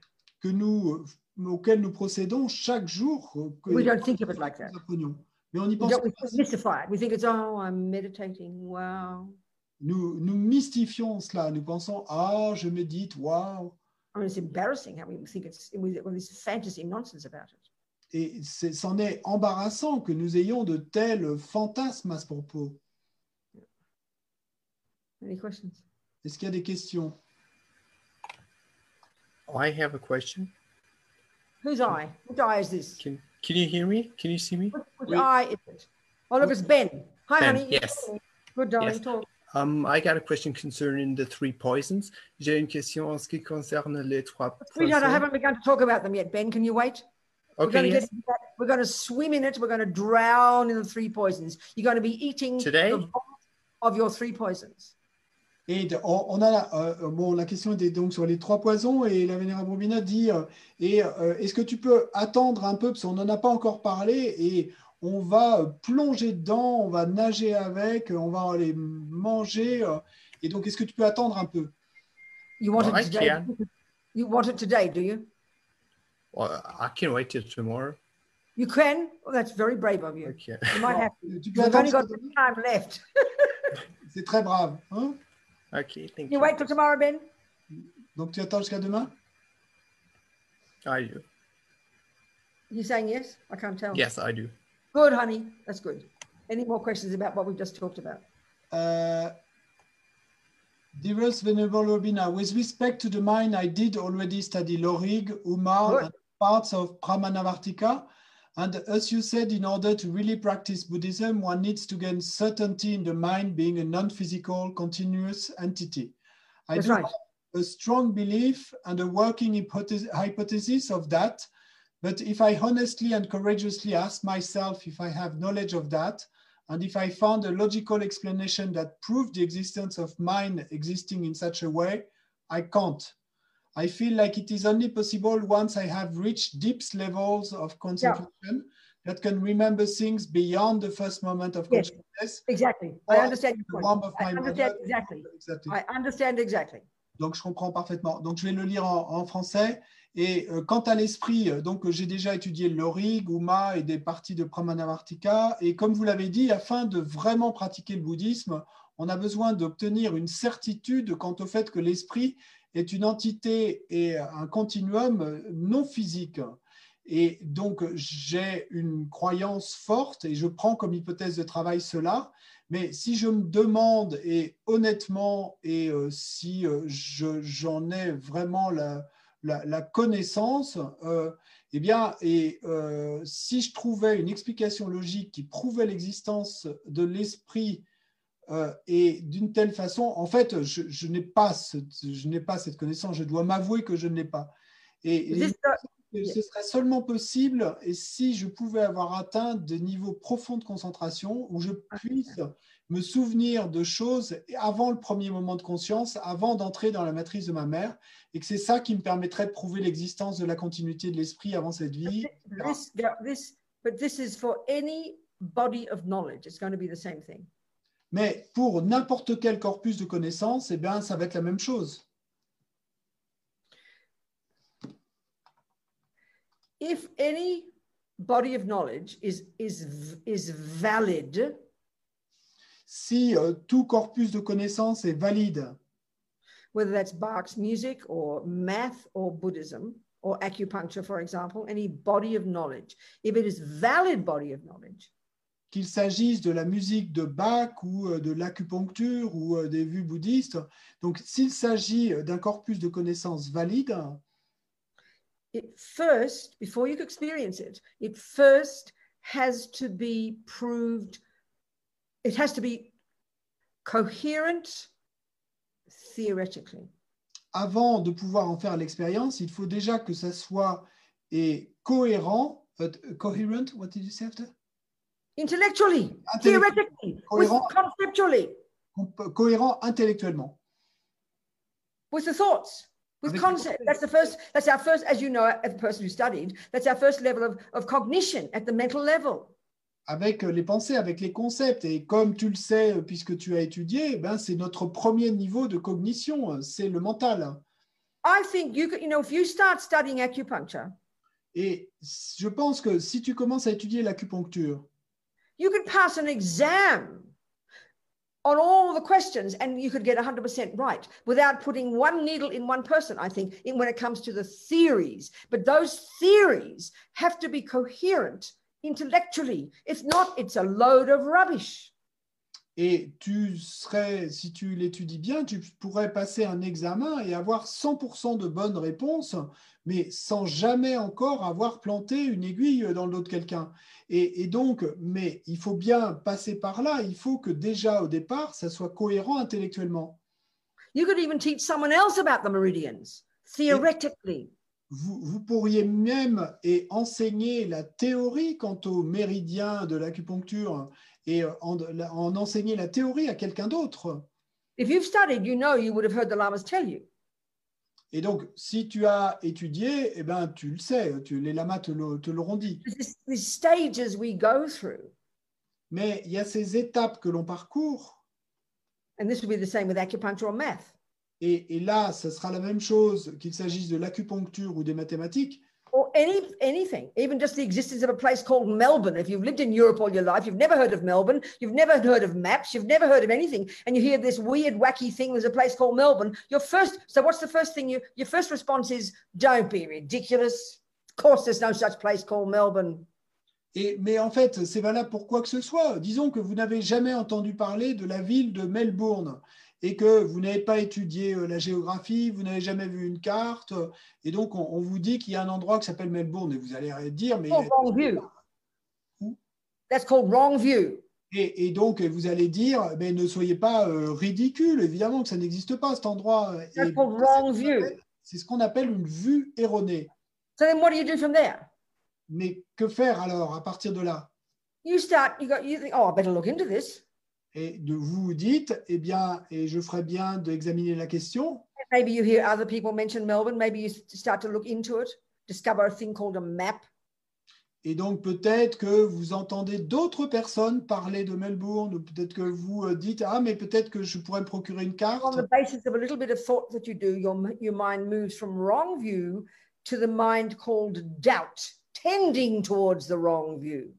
Auquel nous procédons chaque jour. We don't think of it like that. Nous apprenons. Mais on y We pense. don't mystify it. We think it's, oh, I'm meditating. Wow. Nous mystifions cela. Nous pensons, ah, je médite, waouh. I mean, it's embarrassing how we think with this fantasy nonsense about it. Et c'en est embarrassant que nous ayons de tels fantasmes à ce propos. Any questions? Est-ce qu'il y a des questions? I have a question. Whose eye? Which eye is this? Can you hear me? Can you see me? Which eye is it? Oh, look, it's Ben. Hi, Ben, honey. yes. Good, darling. Yes. Talk. I got a question concerning the three poisons. J'ai une question en ce qui concerne les trois Sweetheart, I poisons. haven't begun to talk about them yet, Ben. Can you wait? Okay, yes. We're going to swim in it. We're going to drown in the three poisons. You're going to be eating Today? the vomit of your three poisons. Et on a la question était donc sur les trois poisons et la Vénérable Robina dit est-ce que tu peux attendre un peu parce qu'on n'en a pas encore parlé et on va plonger dedans, on va nager avec, on va les manger et donc est-ce que tu peux attendre un peu? You want Well, I it today? can. You want it today, do you? Well, I can wait till tomorrow. You can? Well, that's very brave of you. Okay. You might have to. Tu peux You've only attendre got some time left. c'est très brave. Hein? Okay, thank You you. wait till tomorrow, Ben? Donc tu attends jusqu'à demain? I do. You saying yes? I can't tell. Yes, I do. Good, honey. That's good. Any more questions about what we've just talked about? Dearest Venerable Robina, with respect to the mind, I did already study Lorig, Umar, Good. and parts of Pramanavartika. And as you said, in order to really practice Buddhism, one needs to gain certainty in the mind being a non-physical, continuous entity. I That's do right. have a strong belief and a working hypothesis of that. But if I honestly and courageously ask myself if I have knowledge of that, and if I found a logical explanation that proved the existence of mind existing in such a way, I can't. I feel like it is only possible once I have reached deep levels of concentration that can remember things beyond the first moment of Yes, consciousness. exactly. Or I understand your the point. warmth of I my understand mother. exactly. Exactly. I understand exactly. Donc, je comprends parfaitement. Donc, je vais le lire en français. Et quant à l'esprit, donc j'ai déjà étudié le Lori, Uma et des parties de Pramanavartika. Et comme vous l'avez dit, afin de vraiment pratiquer le bouddhisme, on a besoin d'obtenir une certitude quant au fait que l'esprit est une entité et un continuum non physique. Et donc, j'ai une croyance forte et je prends comme hypothèse de travail cela. Mais si je me demande, et honnêtement, et si j'en ai vraiment la connaissance, eh bien, si je trouvais une explication logique qui prouvait l'existence de l'esprit et d'une telle façon, en fait, je n'ai pas cette connaissance, je dois m'avouer que je ne l'ai pas. Et ce serait seulement possible et si je pouvais avoir atteint des niveaux profonds de concentration où je puisse me souvenir de choses avant le premier moment de conscience, avant d'entrer dans la matrice de ma mère, et que c'est ça qui me permettrait de prouver l'existence de la continuité de l'esprit avant cette vie. But this is for any body of knowledge. It's going to be the same thing. Mais pour n'importe quel corpus de connaissances, eh bien, ça va être la même chose. If any body of knowledge is valid, si tout corpus de connaissances est valide, whether that's Bach's music or math or Buddhism or acupuncture, for example, any body of knowledge, if it is valid body of knowledge, qu'il s'agisse de la musique de Bach ou de l'acupuncture ou des vues bouddhistes, donc s'il s'agit d'un corpus de connaissances valide, it first, before you can experience it, it first has to be proved, it has to be coherent theoretically. Avant de pouvoir en faire l'expérience, il faut déjà que ça soit cohérent, coherent, what did you say after? Intellectually, theoretically, conceptually. Cohérent intellectuellement. With the thoughts. With concept, that's our first, as you know, as a person who studied, that's our first level of cognition at the mental level. Avec les pensées, avec les concepts. Et comme tu le sais, puisque tu as étudié, ben, c'est notre premier niveau de cognition, c'est le mental. I think, if you start studying acupuncture, et je pense que si tu commences à étudier l'acupuncture, you could pass an exam on all the questions and you could get 100% right without putting one needle in one person, I think, when it comes to the theories. But those theories have to be coherent intellectually. If not, it's a load of rubbish. Et si tu l'étudies bien, tu pourrais passer un examen et avoir 100% de bonnes réponses, mais sans jamais encore avoir planté une aiguille dans le dos de quelqu'un. Et donc, mais il faut bien passer par là. Il faut que déjà au départ, ça soit cohérent intellectuellement. You could even teach someone else about the meridians, theoretically. Vous pourriez même enseigner la théorie quant aux méridiens de l'acupuncture et en enseigner la théorie à quelqu'un d'autre. If you've studied, you would have heard the lamas tell you. Et donc, si tu as étudié, eh ben, tu le sais, les lamas te l'auront dit. These stages we go through. Mais il y a ces étapes que l'on parcourt. And this will be the same with acupuncture or math. Et là, ce sera la même chose qu'il s'agisse de l'acupuncture ou des mathématiques. Or anything, even just the existence of a place called Melbourne. If you've lived in Europe all your life, you've never heard of Melbourne, you've never heard of maps, you've never heard of anything, and you hear this weird, wacky thing, there's a place called Melbourne, so what's the first thing your first response is, don't be ridiculous. Of course there's no such place called Melbourne. Mais en fait, c'est valable pour quoi que ce soit. Disons que vous n'avez jamais entendu parler de la ville de Melbourne. et que vous n'avez pas étudié la géographie, vous n'avez jamais vu une carte, et donc on vous dit qu'il y a un endroit qui s'appelle Melbourne, et vous allez dire, mais... Oh, wrong view. Où? That's called wrong view. Et donc, vous allez dire, mais ne soyez pas ridicule, évidemment que ça n'existe pas, cet endroit. That's Et called wrong view. c'est ce qu'on appelle une vue erronée. So then what do you do from there? Mais que faire alors à partir de là? You think, oh, I better look into this. Et vous vous dites, eh bien, et je ferais bien d'examiner la question. Maybe you hear other people mention Melbourne. Maybe you start to look into it, discover a thing called a map. Et donc peut-être que vous entendez d'autres personnes parler de Melbourne, ou peut-être que vous dites, ah, mais peut-être que je pourrais me procurer une carte. On the basis of a little bit of thought that you do, your mind moves from wrong view to the mind called doubt, tending towards the wrong view.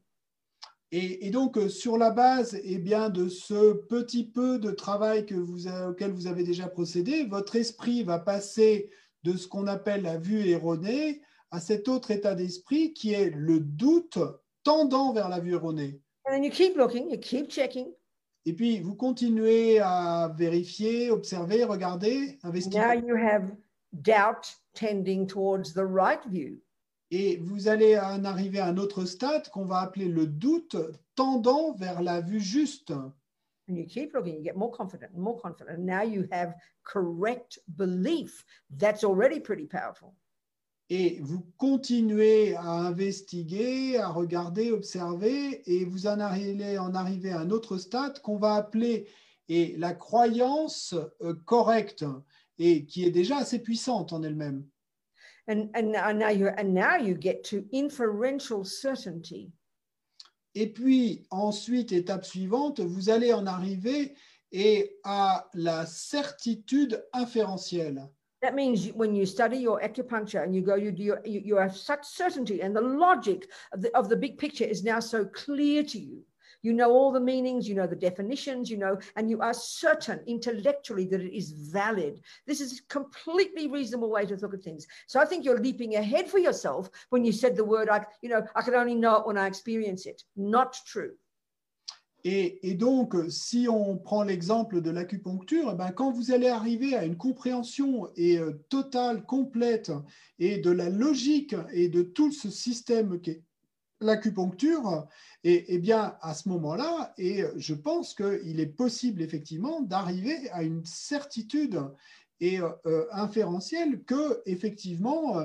Et donc, sur la base eh bien, de ce petit peu de travail auquel vous avez déjà procédé, votre esprit va passer de ce qu'on appelle la vue erronée à cet autre état d'esprit qui est le doute tendant vers la vue erronée. And then you keep looking, you keep checking. Et puis, vous continuez à vérifier, observer, regarder, investiguer. Now you have doubt tending towards the right view. Et vous allez en arriver à un autre stade qu'on va appeler le doute tendant vers la vue juste. And you keep looking, you get more confident and more confident. And now you have correct belief. That's already pretty powerful. Et vous continuez à investiguer, à regarder, observer, et vous en arrivez à un autre stade qu'on va appeler la croyance correcte, et qui est déjà assez puissante en elle-même. And now you get to inferential certainty. Et puis ensuite, étape suivante, vous allez en arriver à la certitude inférentielle. That means when you study your acupuncture and you go, you have such certainty, and the logic of the big picture is now so clear to you. You know all the meanings, you know the definitions, you know, and you are certain intellectually that it is valid. This is a completely reasonable way to look at things. So I think you're leaping ahead for yourself when you said the word, I can only know it when I experience it. Not true. Et donc, si on prend l'exemple de l'acupuncture, quand vous allez arriver à une compréhension totale, complète, et de la logique et de tout ce système qu'est l'acupuncture, et bien à ce moment-là, et je pense qu'il est possible effectivement d'arriver à une certitude inférentielle que effectivement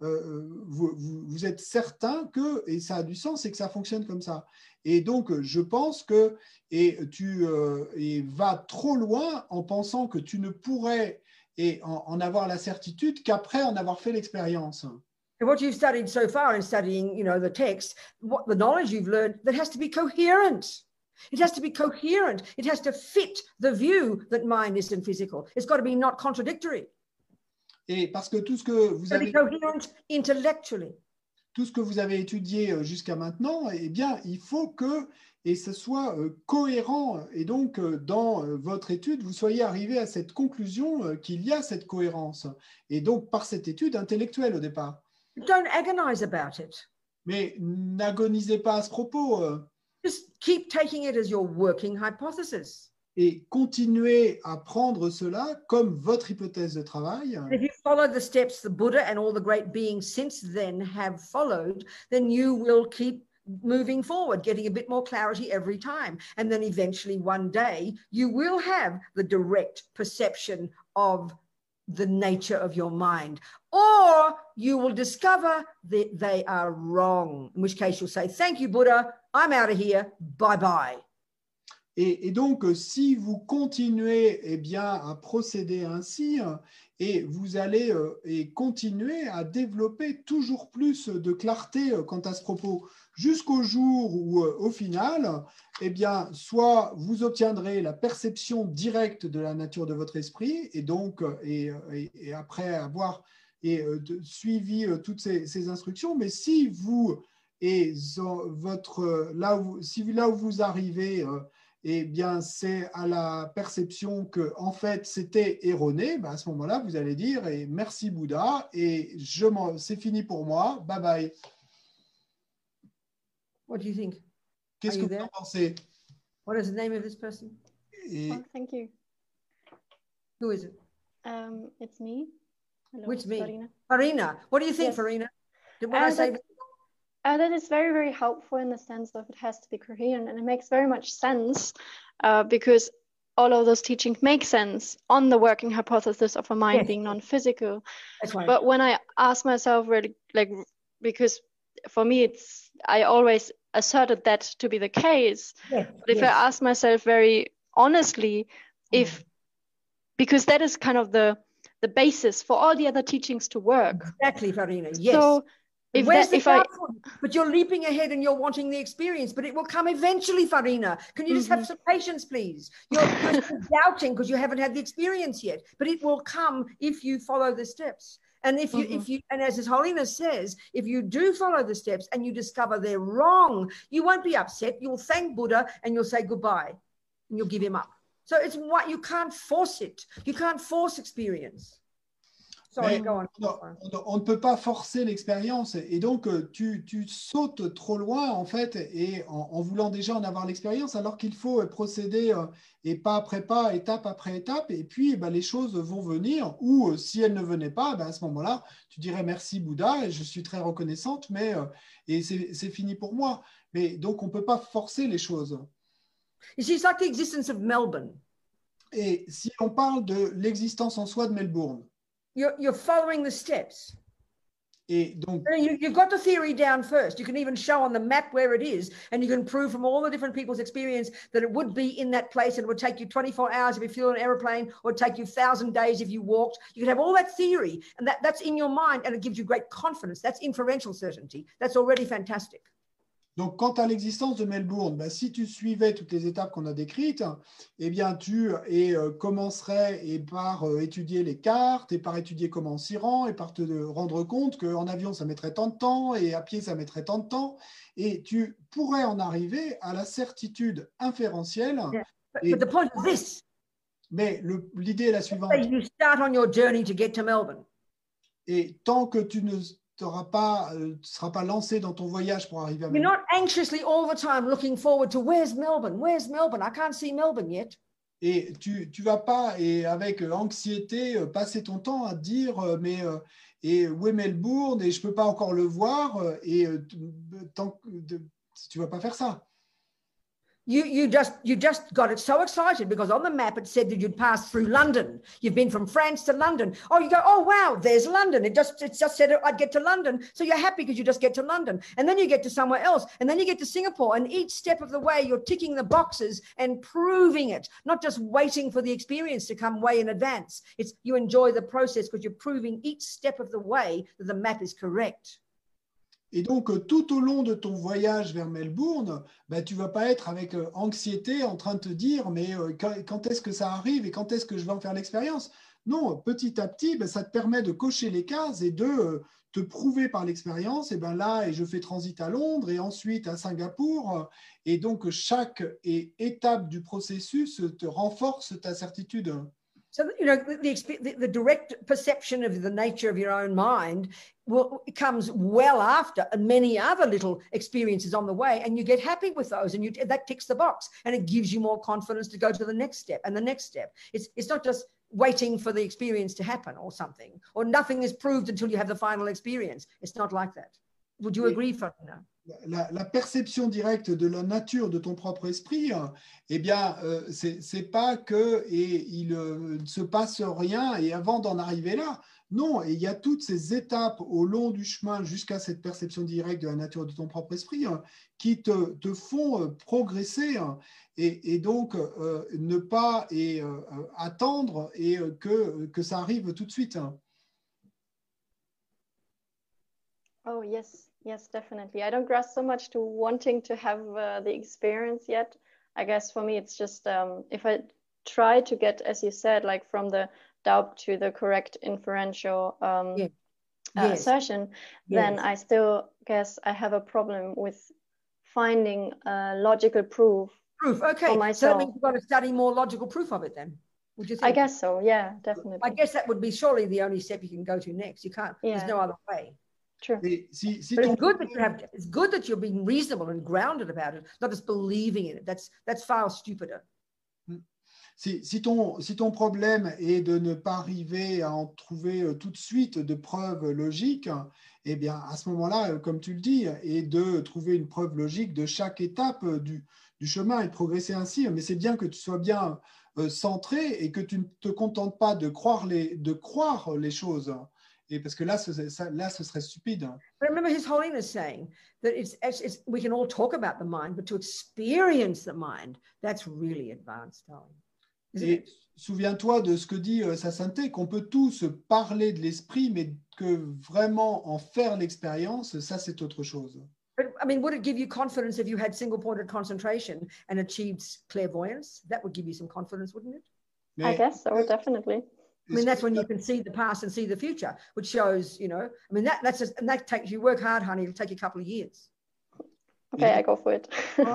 vous êtes certain que, et ça a du sens, et que ça fonctionne comme ça. Et donc, je pense que tu vas trop loin en pensant que tu ne pourrais en avoir la certitude qu'après en avoir fait l'expérience. And what you've studied so far in studying, the text, what the knowledge you've learned, that has to be coherent. It has to be coherent. It has to fit the view that mind isn't physical. It's got to be not contradictory. Et parce que tout ce que vous avez étudié jusqu'à maintenant, eh bien, il faut que ce soit cohérent. Et donc, dans votre étude, vous soyez arrivé à cette conclusion qu'il y a cette cohérence. Et donc, par cette étude intellectuelle au départ. Don't agonize about it. Mais n'agonisez pas à ce propos. Just keep taking it as your working hypothesis. Et continuez à prendre cela comme votre hypothèse de travail. If you follow the steps the Buddha and all the great beings since then have followed, then you will keep moving forward, getting a bit more clarity every time. And then eventually one day you will have the direct perception of the nature of your mind. Or you will discover that they are wrong, in which case you'll say, thank you, Buddha, I'm out of here, bye-bye. Et donc, si vous continuez à procéder ainsi, et vous allez continuer à développer toujours plus de clarté quant à ce propos, jusqu'au jour où, au final, soit vous obtiendrez la perception directe de la nature de votre esprit, et donc, et après avoir suivi toutes ces instructions, mais si vous là où vous arrivez, c'est à la perception que en fait c'était erroné, à ce moment-là vous allez dire merci Bouddha et c'est fini pour moi, bye bye. What do you think? Qu'est-ce que vous en pensez? What is the name of this person? Thank you. Who is it? It's me. Hello, Which me? Farina. Farina. What do you think, Yes. Farina? Did what I say? That is very, very helpful in the sense of it has to be coherent, and it makes very much sense because all of those teachings make sense on the working hypothesis of a mind Yes. being non-physical. That's right. But when I ask myself really, like, because for me I always asserted that to be the case. Yes. But if I ask myself very honestly, because that is kind of the basis for all the other teachings to work. Exactly, Farina. Yes. So but you're leaping ahead and you're wanting the experience, but it will come eventually, Farina. Can you just have some patience, please? You're still doubting because you haven't had the experience yet, but it will come if you follow the steps. And if you, and as His Holiness says, if you do follow the steps and you discover they're wrong, you won't be upset. You'll thank Buddha and you'll say goodbye and you'll give him up. So it's what you can't force it. You can't force experience. Sorry, go on. On ne peut pas forcer l'expérience et donc tu sautes trop loin en fait et en voulant déjà en avoir l'expérience alors qu'il faut procéder et pas après pas, étape après étape et puis les choses vont venir ou si elles ne venaient pas, à ce moment-là, tu dirais merci Bouddha et je suis très reconnaissante mais et c'est fini pour moi. Mais donc on ne peut pas forcer les choses. You see, it's like the existence of Melbourne. Et si on parle de l'existence en soi de Melbourne, you're following the steps. Et donc, you've got the theory down first. You can even show on the map where it is, and you can prove from all the different people's experience that it would be in that place, and it would take you 24 hours if you flew an aeroplane, or it'd take you 1,000 days if you walked. You can have all that theory, and that's in your mind, and it gives you great confidence. That's inferential certainty. That's already fantastic. Donc, quant à l'existence de Melbourne, si tu suivais toutes les étapes qu'on a décrites, eh bien, tu commencerais par étudier les cartes et par étudier comment on s'y rend et par te rendre compte qu'en avion, ça mettrait tant de temps et à pied, ça mettrait tant de temps. Et tu pourrais en arriver à la certitude inférentielle. Yeah. But the point is this. Mais l'idée est la suivante. You start on your journey to get to Melbourne. Et tant que tu ne seras pas lancé dans ton voyage pour arriver à Melbourne. You're not anxiously all the time looking forward to where's Melbourne? Where's Melbourne? I can't see Melbourne yet. Et tu vas pas et avec anxiété passer ton temps à dire et où est Melbourne et je peux pas encore le voir et tu vas pas faire ça. You just got it so excited because on the map it said that you'd pass through London. You've been from France to London. Oh, you go, oh wow, there's London. It just said I'd get to London. So you're happy because you just get to London. And then you get to somewhere else. And then you get to Singapore. And each step of the way you're ticking the boxes and proving it, not just waiting for the experience to come way in advance. It's you enjoy the process because you're proving each step of the way that the map is correct. Et donc, tout au long de ton voyage vers Melbourne, tu ne vas pas être avec anxiété en train de te dire mais quand est-ce que ça arrive et quand est-ce que je vais en faire l'expérience? Non, petit à petit, ça te permet de cocher les cases et de te prouver par l'expérience. Et là, je fais transit à Londres et ensuite à Singapour. Et donc, chaque étape du processus te renforce ta certitude. So, the direct perception of the nature of your own mind comes well after many other little experiences on the way, and you get happy with those, and that ticks the box, and it gives you more confidence to go to the next step and the next step. It's not just waiting for the experience to happen or something, or nothing is proved until you have the final experience. It's not like that. Would you agree, Farina? La perception directe de la nature de ton propre esprit, c'est pas que il ne se passe rien et avant d'en arriver là. Non, et il y a toutes ces étapes au long du chemin jusqu'à cette perception directe de la nature de ton propre esprit qui te font progresser et donc ne pas attendre et que ça arrive tout de suite. Oh, yes. Yes, definitely. I don't grasp so much to wanting to have the experience yet. I guess for me, it's just if I try to get, as you said, like from the doubt to the correct inferential assertion, then I still guess I have a problem with finding logical proof. Okay. For myself. So that means you've got to study more logical proof of it then. Would you think? I guess so. Yeah, definitely. I guess that would be surely the only step you can go to next. You can't. Yeah. There's no other way. True. But it's good that you're being reasonable and grounded about it, not just believing in it. That's far stupider. si ton problème est de ne pas arriver à en trouver tout de suite de preuves logiques, eh bien, à ce moment-là, comme tu le dis, et de trouver une preuve logique de chaque étape du chemin et de progresser ainsi. Mais c'est bien que tu sois bien centré et que tu ne te contentes pas de croire les choses. Et parce que là, ce serait stupide. But remember His Holiness saying that we can all talk about the mind, but to experience the mind, that's really advanced, darling. Et souviens-toi de ce que dit sa sainteté, qu'on peut tous parler de l'esprit, mais que vraiment en faire l'expérience, ça c'est autre chose. But I mean, would it give you confidence if you had single-pointed concentration and achieved clairvoyance? That would give you some confidence, wouldn't it? Mais I guess so, definitely. I mean, that's when you can see the past and see the future, which shows, you know, I mean, that's just, and that takes, you work hard, honey, it'll take you a couple of years. Okay, I go for it.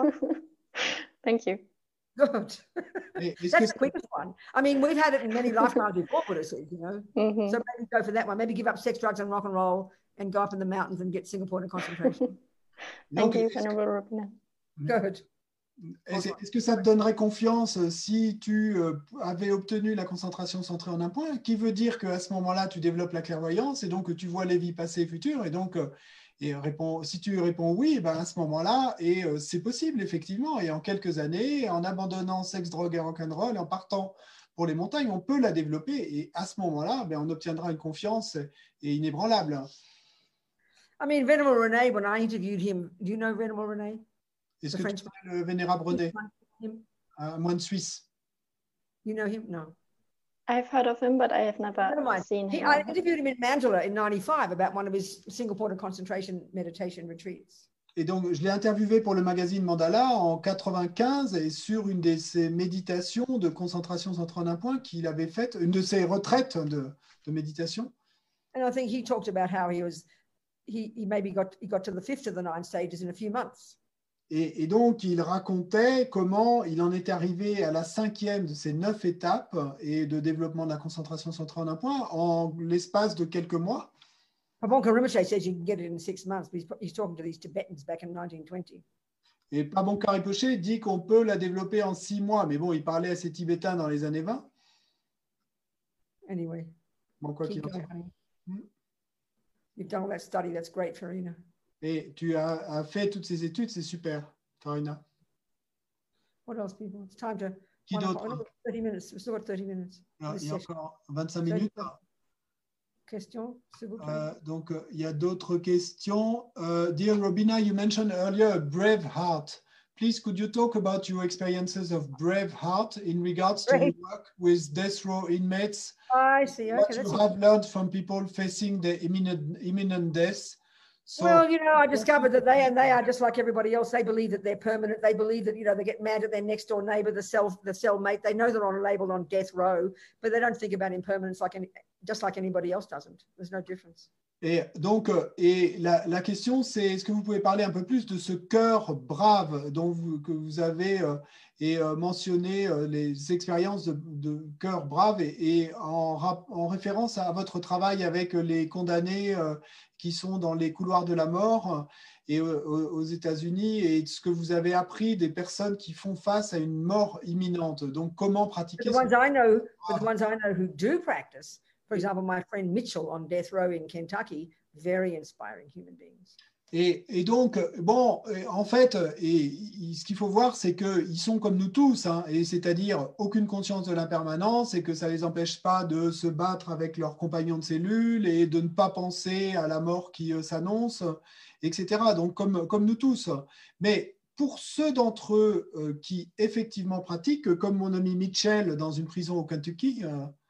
Thank you. Good. That's the quickest one. I mean, we've had it in many lifetimes before, Buddha says, you know. Mm-hmm. So maybe go for that one. Maybe give up sex, drugs, and rock and roll and go up in the mountains and get single-pointed concentration. Thank you, Venerable Robina. Good. Est-ce que ça te donnerait confiance si tu avais obtenu la concentration centrée en un point, qui veut dire qu'à ce moment-là, tu développes la clairvoyance et donc que tu vois les vies passées et futures, et donc si tu réponds oui, ben à ce moment-là, et c'est possible effectivement, et en quelques années, en abandonnant sexe, drogue et rock'n'roll, en partant pour les montagnes, on peut la développer, et à ce moment-là, ben, on obtiendra une confiance inébranlable. I mean, Venerable René, when I interviewed him, do you know Venerable René? Est-ce que tu connais le vénérable René, un moine suisse? You know him? No. I've heard of him, but I have never seen him. I interviewed him in Mandalay in 95 about one of his single-pointed concentration meditation retreats. Et donc, je l'ai interviewé pour le magazine Mandala en 95 et sur une de ses méditations de concentration centrée en un point qu'il avait faite, une de ses retraites de méditation. And I think he talked about how he maybe got to the 5th of the 9 stages in a few months. Et donc, il racontait comment il en est arrivé à la 5e de ces 9 étapes et de développement de la concentration centrée en un point en l'espace de quelques mois. Pabonka Rinpoche says you can get it in 6 months, but he's talking to these Tibetans back in 1920. Et Pabonka Rinpoche dit qu'on peut la développer en 6 mois, mais bon, il parlait à ces Tibétains dans les années 20. Anyway, bon, quoi qu'il en soit. You've done all that study, that's great, Farina. Et tu as fait toutes ces études, c'est super, Farina. What else, people? It's time to... Qui d'autre? 30 minutes. We've still got 30 minutes. Alors, il y a encore 25 minutes. Questions, s'il vous plaît. Donc, il y a d'autres questions. Dear Robina, you mentioned earlier a brave heart. Please, could you talk about your experiences of brave heart in regards to your work with death row inmates? I see. Okay, what you have learned from people facing the imminent death? So, well, you know, I discovered that they are just like everybody else. They believe that they're permanent. They believe that, you know, they get mad at their next door neighbor, the cellmate. They know they're on labeled on death row, but they don't think about impermanence just like anybody else doesn't. There's no difference. Et donc, la question, c'est est-ce que vous pouvez parler un peu plus de ce cœur brave que vous avez mentionné les expériences de cœur brave et en référence à votre travail avec les condamnés qui sont dans les couloirs de la mort et aux États-Unis et ce que vous avez appris des personnes qui font face à une mort imminente. Donc, comment pratiquer the ones I know who do practice. For example, my friend Mitchell on death row in Kentucky, very inspiring human beings. Et donc, bon, en fait, ce qu'il faut voir, c'est qu'ils sont comme nous tous, hein, et c'est-à-dire aucune conscience de l'impermanence et que ça ne les empêche pas de se battre avec leurs compagnons de cellule et de ne pas penser à la mort qui s'annonce, etc. Donc, comme nous tous. Mais pour ceux d'entre eux qui effectivement pratiquent, comme mon ami Mitchell dans une prison au Kentucky,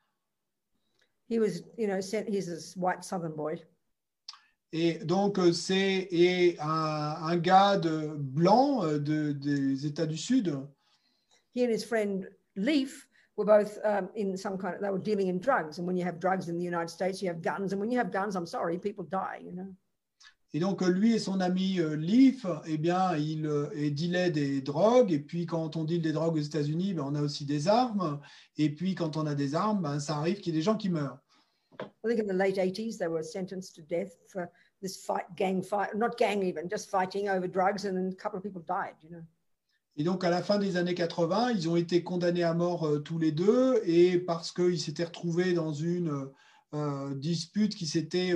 he was, you know, he's a white Southern boy. Et donc, c'est un gars blanc des États du Sud. He and his friend Leaf were both in some kind of, they were dealing in drugs. And when you have drugs in the United States, you have guns. And when you have guns, I'm sorry, people die, you know. Et donc, lui et son ami Leaf, eh bien, ils dealaient des drogues. Et puis, quand on deal des drogues aux États-Unis, ben, on a aussi des armes. Et puis, quand on a des armes, ben, ça arrive qu'il y ait des gens qui meurent. I think in the late 80s, they were sentenced to death for this gang fight, not gang even, just fighting over drugs. And then a couple of people died, you know. Et donc, à la fin des années 80, ils ont été condamnés à mort tous les deux, et parce qu'ils s'étaient retrouvés dans une dispute qui s'était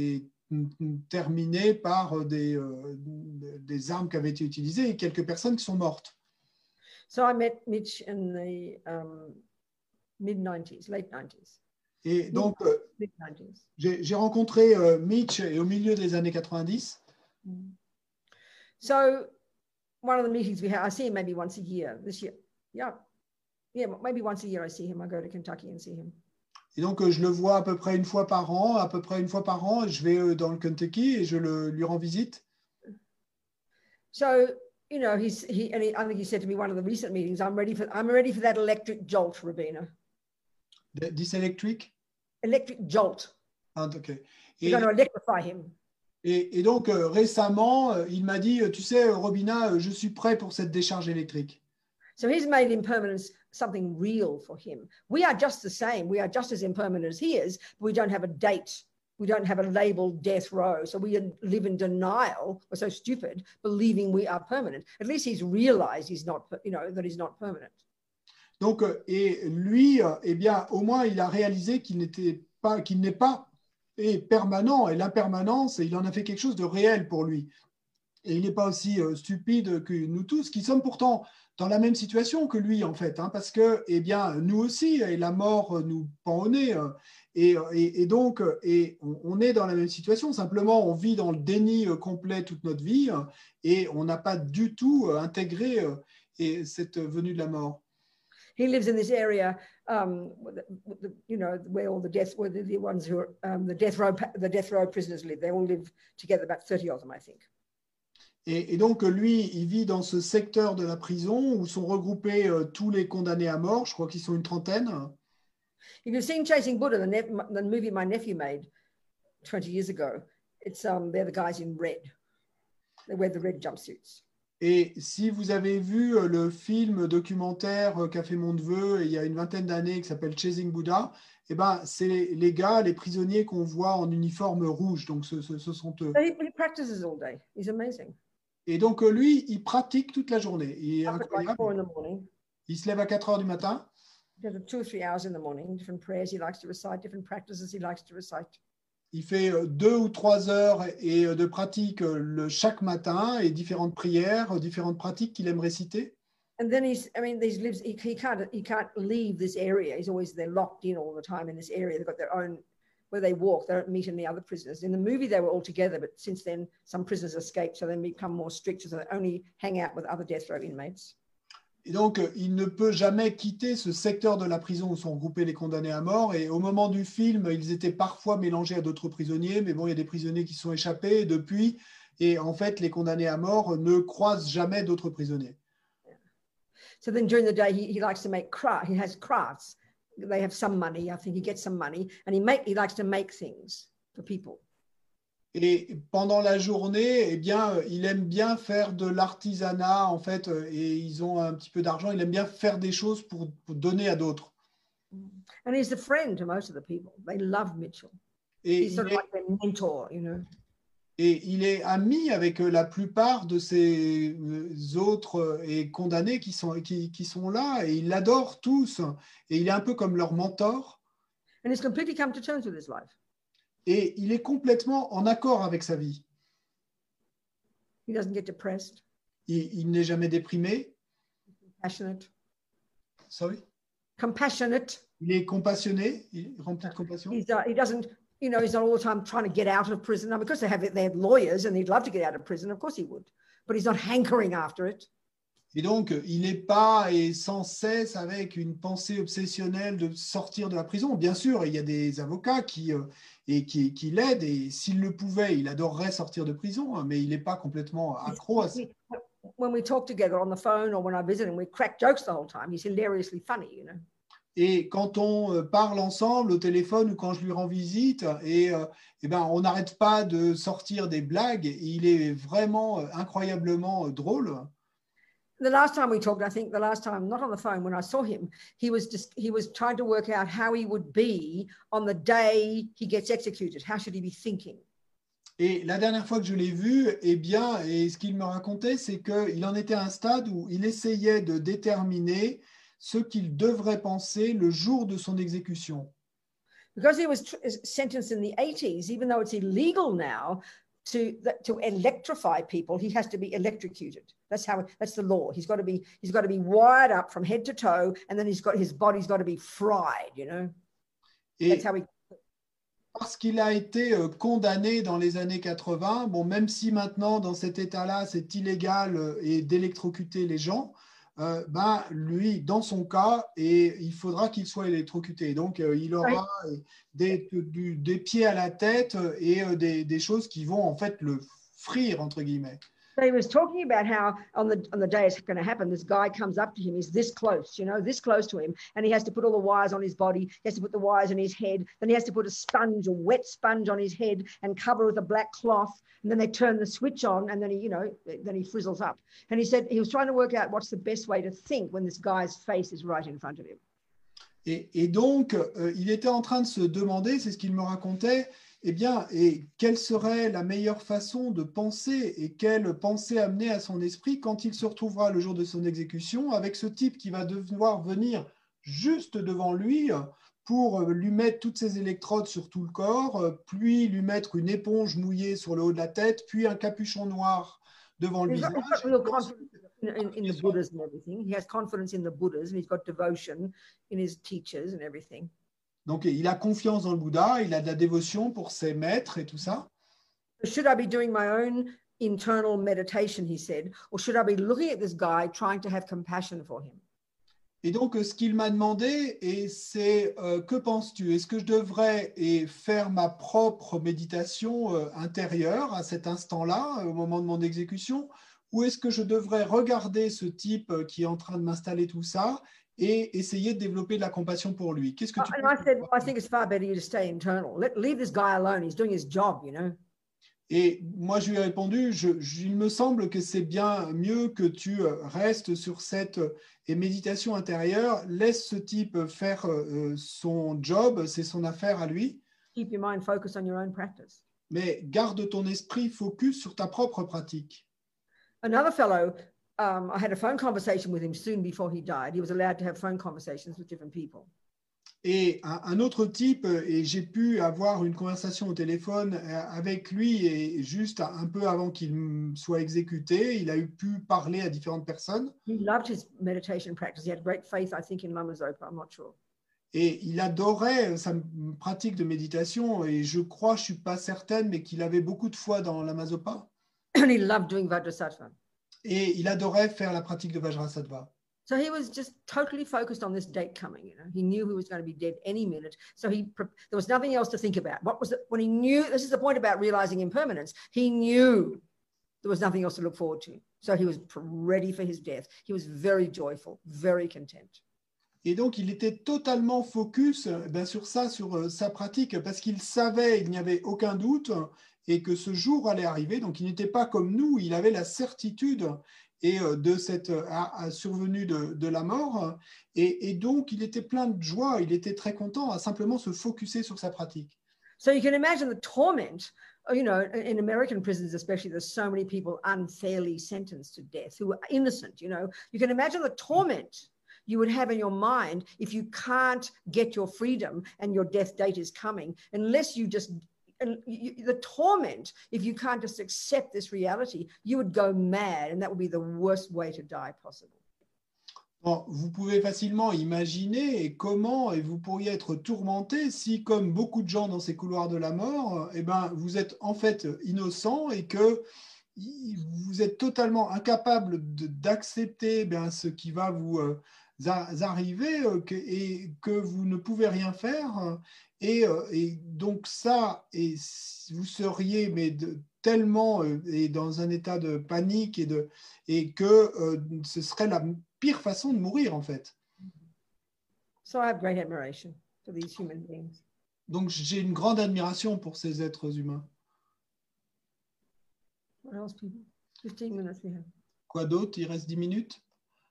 terminée par des armes qui avaient été utilisées et quelques personnes qui sont mortes. So I met Mitch in the mid-90s, late 90s. Et donc, Mid-90s. j'ai rencontré Mitch au milieu des années 90. So one of the meetings we have, I see him maybe once a year this year. Yeah, maybe once a year I see him. I go to Kentucky and see him. Et donc, je le vois à peu près une fois par an. Je vais dans le Kentucky et je lui rends visite. So, you know, I think he said to me one of the recent meetings, I'm ready for that electric jolt, Rabina. This electric? Electric jolt. Ah, okay. You're going to electrify him. Et donc, récemment, il m'a dit, tu sais, Robina, je suis prêt pour cette décharge électrique. So he's made impermanence something real for him. We are just the same. We are just as impermanent as he is, but we don't have a date. We don't have a labeled death row. So we live in denial. We're so stupid, believing we are permanent. At least he's realized he's not, you know, that he's not permanent. Donc, et lui, eh bien, au moins, il a réalisé qu'il n'est pas permanent. Et l'impermanence, il en a fait quelque chose de réel pour lui. Et il n'est pas aussi stupide que nous tous, qui sommes pourtant dans la même situation que lui, en fait, hein, parce que, eh bien, nous aussi, et la mort nous pend au nez, et donc, on est dans la même situation. Simplement, on vit dans le déni complet toute notre vie, et on n'a pas du tout intégré cette venue de la mort. He lives in this area, you know, where all the ones who are the death row prisoners live. They all live together, about 30 of them, I think. Et donc, lui, il vit dans ce secteur de la prison où sont regroupés tous les condamnés à mort. Je crois qu'ils sont une trentaine. If you've seen Chasing Buddha, the movie my nephew made 20 years ago, they're the guys in red. They wear the red jumpsuits. Et si vous avez vu le film documentaire qu'a fait mon neveu il y a une vingtaine d'années qui s'appelle Chasing Buddha, eh ben, c'est les gars, les prisonniers qu'on voit en uniforme rouge. Donc, ce sont eux. So he practices all day. He's amazing. Et donc, lui, il pratique toute la journée. Il est Up at like incroyable. 4 in the morning. Il se lève à 4 heures du matin. He does 2 or 3 hours in the morning, different prayers he likes to recite, different practices he likes to recite. Il fait 2 ou 3 heures de pratique chaque matin et différentes prières, différentes pratiques qu'il aime réciter. And then he can't leave this area. He's always, they're locked in all the time in this area. They've got their own, where they walk, they don't meet any other prisoners. In the movie, they were all together, but since then, some prisoners escaped, so they become more strict, so they only hang out with other death row inmates. Et donc, il ne peut jamais quitter ce secteur de la prison où sont regroupés les condamnés à mort. Et au moment du film, ils étaient parfois mélangés à d'autres prisonniers, mais bon, il y a des prisonniers qui sont échappés depuis. Et en fait, les condamnés à mort ne croisent jamais d'autres prisonniers. So then during the day, he likes to make he has crafts. They have some money. I think he gets some money, and he likes to make things for people. Et pendant la journée, eh bien, il aime bien faire de l'artisanat, en fait, et ils ont un petit peu d'argent. Il aime bien faire des choses pour donner à d'autres. And he's a friend to most of the people. They love Mitchell. Et He's sort of like their mentor, you know. Et il est ami avec la plupart de ces autres condamnés qui sont là, et il l'adore tous. Et il est un peu comme leur mentor. And he's completely come to terms with his life. Et il est complètement en accord avec sa vie. He doesn't get depressed. Il n'est jamais déprimé. Compassionate. Sorry? Compassionate. Il est compassionné, il est rempli de compassion. He doesn't, you know, he's not all the time trying to get out of prison. I mean, because they have lawyers and he'd love to get out of prison. Of course he would. But he's not hankering after it. Et donc, il n'est pas sans cesse avec une pensée obsessionnelle de sortir de la prison. Bien sûr, il y a des avocats qui l'aident, et s'il le pouvait, il adorerait sortir de prison, mais il n'est pas complètement accro à ça. When we talk together on the phone or when I visit him, we crack jokes the whole time. He's hilariously funny, you know. Et quand on parle ensemble au téléphone ou quand je lui rends visite, ben, on n'arrête pas de sortir des blagues. Et il est vraiment incroyablement drôle. The last time we talked, I think the last time, not on the phone, when I saw him, he was trying to work out how he would be on the day he gets executed. How should he be thinking? Et la dernière fois que je l'ai vu, eh bien, et ce qu'il me racontait, c'est qu'il en était à un stade où il essayait de déterminer ce qu'il devrait penser le jour de son exécution. Because he was sentenced in the 80s, even though it's illegal now to electrify people, he has to be electrocuted. That's the law. He's got to be wired up from head to toe, and then his body's got to be fried, you know. That's how he. Parce qu'il a été condamné dans les années 80, bon, même si maintenant, dans cet état-là, c'est illégal et d'électrocuter les gens, ben, lui, dans son cas, il faudra qu'il soit électrocuté. Donc, il aura des pieds à la tête et des choses qui vont en fait le frire, entre guillemets. So he was talking about how on the day it's going to happen, this guy comes up to him, he's this close, you know, this close to him, and he has to put all the wires on his body, he has to put the wires on his head, then he has to put a wet sponge on his head and cover with a black cloth, and then they turn the switch on, and then he frizzles up. And he said he was trying to work out what's the best way to think when this guy's face is right in front of him. Et donc, il était en train de se demander, c'est ce qu'il me racontait, eh bien, et quelle serait la meilleure façon de penser et quelle pensée amener à son esprit quand il se retrouvera le jour de son exécution avec ce type qui va devoir venir juste devant lui pour lui mettre toutes ses électrodes sur tout le corps, puis lui mettre une éponge mouillée sur le haut de la tête, puis un capuchon noir devant le visage. In the Buddhas and everything. He has confidence in the Buddhas and he's got devotion in his teachers and everything. Donc, il a confiance dans le Bouddha, il a de la dévotion pour ses maîtres et tout ça. Should I be doing my own internal meditation, he said, or should I be looking at this guy trying to have compassion for him? Et donc, ce qu'il m'a demandé, c'est que penses-tu? Est-ce que je devrais faire ma propre méditation intérieure à cet instant-là, au moment de mon exécution, ou est-ce que je devrais regarder ce type qui est en train de m'installer tout ça et essayer de développer de la compassion pour lui? Qu'est-ce que tu penses? I said, I think it's far better you to stay internal. Leave this guy alone. He's doing his job, you know. Et moi, je lui ai répondu, il me semble que c'est bien mieux que tu restes sur cette méditation intérieure. Laisse ce type faire son job, c'est son affaire à lui. Keep your mind focused on your own practice. Mais garde ton esprit focus sur ta propre pratique. Another fellow, I had a phone conversation with him soon before he died. He was allowed to have phone conversations with different people. Et un autre type, et j'ai pu avoir une conversation au téléphone avec lui, et juste un peu avant qu'il soit exécuté, il a pu parler à différentes personnes. He loved his meditation practice. He had great faith, I think, in Lama Zopa. I'm not sure. Et il adorait sa pratique de méditation, et je crois, je ne suis pas certaine, mais qu'il avait beaucoup de foi dans Lama Zopa. And he loved doing Vajrasattva. Et il adorait faire la pratique de Vajrasattva. So he was just totally focused on this date coming. You know, he knew he was going to be dead any minute. So there was nothing else to think about. When he knew, this is the point about realizing impermanence. He knew there was nothing else to look forward to. So he was ready for his death. He was very joyful, very content. Et donc, il était totalement focus sur ça, sur sa pratique, parce qu'il savait, il n'y avait aucun doute, et que ce jour allait arriver. Donc, il n'était pas comme nous, il avait la certitude de cette survenue de la mort. Et donc, il était plein de joie, il était très content à simplement se focuser sur sa pratique. So you can imagine the torment, you know, in American prisons especially, there's so many people unfairly sentenced to death who are innocent, you know. You can imagine the torment you would have in your mind if you can't get your freedom and your death date is coming, unless you just, the torment, if you can't just accept this reality, you would go mad, and that would be the worst way to die possible. Bon, vous pouvez facilement imaginer comment vous pourriez être tourmenté si, comme beaucoup de gens dans ces couloirs de la mort, vous êtes en fait innocent et que vous êtes totalement incapable d'accepter ce qui va vous arriver et que vous ne pouvez rien faire. Et donc ça, vous seriez tellement dans un état de panique et que ce serait la pire façon de mourir en fait. So I have great admiration for these human beings. Donc j'ai une grande admiration pour ces êtres humains. What else, people? 15 minutes we have. Quoi d'autre? Il reste 10 minutes.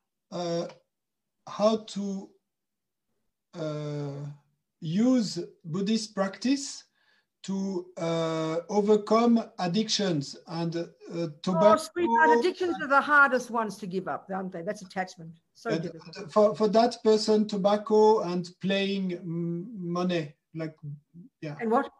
How to use Buddhist practice to overcome addictions and Oh, tobacco. sweetheart, addictions are the hardest ones to give up, aren't they? That's attachment. So And difficult. for that person, tobacco and playing money, like And what?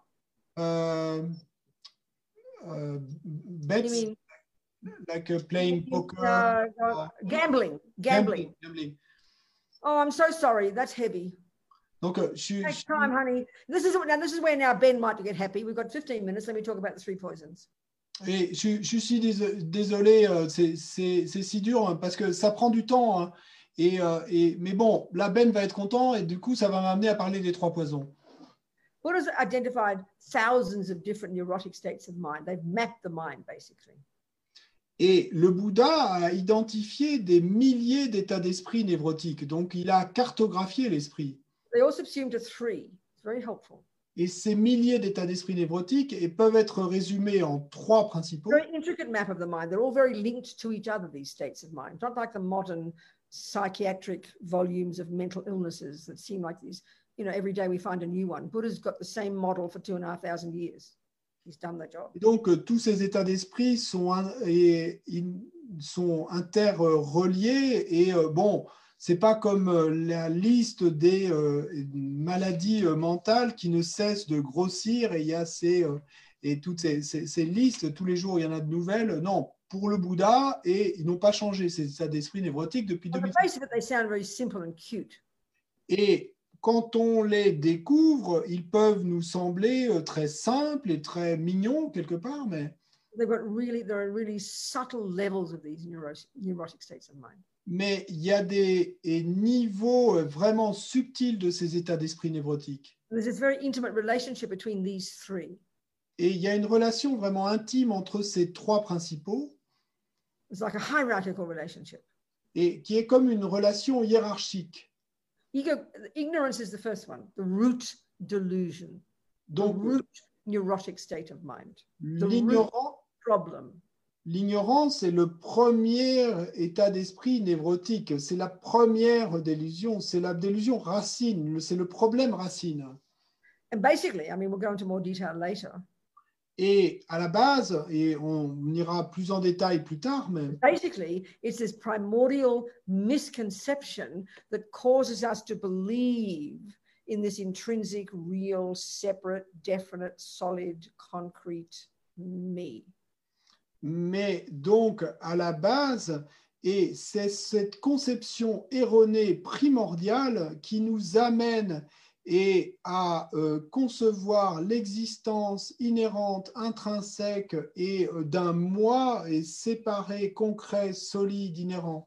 bets, You mean like playing poker, gambling? gambling. Oh, I'm so sorry. That's heavy. Donc, Take time, honey. This is where now Ben might get happy. We've got 15 minutes. Let me talk about the 3 poisons. et je suis désolé, c'est si dur hein, parce que ça prend du temps. Hein, mais bon, là, Ben va être content et du coup, ça va m'amener à parler des 3 poisons. Buddha's identified thousands of different neurotic states of mind. They've mapped the mind, basically. Et le Bouddha a identifié des milliers d'états d'esprit névrotiques. Donc, il a cartographié l'esprit. They all subsume to 3. It's very helpful. Et ces milliers d'états d'esprit névrotiques peuvent être résumés en 3 principaux. Very intricate map of the mind. They're all very linked to each other, these states of mind. Not like the modern psychiatric volumes of mental illnesses that seem like these, you know, every day we find a new one. Buddha's got the same model for 2,500 years. He's done the job. Et donc, tous ces états d'esprit sont interreliés et bon, c'est pas comme la liste des maladies mentales qui ne cessent de grossir et il y a et toutes ces listes, tous les jours il y en a de nouvelles. Non, pour le Bouddha, et ils n'ont pas changé ces états d'esprit névrotiques depuis On the 2000. face of it, they sound very simple and cute. Et quand on les découvre, ils peuvent nous sembler très simples et très mignons quelque part, mais There are really subtle levels of these neurotic states of mind. Mais il y a des niveaux vraiment subtils de ces états d'esprit névrotiques. There's this very intimate relationship between these 3. Et il y a une relation vraiment intime entre ces 3 principaux. It's like a hierarchical relationship. Et qui est comme une relation hiérarchique. Ignorance is the first one, the root delusion, Donc, the root neurotic state of mind, the root problem. L'ignorance est le premier état d'esprit névrotique, c'est la première délusion, c'est la délusion racine, c'est le problème racine. And basically, I mean, we'll go into more detail later. Et à la base, et on ira plus en détail plus tard, mais basically, it's this primordial misconception that causes us to believe in this intrinsic, real, separate, definite, solid, concrete me. Mais donc, à la base, et c'est cette conception erronée primordiale qui nous amène à concevoir l'existence inhérente, intrinsèque et d'un moi et séparé, concret, solide, inhérent.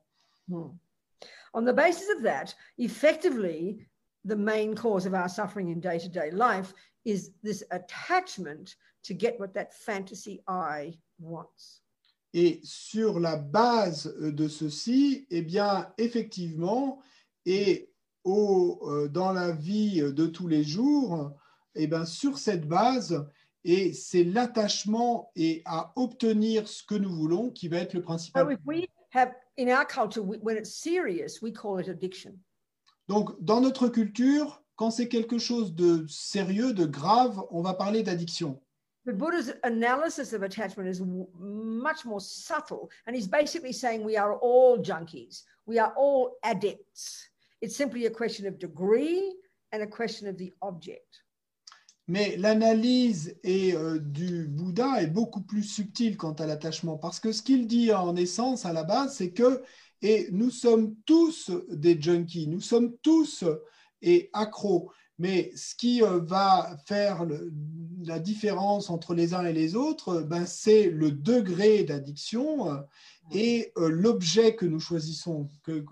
On the basis of that, effectively, the main cause of our suffering in day-to-day life is this attachment to get what that fantasy I wants. Et sur la base de ceci, eh bien, effectivement, et dans la vie de tous les jours, eh bien, sur cette base, et c'est l'attachement et à obtenir ce que nous voulons qui va être le principal. So if we have, in our culture, when it's serious, we call it addiction. Donc, dans notre culture, quand c'est quelque chose de sérieux, de grave, on va parler d'addiction. But Buddha's analysis of attachment is much more subtle, and he's basically saying we are all junkies, we are all addicts. It's simply a question of degree and a question of the object. Mais l'analyse du Bouddha est beaucoup plus subtile quant à l'attachement, parce que ce qu'il dit en essence à la base, c'est que nous sommes tous des junkies, nous sommes tous accros. Mais ce qui va faire la différence entre les uns et les autres, c'est le degré d'addiction et l'objet que nous choisissons.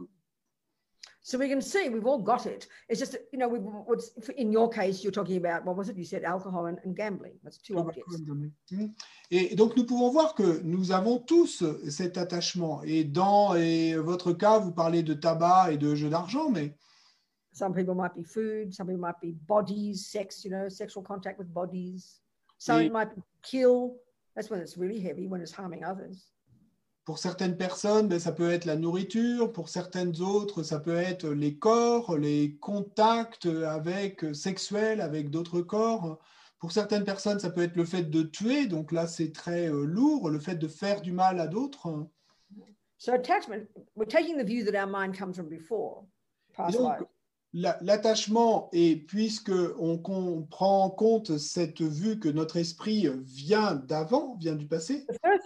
So we can see we've all got it. It's just, you know, in your case, you're talking about, what was it? You said alcohol and gambling. That's 2 objects. Et donc, nous pouvons voir que nous avons tous cet attachement. Et dans votre cas, vous parlez de tabac et de jeux d'argent, mais some people might be food, some people might be bodies, sex, you know, sexual contact with bodies. Some it might be kill. That's when it's really heavy, when it's harming others. Pour certaines personnes, ça peut être la nourriture. Pour certaines autres, ça peut être les corps, les contacts sexuels avec d'autres corps. Pour certaines personnes, ça peut être le fait de tuer, donc là c'est très lourd, le fait de faire du mal à d'autres. So attachment, we're taking the view that our mind comes from before, Et past donc, lives. l'attachement, et puisque on prend en compte cette vue que notre esprit vient d'avant, vient du passé,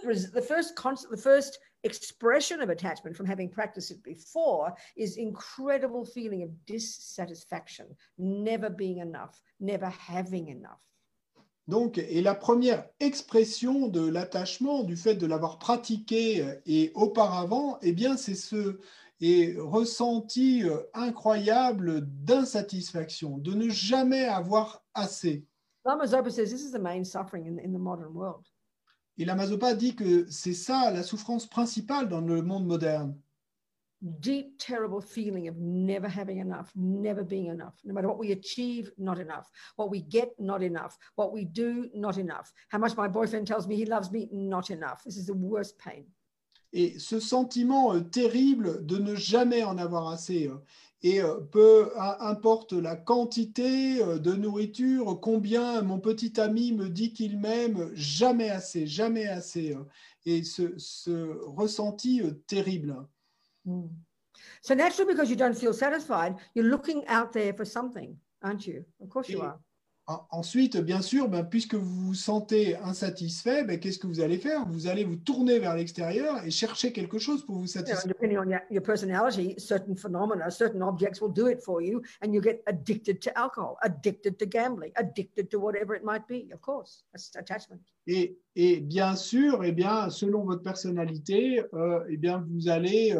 The first expression of attachment from having practiced it before is incredible feeling of dissatisfaction, never being enough, never having enough. donc, et la première expression de l'attachement, du fait de l'avoir pratiqué et auparavant, eh bien, c'est ce ressenti incroyable d'insatisfaction, de ne jamais avoir assez. Lama Zopa says this is the main suffering in the modern world. Et Lama Zopa dit que c'est ça la souffrance principale dans le monde moderne. Deep, terrible feeling of never having enough, never being enough. No matter what we achieve, not enough. What we get, not enough. What we do, not enough. How much my boyfriend tells me he loves me, not enough. This is the worst pain. Et ce sentiment terrible de ne jamais en avoir assez. Et peu importe la quantité de nourriture, combien mon petit ami me dit qu'il m'aime, jamais assez, jamais assez. Et ce ressenti terrible. Mm. So naturally, because you don't feel satisfied, you're looking out there for something, aren't you? Of course you are. Ensuite, bien sûr, puisque vous vous sentez insatisfait, qu'est-ce que vous allez faire? Vous allez vous tourner vers l'extérieur et chercher quelque chose pour vous satisfaire. Depending on your personality, certain phenomena, certain objects will do it for you, and you get addicted to alcohol, addicted to gambling, addicted to whatever it might be. Of course, that's attachment. Et bien sûr, selon votre personnalité, vous allez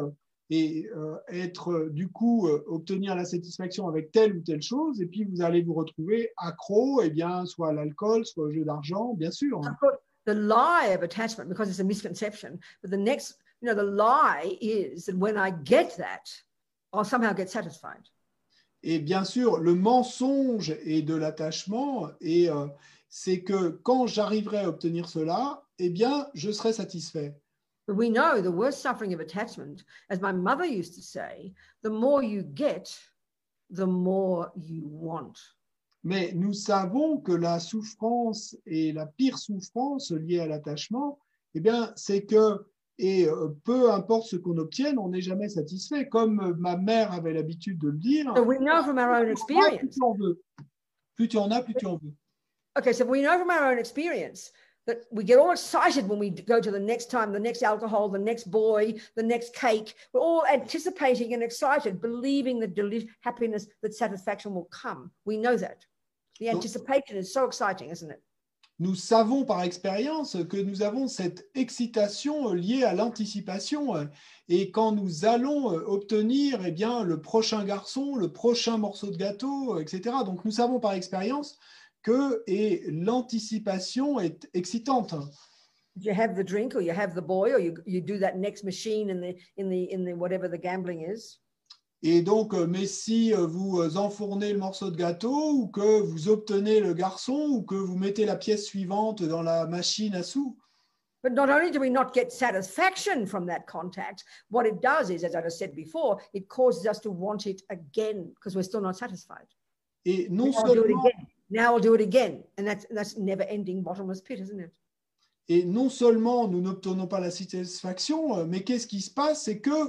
être du coup obtenir la satisfaction avec telle ou telle chose, et puis vous allez vous retrouver accro, soit à l'alcool, soit au jeu d'argent, bien sûr. Of course, the lie of attachment, because it's a misconception, but the next, the lie is that when I get that, I'll somehow get satisfied. Et bien sûr, le mensonge est de l'attachement, et c'est que quand j'arriverai à obtenir cela, je serai satisfait. But we know the worst suffering of attachment, as my mother used to say, the more you get, the more you want. Mais nous savons que la souffrance et la pire souffrance liée à l'attachement, c'est que, peu importe ce qu'on obtienne, on n'est jamais satisfait. Comme ma mère avait l'habitude de le dire, so we know from our own experience. Plus tu en veux. Plus tu en as, plus tu en veux. Okay, so we know from our own experience that we get all excited when we go to the next time, the next alcohol, the next boy, the next cake. We're all anticipating and excited, believing the happiness, that satisfaction will come. We know that. The anticipation is so exciting, isn't it? Nous savons par expérience que nous avons cette excitation liée à l'anticipation. Et quand nous allons obtenir le prochain garçon, le prochain morceau de gâteau, etc. Donc nous savons par expérience que l'anticipation est excitante. You have the drink, or you have the boy, or you do that next machine in the whatever the gambling is. Et donc, mais si vous enfournez le morceau de gâteau, ou que vous obtenez le garçon, ou que vous mettez la pièce suivante dans la machine à sous. But not only do we not get satisfaction from that contact, what it does is, as I just said before, it causes us to want it again because we're still not satisfied. Et non seulement now I'll do it again, and that's never-ending bottomless pit, isn't it? Et non seulement nous n'obtenons pas la satisfaction, mais qu'est-ce qui se passe? C'est que,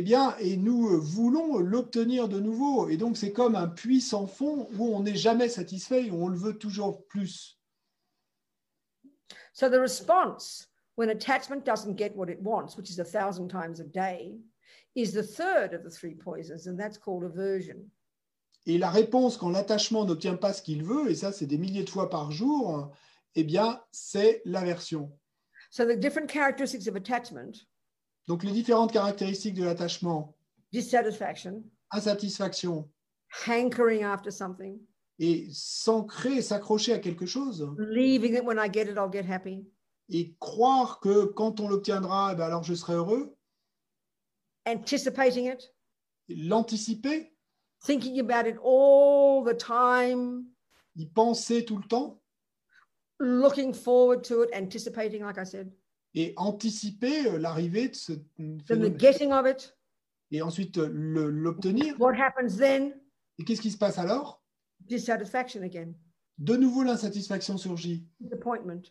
nous voulons l'obtenir de nouveau. Et donc, c'est comme un puits sans fond où on n'est jamais satisfait, où on le veut toujours plus. So the response when attachment doesn't get what it wants, which is 1,000 times a day, is the third of the three poisons, and that's called aversion. Et la réponse quand l'attachement n'obtient pas ce qu'il veut, et ça c'est des milliers de fois par jour, c'est l'aversion. So the different characteristics of attachment. Donc les différentes caractéristiques de l'attachement. Dissatisfaction. Insatisfaction. Hankering after something. Et s'accrocher à quelque chose. Believing that when I get it, I'll get happy. Et croire que quand on l'obtiendra, alors je serai heureux. Anticipating it. L'anticiper. Thinking about it all the time. Y penser tout le temps. Looking forward to it, anticipating, like I said. Et anticiper l'arrivée de ce Then the getting of it. Et ensuite l'obtenir. What happens then? Et qu'est-ce qui se passe alors? Dissatisfaction again. de nouveau l'insatisfaction surgit, disappointment.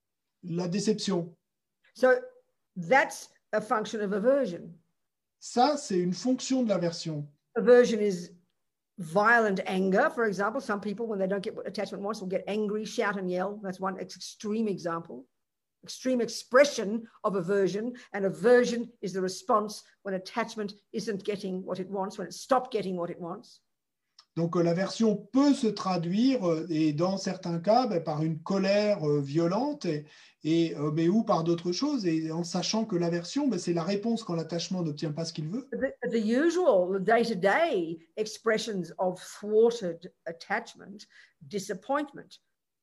la déception. So that's a function of aversion. Ça, c'est une fonction de l'aversion. Aversion is violent anger. For example, some people, when they don't get what attachment wants, will get angry, shout and yell. That's one extreme example, extreme expression of aversion. And aversion is the response when attachment isn't getting what it wants, when it stopped getting what it wants. Donc l'aversion peut se traduire, et dans certains cas, par une colère violente, mais ou par d'autres choses, et en sachant que l'aversion, c'est la réponse quand l'attachement n'obtient pas ce qu'il veut. The usual, the day-to-day expressions of thwarted attachment, disappointment,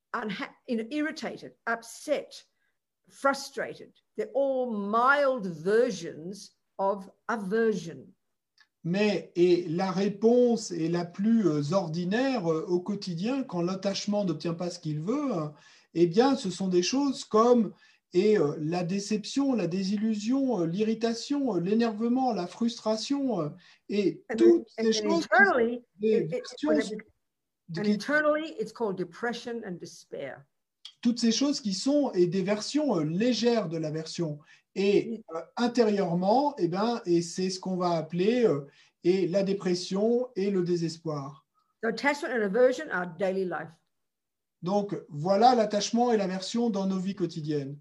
irritated, upset, frustrated, they're all mild versions of aversion. Mais la réponse est la plus ordinaire au quotidien quand l'attachement n'obtient pas ce qu'il veut, eh bien, ce sont des choses comme la déception, la désillusion, l'irritation, l'énervement, la frustration, et toutes ces choses qui sont des versions internally, it's called depression and despair. Toutes ces choses qui sont des versions légères de l'aversion. Et intérieurement, et c'est ce qu'on va appeler la dépression et le désespoir. So attachment and aversion are daily life. Donc voilà l'attachement et l'aversion dans nos vies quotidiennes.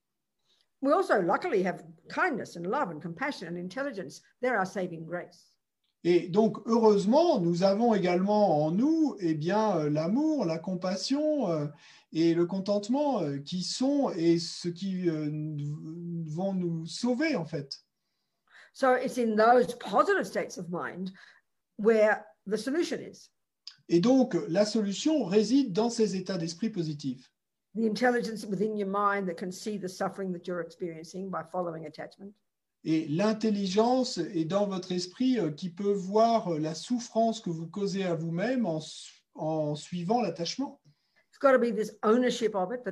We also luckily have kindness and love and compassion and intelligence. They're our saving grace. Et donc heureusement, nous avons également en nous l'amour, la compassion et le contentement qui sont et ce qui vont nous sauver en fait. So it's in those positive states of mind where the solution is. Et donc la solution réside dans ces états d'esprit positifs. The intelligence within your mind that can see the suffering that you're experiencing by following attachment. Et l'intelligence est dans votre esprit qui peut voir la souffrance que vous causez à vous-même en suivant l'attachement. It's got to be this ownership of it, that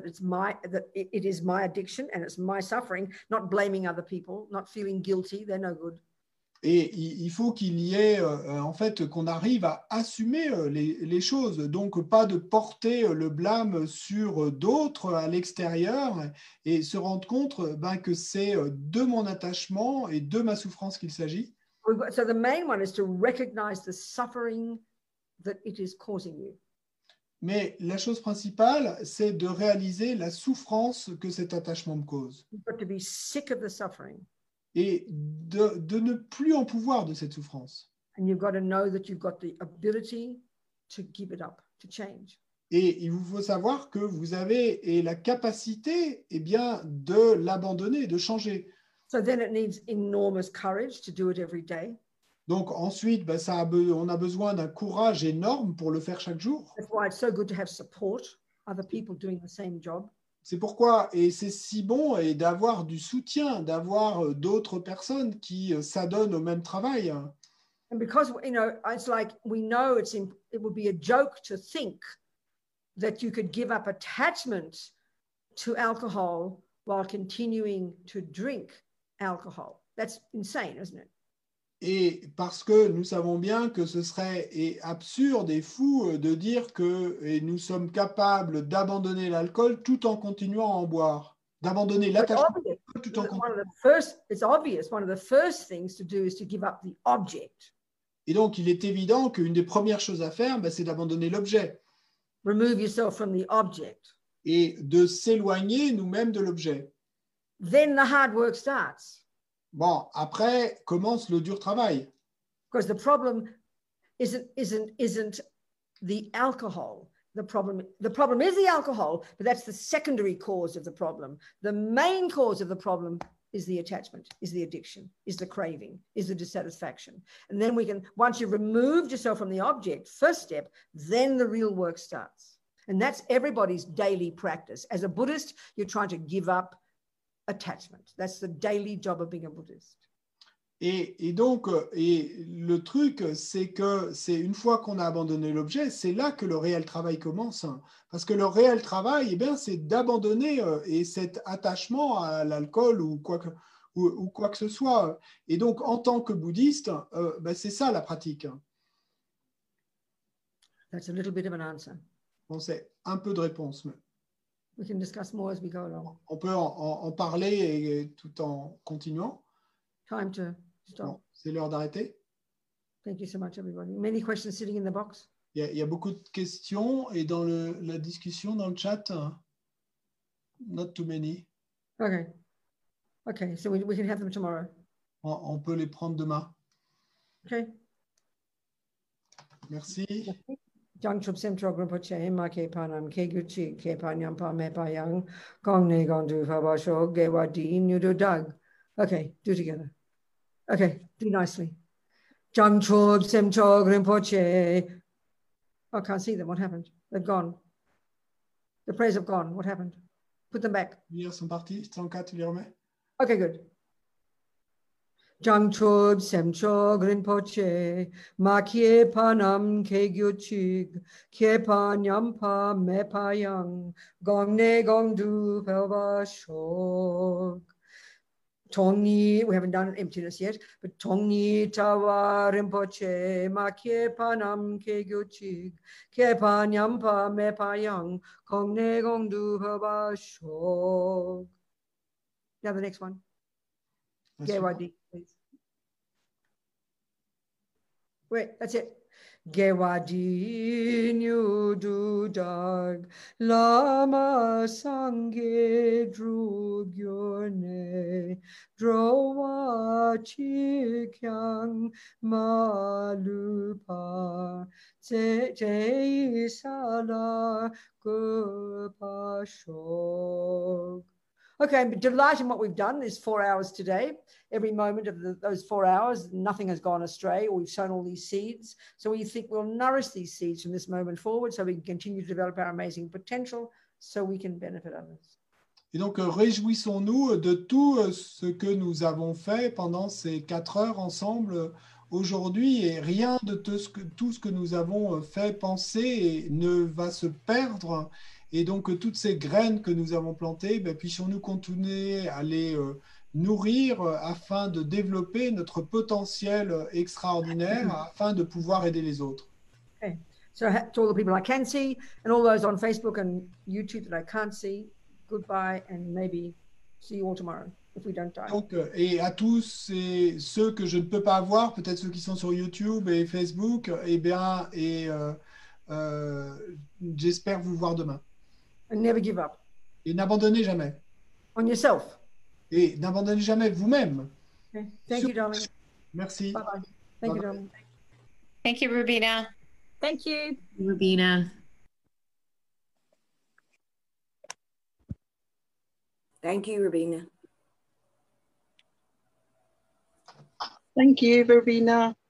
it is my addiction and it's my suffering, not blaming other people, not feeling guilty, they're no good. Et il faut qu'il y ait, en fait, qu'on arrive à assumer les choses. Donc, pas de porter le blâme sur d'autres à l'extérieur et se rendre compte que c'est de mon attachement et de ma souffrance qu'il s'agit. So the main one is to recognize the suffering that it is causing you. Mais la chose principale, c'est de réaliser la souffrance que cet attachement me cause. You've got to be sick of the suffering. Et de ne plus en pouvoir de cette souffrance. And you've got to know that you've got the ability to give it up, to change. Et il vous faut savoir que vous avez la capacité de l'abandonner, de changer. So then it needs enormous courage to do it every day. Donc ensuite, on a besoin d'un courage énorme pour le faire chaque jour. That's why it's so good to have support, other people doing the same job. C'est pourquoi, et c'est si bon, d'avoir du soutien, d'avoir d'autres personnes qui s'adonnent au même travail. And because, it's like we know it would be a joke to think that you could give up attachment to alcohol while continuing to drink alcohol. That's insane, isn't it? Et parce que nous savons bien que ce serait absurde et fou de dire que nous sommes capables d'abandonner l'alcool tout en continuant à en boire, d'abandonner l'attachement tout en continuant. It's obvious. One of the first things to do is to give up the object. Et donc, il est évident qu'une des premières choses à faire, c'est d'abandonner l'objet. Remove yourself from the object. Et de s'éloigner nous-mêmes de l'objet. Then the hard work starts. Bon, après commence le dur travail. Because the problem isn't the alcohol. The problem is the alcohol, but that's the secondary cause of the problem. The main cause of the problem is the attachment, is the addiction, is the craving, is the dissatisfaction. And then once you've removed yourself from the object, first step, then the real work starts. And that's everybody's daily practice. As a Buddhist, you're trying to give up attachment. That's the daily job of being a Buddhist. Et donc, le truc, c'est que c'est une fois qu'on a abandonné l'objet, c'est là que le réel travail commence. Parce que le réel travail, c'est d'abandonner cet attachement à l'alcool ou quoi que ce soit. Et donc, en tant que bouddhiste, c'est ça la pratique. That's a little bit of an answer. Bon, c'est un peu de réponse, mais We can discuss more as we go along. on peut en parler et tout en continuant. Time to stop. Bon, c'est l'heure d'arrêter. Thank you so much, everybody. Many questions sitting in the box. Il y a beaucoup de questions et dans la discussion, dans le chat, not too many. Okay. Okay, so we can have them tomorrow. On peut les prendre demain. Okay. Merci. Jang Chup Sem Chok Rinpoche, Ma Ke Panam, Ke Guchi, Ke Panyam Pa Me Pa Yang, Gong Ne Gong Du Fa Ba Sho, Ge Wa Di, Nudu Dag. Okay, do together. Okay, do nicely. Jang Chup Sem Chok Rinpoche. Oh, I can't see them. What happened? They've gone. The prayers have gone. What happened? Put them back. Ils sont partis. 104, tu les remets? Okay, good. Jang Chub Sem Chog Rinpoche, Ma Kie Panam Ke Gyuchig, Kie Panyam Pa Me Pa Yang, Gong Ne Gong Du Pelva Shog. Tongni, we haven't done emptiness yet, but Tongni Tawa Rinpoche, Ma Kie Panam Ke Gyuchig, Kie Panyam Pa Me Pa Yang, Gong Ne Gong Du Pelva Shog. Now the next one. Gewadi, please. Wait, that's it. Gewadi Nyudu Dag Lama Sange Drugyone Drowa Chikyang Malupa Te Sala Gupashog. Okay, I'm delighted in what we've done is 4 hours today. Every moment of those 4 hours, nothing has gone astray, or we've sown all these seeds. So we think we'll nourish these seeds from this moment forward so we can continue to develop our amazing potential so we can benefit others. Et donc, réjouissons-nous de tout ce que nous avons fait pendant ces 4 heures ensemble aujourd'hui. Et rien de tout ce que nous avons fait penser ne va se perdre. Et donc, toutes ces graines que nous avons plantées, puissions-nous continuer à les nourrir afin de développer notre potentiel extraordinaire, afin de pouvoir aider les autres. Okay. So to all the people I can see and all those on Facebook and YouTube that I can't see, goodbye and maybe see you all tomorrow if we don't die. Donc, et à tous ceux que je ne peux pas voir, peut-être ceux qui sont sur YouTube et Facebook, j'espère vous voir demain. And never give up. Et n'abandonnez jamais. On yourself. Et n'abandonnez jamais vous-même. Okay. Thank you, darling. Merci. Bye-bye. Thank you, darling. Thank you, Rubina. Thank you. Rubina. Thank you, Rubina. Thank you, Verbena.